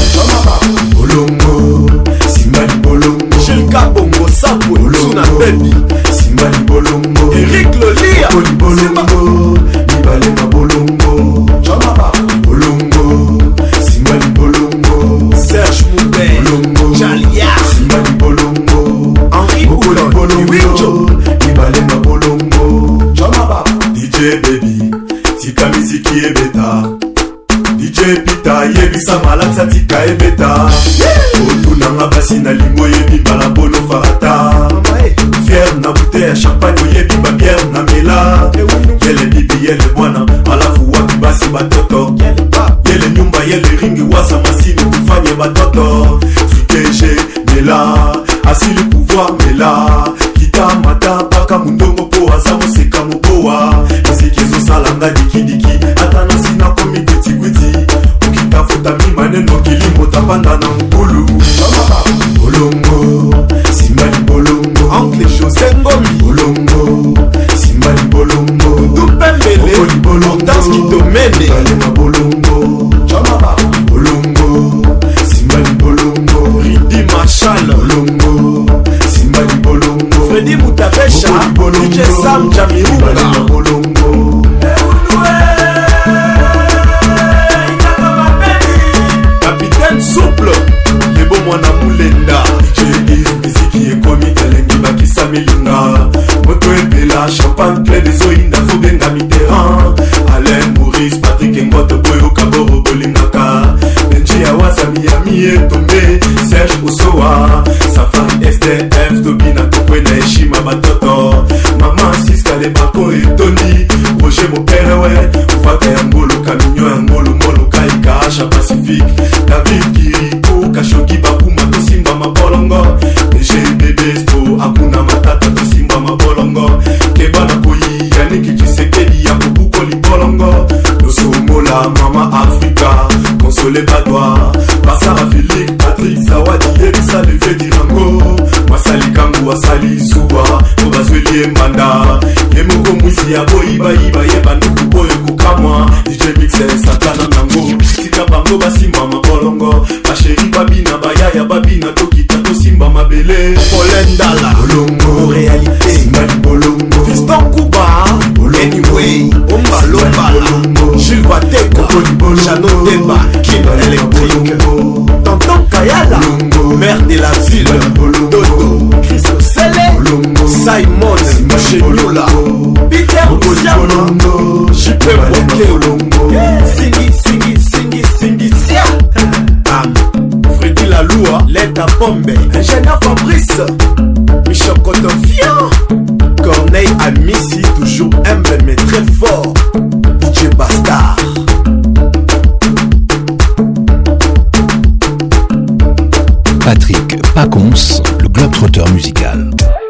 bolongo simali bolongo Chilka Bongo Sapwe Suna Baby simali bolongo Eric Lolia bolongo mibale ma bolongo bolongo simali bolongo Serge Moubé bolongo Jalia simali bolongo Henri bolongo mibale ma bolongo DJ Baby tika miziki ebeta DJ Pita yebisa malaksa tika ebeta otunanga basi na lingo yebi mbala bono farata fier na bouteille ya champagne oyebi babiere na mela yele bibi yele bwana alafu wapi basi batoto yele nyumba yele ringi wasa masini kufanye batoto frikege mela asili pouvoir mela kita mata paka mundongo po aza moseka mobowa miziki ezosalanga dikidiki ata nasina komi gwiti okitafuta mimaneno kilimo tapanda na mokulu bolongo simali bolongo Oncle José Ngomi bolongo simali bolongo Dupembele Hortense Kitomene na bolongo bolongo simali bolongo Ridi Marshall bolongo simali bolongo Freddy Mutabesha DJ Sam Jamiruka bolongo Capitaine Souple lebo mwana mulenda miziki ekomi elengi bakisa milinga moto epela champagne ple dezoyinda fobenga mitterrand Alain Maurice Patrick Ngoto boyoka boro bolingaka benji ya waza miyami etombe Serge Osoa Safari SDF tobina tokwena heshima batoto mama siska le bako etoni Roger Moperewe ufaka ya ngolo kaminyo ya ngolo molo kaika Asha Pacifique David Kiriko Kashoki Bakuma tosimba mabolongo DGBBsto akuna matata tosimba mabolongo Kebana koyi Yaniki Chisekedi ya kubuko libolongo Mama Africa, consolé Badois, Basara Philippe, Patrick Zawadi, Elisa Levé Dirango, Masali Kangu, Asali Zuba, Obazweli Mbanda, Yemoko Mwisi ya Boiba Iba, Yebanduku Boyo Kukamwa, DJ Mixer, Satana Nango, Tika Bango Basimba Mabolongo, Basheri Babina, Bayaya Babina, Tokita Tosimba Mabele, Polendala, Bolongo, réalité, Simali Bolongo, Fiston Kuba, Anyway, Omba Lombala, Jules Wateko, Chano Demba, Kim Electric, Tonton Kayala, maire de la ville, Dodo, Christo Sele, Simon, Chenula, Peter Siama, Jipe Boke, Singi, Sia, Freddy Laloua, Leta Pombe, Ingénieur Fabrice, Michel Cotofian, Corneille Amissi, toujours humble mais très fort, DJ Bastard. Patrick Pacons, le globe-trotteur musical.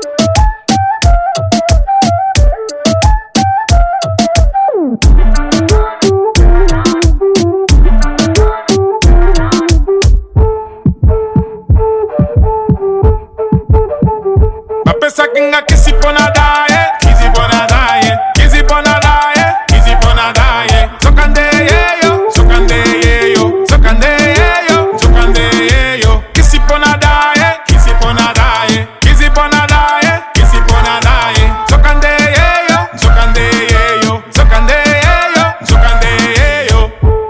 Bapesa kinga kisi pona daye, kisi pona daye, kisi pona daye, kisi pona daye. Sokande yeyo, sokande yeyo, sokande yeyo, sokande yeyo. Kisi pona daye, kisi pona daye, kisi pona daye, kisi pona daye. Sokande yeyo, sokande yeyo, sokande yeyo, sokande yeyo.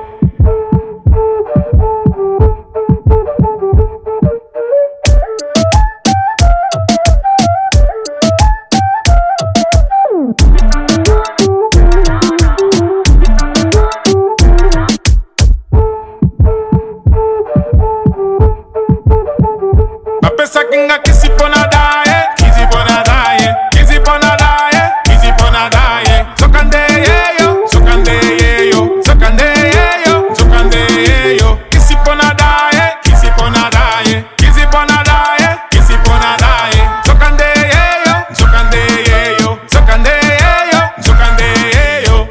Bapesa kinga kisi pona daye, kisi pona daye, kisi pona daye, kisi pona daye. Sokande yeyo, sokande yeyo, sokande yeyo, sokande yeyo. Kisi pona daye, kisi pona daye, kisi pona daye, kisi pona daye. Sokande yeyo, sokande yeyo, sokande yeyo, sokande yeyo.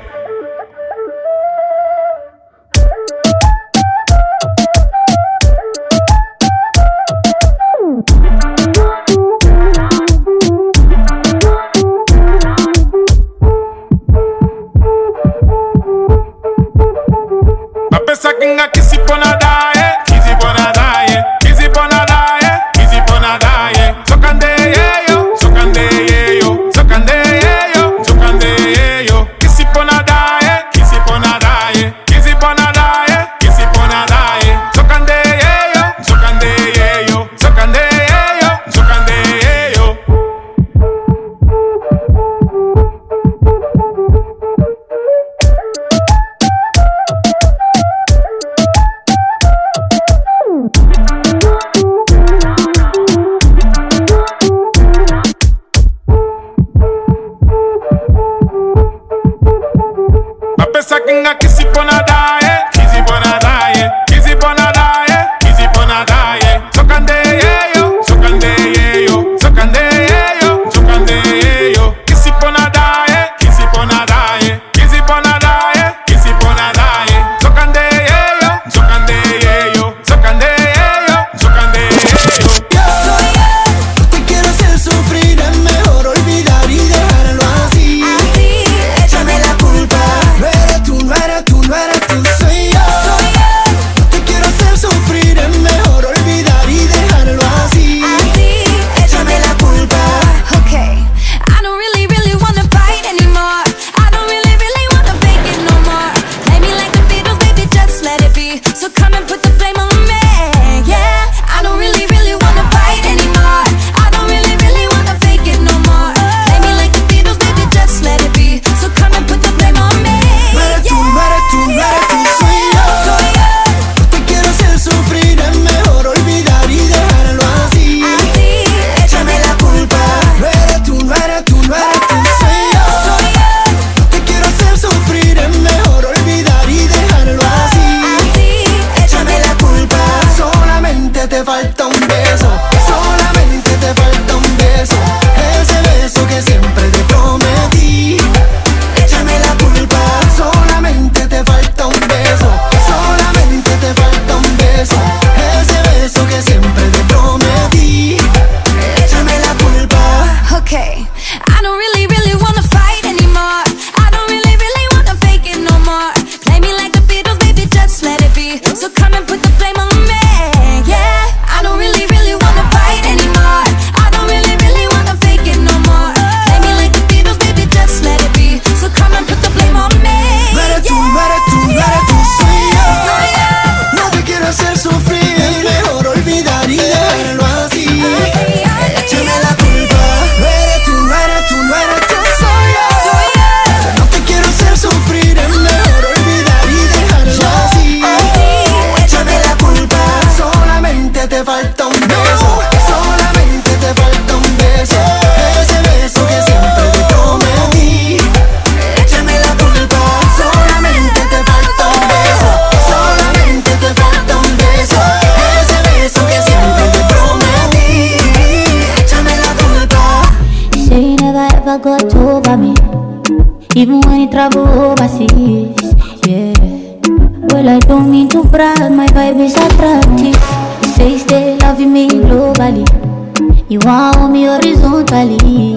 Bapesa kinga kisi pona daye, kisi pona daye, kisi pona daye, kisi pona daye. Sokande yeyo, sokande yeyo, sokande yeyo, sokande yeyo. Kisi pona daye, kisi pona daye, kisi pona daye, kisi pona daye. Sokande yeyo, sokande yeyo, sokande yeyo, sokande yeyo. Bapesa kinga kisi pona daye, kisi pona daye, kisi pona daye, kisi pona daye. Sokande yeyo, sokande yeyo, sokande yeyo, sokande yeyo. Kisi pona daye, kisi pona daye, kisi pona daye, kisi pona daye. Sokande yeyo, sokande yeyo, sokande yeyo, sokande yeyo. Yo soy él, te quiero hacer sufrir, es mejor olvidar y dejarlo así. Échame la culpa, no eres tú, no eres tú, no eres tú, soy yo. Soy él. even when you travel overseas. Yeah. Well, I don't mean to brag, my vibe is attractive. You say stay loving me globally, you want me horizontally.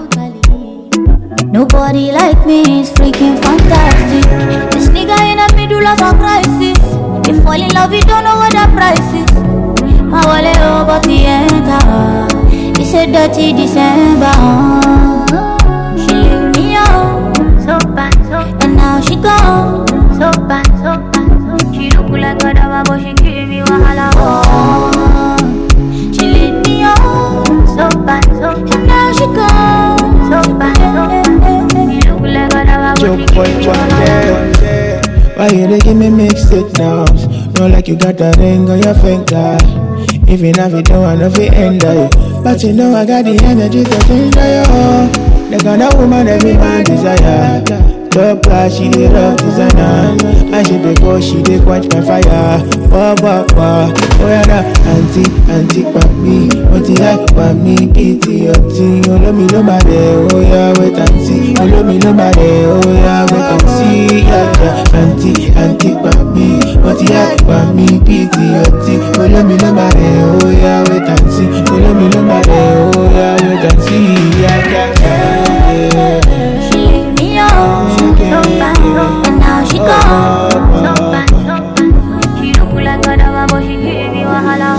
Nobody like me is freaking fantastic. This nigga in the middle of a crisis. You fall in love, you don't know what the price is. My wallet over the enter. It's a dirty December. She leave me out, so bad, and now she gone, so bad, so bad. She look like a dama, but she give me wahala. She leave me out, so bad, and now she gone, so bad, so bad. She look like a dama, but she give me wahala. Why you dey give me mixed signals? Know like you got a ring on your finger. If you have it, don't wanna fit ender you. But you know I got the energy to enjoy you. The kind of woman every man desire. Top class, she the rock designer. And she dey go, she dey quench my fire. Wah, wah, wah. Oh yeah, nah. Auntie, pa me. Oti ya, pa me. Iti, oti. Olo mi lo mare. Oh yeah, wait and see. Olo mi lo mare. Oh yeah, wait and see. Yeah, yeah. Auntie, pa me. Oti ya, pa me. Iti, oti. Olo mi lo mare. Oh yeah, wait and see. Olo mi lo mare. Oh yeah, wait and see. Yeah, yeah, yeah. She leave me out, so bad, and now she gone, so bad, so bad. She look like a dama, but she give me wahala.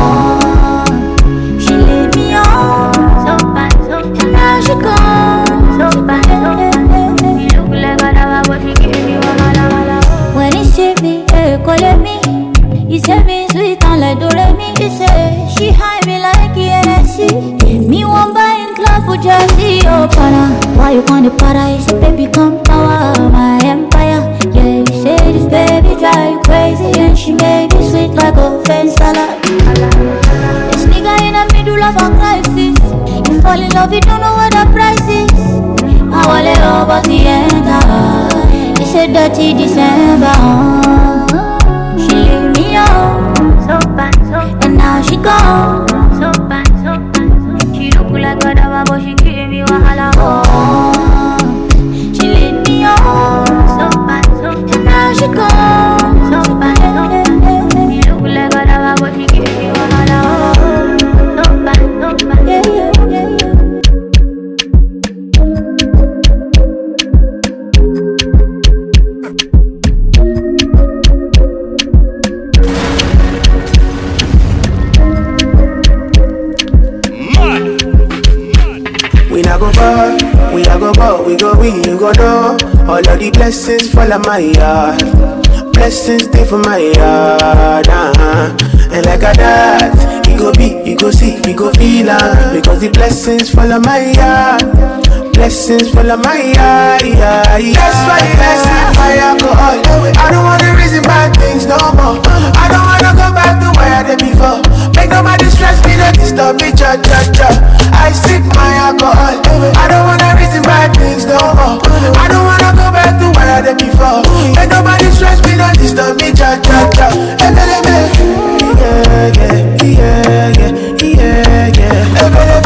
She leave me out, so bad, and now she gone, so bad, so bad. She look like a dama, but she give me wahala. When he see me, call me. He say me sweet and like Doremi. He say she high me like ENC. Me one buy in club for Jersey, oh para. Why you on the paradise, baby come power my empire. Yeah, you say this baby drive you crazy and she make it sweet like a fence salad. This nigga in the middle of a crisis. You fall in love, you don't know what the price is. I wallet over the enter. It's a dirty December. She leave me out, so bad, and now she gone, so bad, so bad. She look like a dama, but she give me wahala. She leave me out, so bad, and now she gone, so bad, so bad. She look like a dama, but she give me wahala. So bad, so bad. Yeah, yeah, yeah, yeah. We go win, you go know. All of the blessings fall on my yard. Blessings stay for my yard, And like a that, you go be, you go see, you go feel because the blessings fall on my yard. Blessings fall on my yard, yeah, yeah. That's why I see my alcohol. I don't wanna reason bad things no more. I don't wanna go back to where I did before. Make nobody stress me, don't disturb me, cha cha cha. I sip my alcohol. I don't wanna reason bad things no more. I don't wanna go back to where I did before. Make nobody stress me, don't disturb me, cha cha cha. Yeah, yeah, yeah, yeah, yeah, yeah.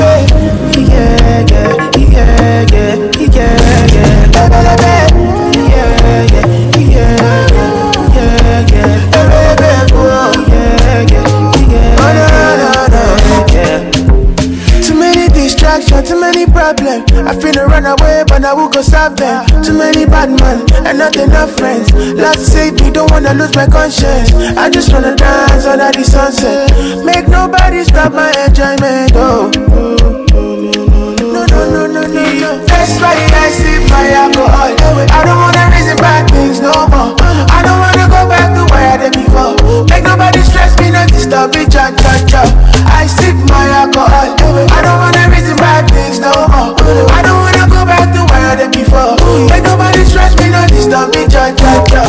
Too many problems. I finna run away, but I will go solve them. Too many bad men and not enough friends. Lord save me, don't wanna lose my conscience. I just wanna dance under the sunset. Make nobody stop my enjoyment. Oh, no. That's why I sip my alcohol. I don't wanna reason bad things no more. I don't wanna go back to where I did before. Make nobody stress me, not disturb me, cha cha cha. I sip my alcohol. I don't wanna reason bad things no more. I don't wanna go back to where I did before. Make nobody stress me, not disturb me, cha cha cha.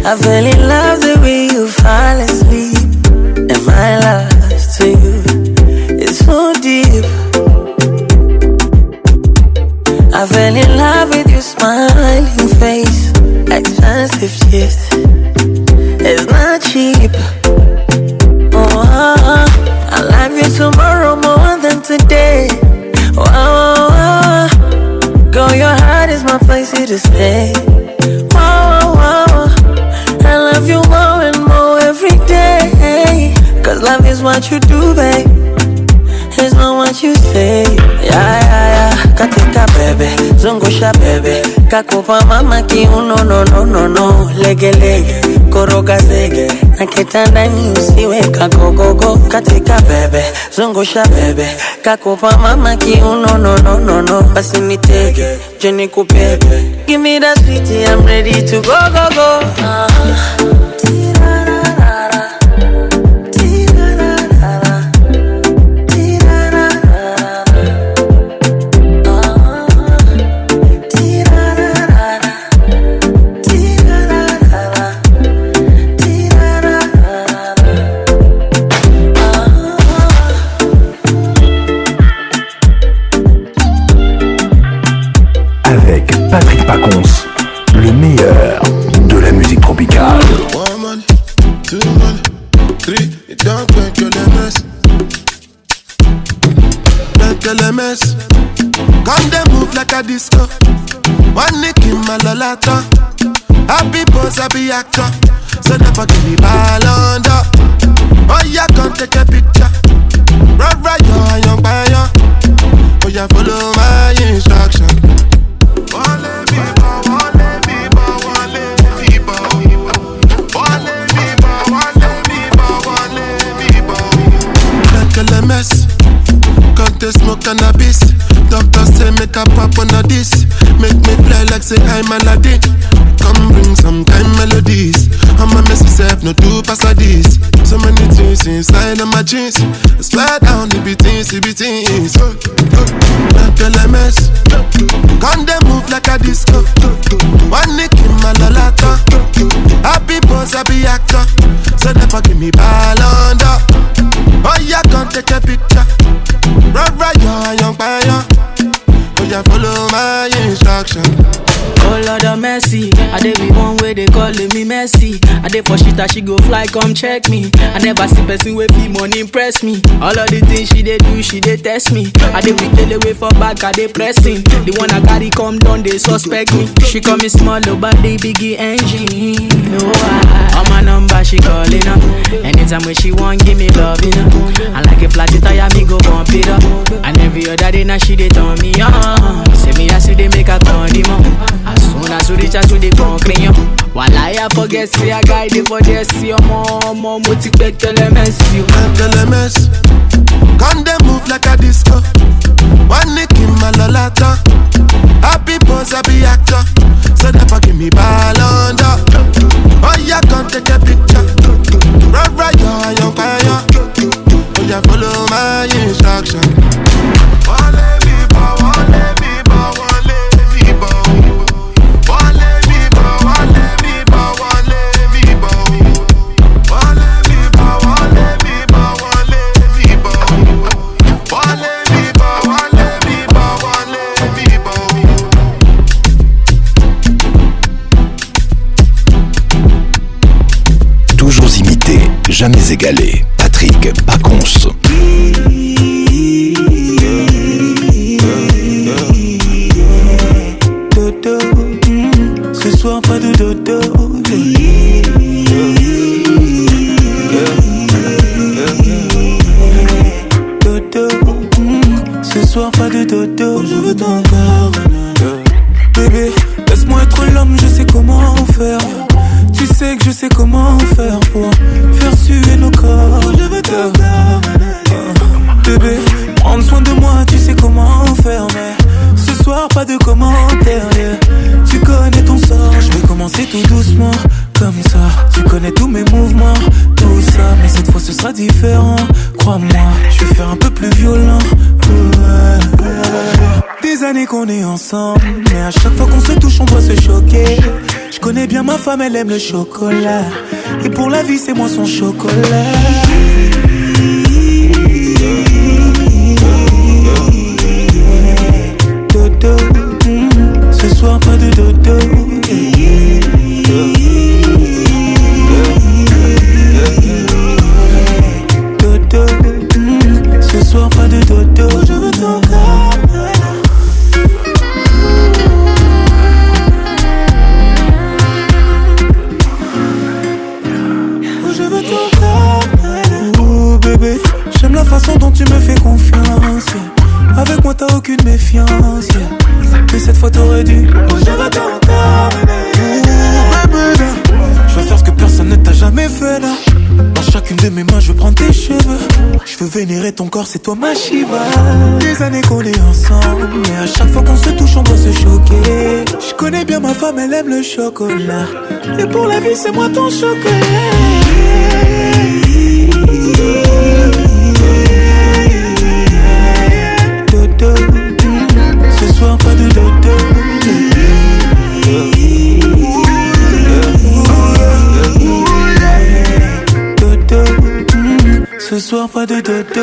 I fell in love the way you fall asleep. And my love to you is so deep. I fell in love with your smiling face. Expensive gift, it's not cheap. Oh, I love you tomorrow more than today. Oh, girl, your heart is my place here to stay. Oh, I love you more and more every day. Cause love is what you do, babe. It's not what you say. Yeah. Katika bebe, zungusha bebe. Kakupa mama kiuno, no. Lege, koroga zege. Na kitandani usiwe kagogogo. Katika bebe, zungusha bebe. Kakupa mama kiuno, no. Basi nitege, jeni kupebe. Give me that sweetie, I'm ready to go. Patrick Pacons, le meilleur de la musique tropicale. 1 money, 2 money, 3, it don't make you the mess. Make you the mess. Come they move like a disco. One nick in my lolata. Happy boss, happy actor. So never give me ball under. Oh yeah, come take a picture. Right, you're young by young. Oh yeah, follow my instruction. Quand they smoke cannabis, doctor say make a pop on a this. Make me fly like say I'm Aladdin. Come bring some kind melodies. I'm a messy self, no do pass a this. So many things inside of my jeans. I swear down, it be things. Make a mess. Quand they move like a disco. One nick in my lolata. Happy boss, happy actor. So never give me ball under. Oh yeah, come take a picture. Right, you're young by young. Oh yeah, follow my instruction. Oh Lord of mercy, I dey be one way they calling me messy. I dey for shit that she go fly, come check me. I never see person with fee money impress me. All of the things she dey do, she dey test me. I dey be tell away for back, I dey pressing. The one I carry come down, they suspect me. She call me small, but they biggie engine. No, on my number she calling up. Anytime when she want, give me love, you know. I like a flat tire, me go bump it up. And every other day now she dey turn me on. Say me I see they make a condiment. As soon as you reach out to the concrete, while I forget, say I guide it for this, your mom, motivate the mess. You mess. Can they move like a disco? One nick in my lolata. Happy boss, happy actor. So never give me ball under. Oh yeah, come take a picture. Right, you're young fire. Oh yeah, follow my instruction. Toujours imité, jamais égalé. Patrick Pacons. Dodo, ce soir pas de dodo. Dodo, ce soir pas de dodo. Je veux ton corps. Bébé, laisse-moi être l'homme, je sais comment faire. Tu sais que je sais comment faire pour faire suer nos corps. Je veux ton corps. Bébé, prendre soin de moi, tu sais comment faire. Mais ce soir, pas de commentaires. Yeah. Tu connais ton sort, je vais commencer tout doucement. comme ça. Tu connais tous mes mouvements, tout ça. Mais cette fois ce sera différent, crois-moi. Je vais faire un peu plus violent. Des années qu'on est ensemble, mais à chaque fois qu'on se touche on doit se choquer. Je connais bien ma femme, elle aime le chocolat. Et pour la vie c'est moi son chocolat. Dodo, ce soir pas de dodo. Dodo, ce soir pas de dodo. Je veux ton corps. Je veux ton corps. Oh bébé, j'aime la façon dont tu me fais confiance. Avec moi t'as aucune méfiance. Mais cette fois t'aurais dû. Oh je veux ton corps. Bébé, je veux faire ce que personne ne t'a jamais fait là. Dans chacune de mes mains je veux prendre tes cheveux. Je veux vénérer ton corps, c'est toi ma Shiva. Des années qu'on est ensemble, mais à chaque fois qu'on se touche on doit se choquer. Je connais bien ma femme, elle aime le chocolat. Et pour la vie c'est moi ton chocolat. Dodo, ce soir pas de dodo. Dodo, ce soir pas de dodo.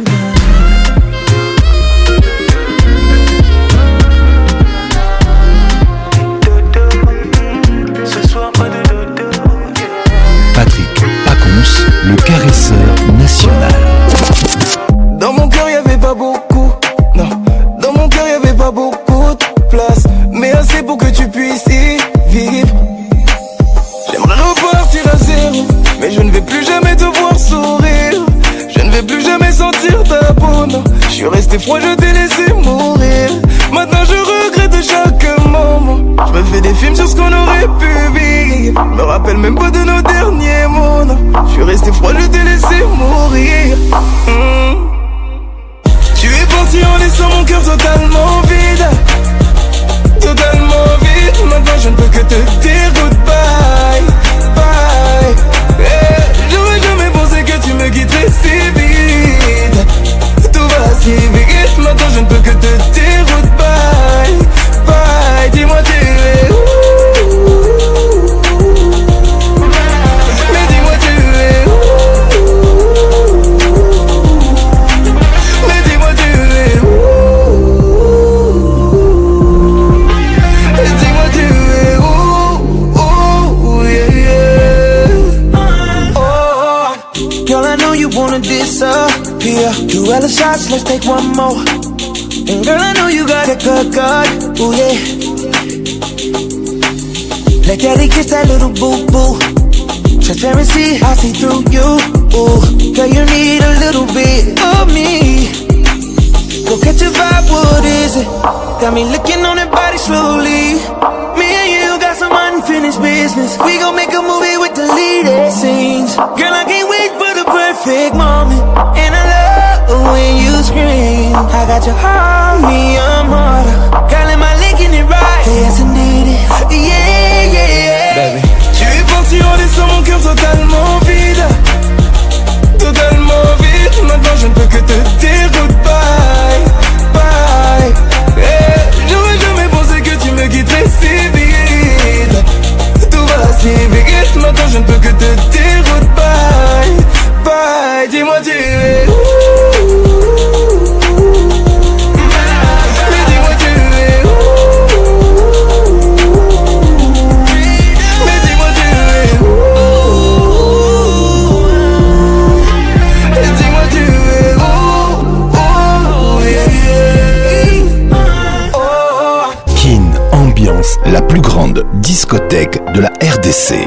Patrick Pacons, le caresseur national. Dans mon cœur y'avait pas beaucoup, non. Dans mon cœur y'avait pas beaucoup de place, mais assez pour que tu puisses y vivre. J'aimerais repartir à zéro, mais je ne vais plus jamais te voir sourire. Je ne vais plus jamais sentir ta peau, non. Je suis resté froid, je t'ai laissé mourir. Maintenant je regrette chaque moment. Je me fais des films sur ce qu'on aurait pu vivre. Me rappelle même pas de nos derniers mots, non. Je suis resté froid, je t'ai laissé mourir. Tu es parti en laissant mon cœur totalement vide. Totalement vide. Maintenant je ne peux que te dire goodbye. Bye. J'aurais jamais pensé que tu me quitterais si vite. Tout va si vite. Maintenant je ne peux que te dire goodbye. Bye. Dis-moi tu es où? Mais dis-moi tu es où? Mais dis-moi tu es où? Dis-moi tu es où? Oh yeah yeah. Oh, girl I know you wanna disappear. Do other shots, let's take one more. And girl I know you got a good gut. Oh yeah. Let daddy kiss that little boo boo. Transparency, I see through you. Ooh, girl, you need a little bit of me. Go catch a vibe, what is it? Got me looking on that body slowly. Me and you got some unfinished business. We gon' make a movie with deleted scenes. Girl, I can't wait for the perfect moment. And I love when you scream. I got your heart, me, I'm harder. Girl, am I licking it right? Yes, I need it. Yeah, yeah, baby. Tu es parti en laissant mon cœur totalement vide. Totalement vide. Maintenant je ne peux que te dire goodbye. Bye. J'aurais jamais pensé que tu me quitterais si vite. Tout va si vite. Maintenant je ne peux que te dire goodbye. Bye. Dis-moi tu es où? Mais dis-moi tu es où? Mais dis-moi tu es où? Dis-moi tu es où? Oh yeah yeah. Oh. Kin Ambiance, la plus grande discothèque de la RDC.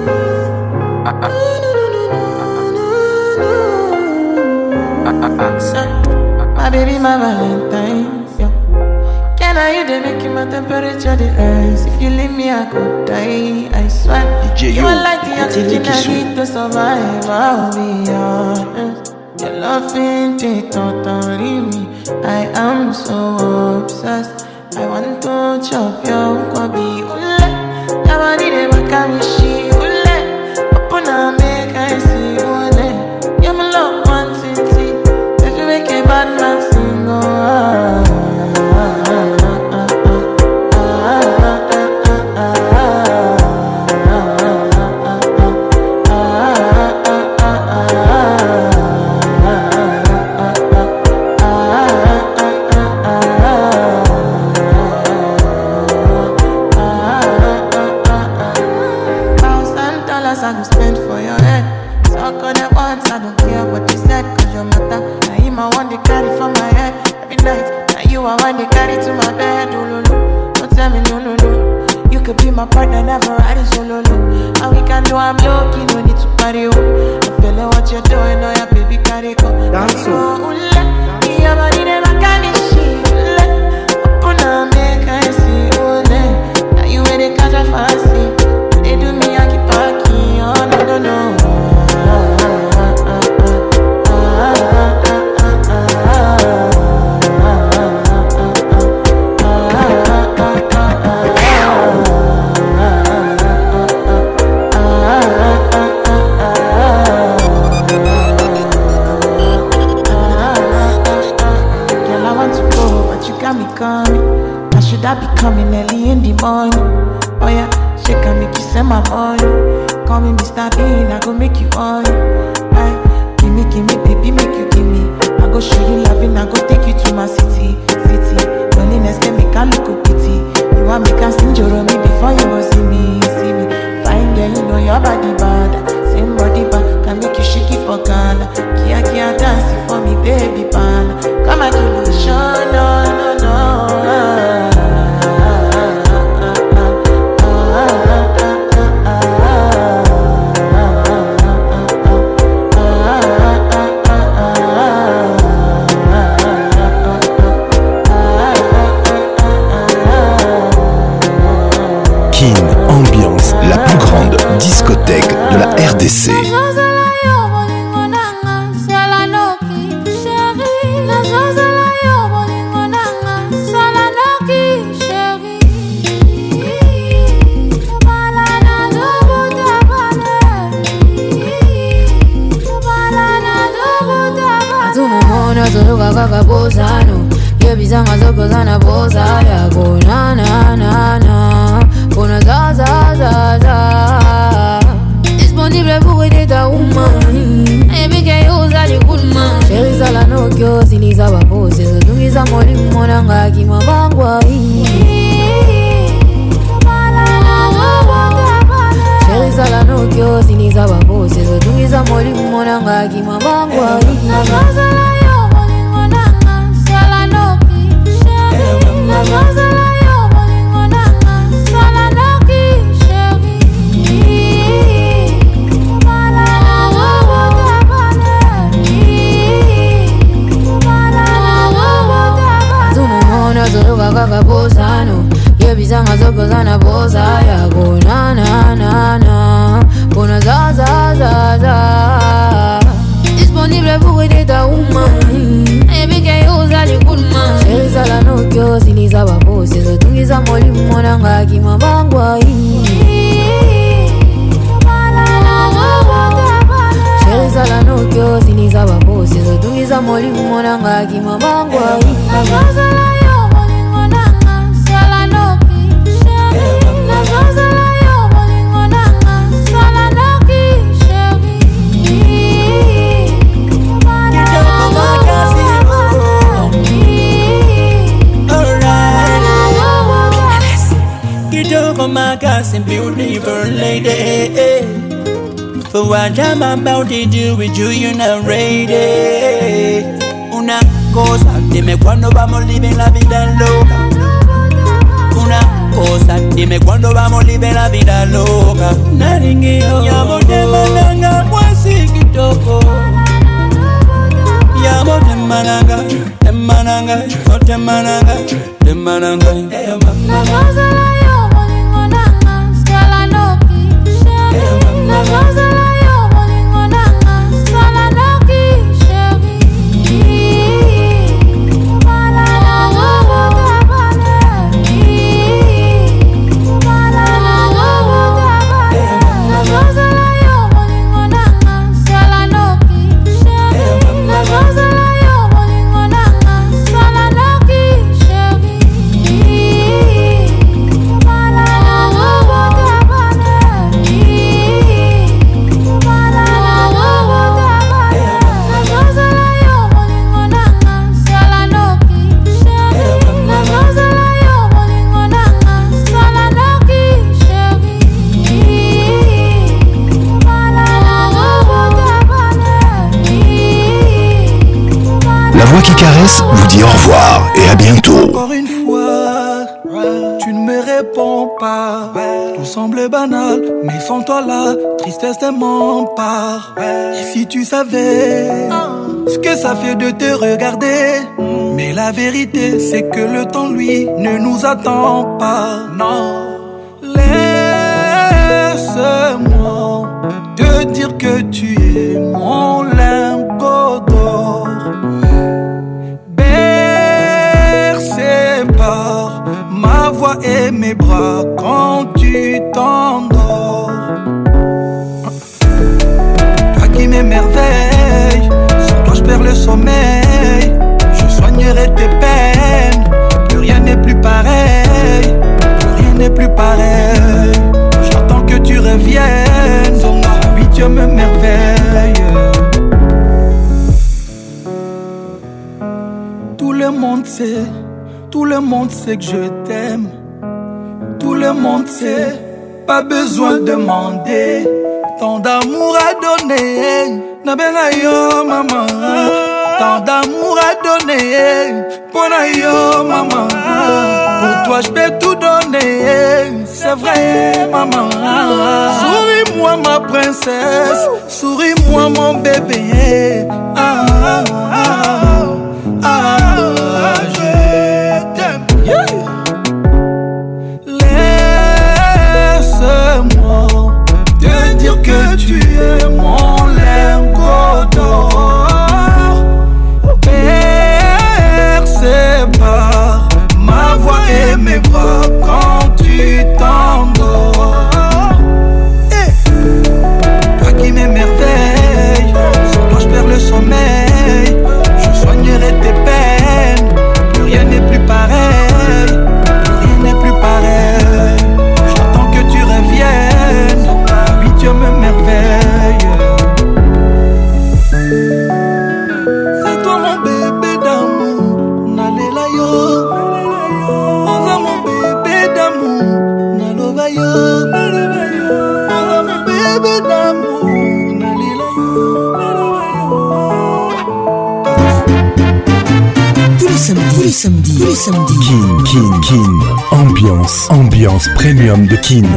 My baby, my Valentine. Yeah. Can I hear the making my temperature the rise? If you leave me, I could die. I swear. You are like the oxygen I need to survive. I'll be honest. Your love ain't it totally me. I am so obsessed. I want to chop your kwabi. Ule, yabani de makamishi. Ule. dollars I go spend for your head. Talk on the ones, I don't care what you said, cause your matter. Now him I want to carry for my head every night. Now you I want to carry to my bed. Oh, no, no. Don't tell me no, no, no. You could be my partner, never riding solo, no. And we can do I'm lucky, no need to party, oh. I feel like what you're doing, oh yeah, baby, carry go. Dance, oh. Yeah, but it never can be shit. Open up, make I see, oh, now you ready, catch a fancy. They do me, I keep packing, oh, no, no, no. I should I be coming early in the morning? Oh yeah, shake and make you send my money. Call me Mr. Bean, I go make you on. Aye, give me, baby, make you give me. I go show you loving, I go take you to my city. Loneliness can make a look pity. You want me can sing your me before you go see me. Fine girl, you know your body bad. Same body bad, can make you shake it for Ghana. Kia dancing for me, baby pan. Come and do the show, no, no, no. Ambiance, la plus grande discothèque de la RDC. Disponible pour aider ta woman. Et puis qu'elle ose aller good man. Chérie ça la nokyo, si les abapos, c'est ce dont ils amolent mon anga qui m'a bangwa. Chérie ça la nokyo, si les abapos, c'est ce dont ils amolent mon anga qui m'a bangwa. Yebizanga zokozana boza ya go na na na na. Bona za za za za. Disponible pour aider ta woman. Et puis qu'elle ose aller good man. Chérie ça la nokyo, si les abapos, c'est ce tungi za moli monanga qui m'a bangwa. Chérie ça la nokyo, si les abapos, c'est ce tungi za moli monanga qui m'a bangwa. And beautiful lady, for what I'm about to do with you, you're not ready. Una cosa, dime cuándo vamos living la vida loca. Una cosa, dime cuándo vamos living la vida loca. Naringio, llamo de malanga, mwasi kitoko. Llamo de malanga, de malanga, oh de malanga, de malanga. Hey, mama. qui caresse vous dit au revoir et à bientôt. Encore une fois, tu ne me réponds pas. Tout semble banal, mais sans toi la tristesse m'empare. Et si tu savais ce que ça fait de te regarder, mais la vérité c'est que le temps lui ne nous attend pas. Non, laisse-moi te dire que tu es mon lingot d'or, bercé par ma voix et mes bras quand tu t'endors. Toi qui m'émerveilles, sans toi je perds le sommeil. Je soignerai tes peines, plus rien n'est plus pareil, plus rien n'est plus pareil. J'attends que tu reviennes, oui tu me merveilles. Tout le monde sait que je t'aime. Tout le monde sait, pas besoin de demander. Tant d'amour à donner, na benga yo maman. Tant d'amour à donner, pona yo maman. Pour toi je peux tout donner, c'est vrai maman. Souris-moi ma princesse, souris-moi mon bébé. Je t'aime. Laisse-moi te dire que tu es mon lingot d'or, bercé par ma voix et mes bras quand tu t'endors. Toi qui m'émerveilles, sans toi je perds le sommeil. Je soignerai tes peines, plus rien n'est plus pareil, plus rien n'est plus pareil. J'attends que tu reviennes, oui tu me merveilles. C'est toi mon bébé d'amour, nalela yo. Oza mon bébé d'amour, nalova yo. Oza mon bébé d'amour, nalela yo. Tous les samedis. Kin. Ambiance premium de Kin.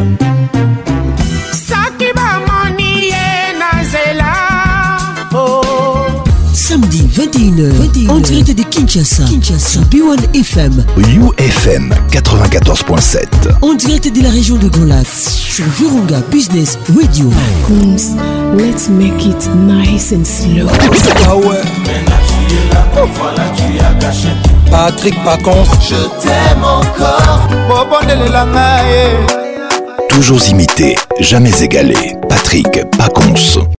Samedi 21h, en direct de Kinshasa, sur B1 FM, UFM 94.7. en direct de la région de Grand Lac, sur Virunga Business Radio. Coons, let's make it nice and slow. Ah ouais. Patrick Pacons, je t'aime encore. Toujours imité, jamais égalé. Patrick Pacons.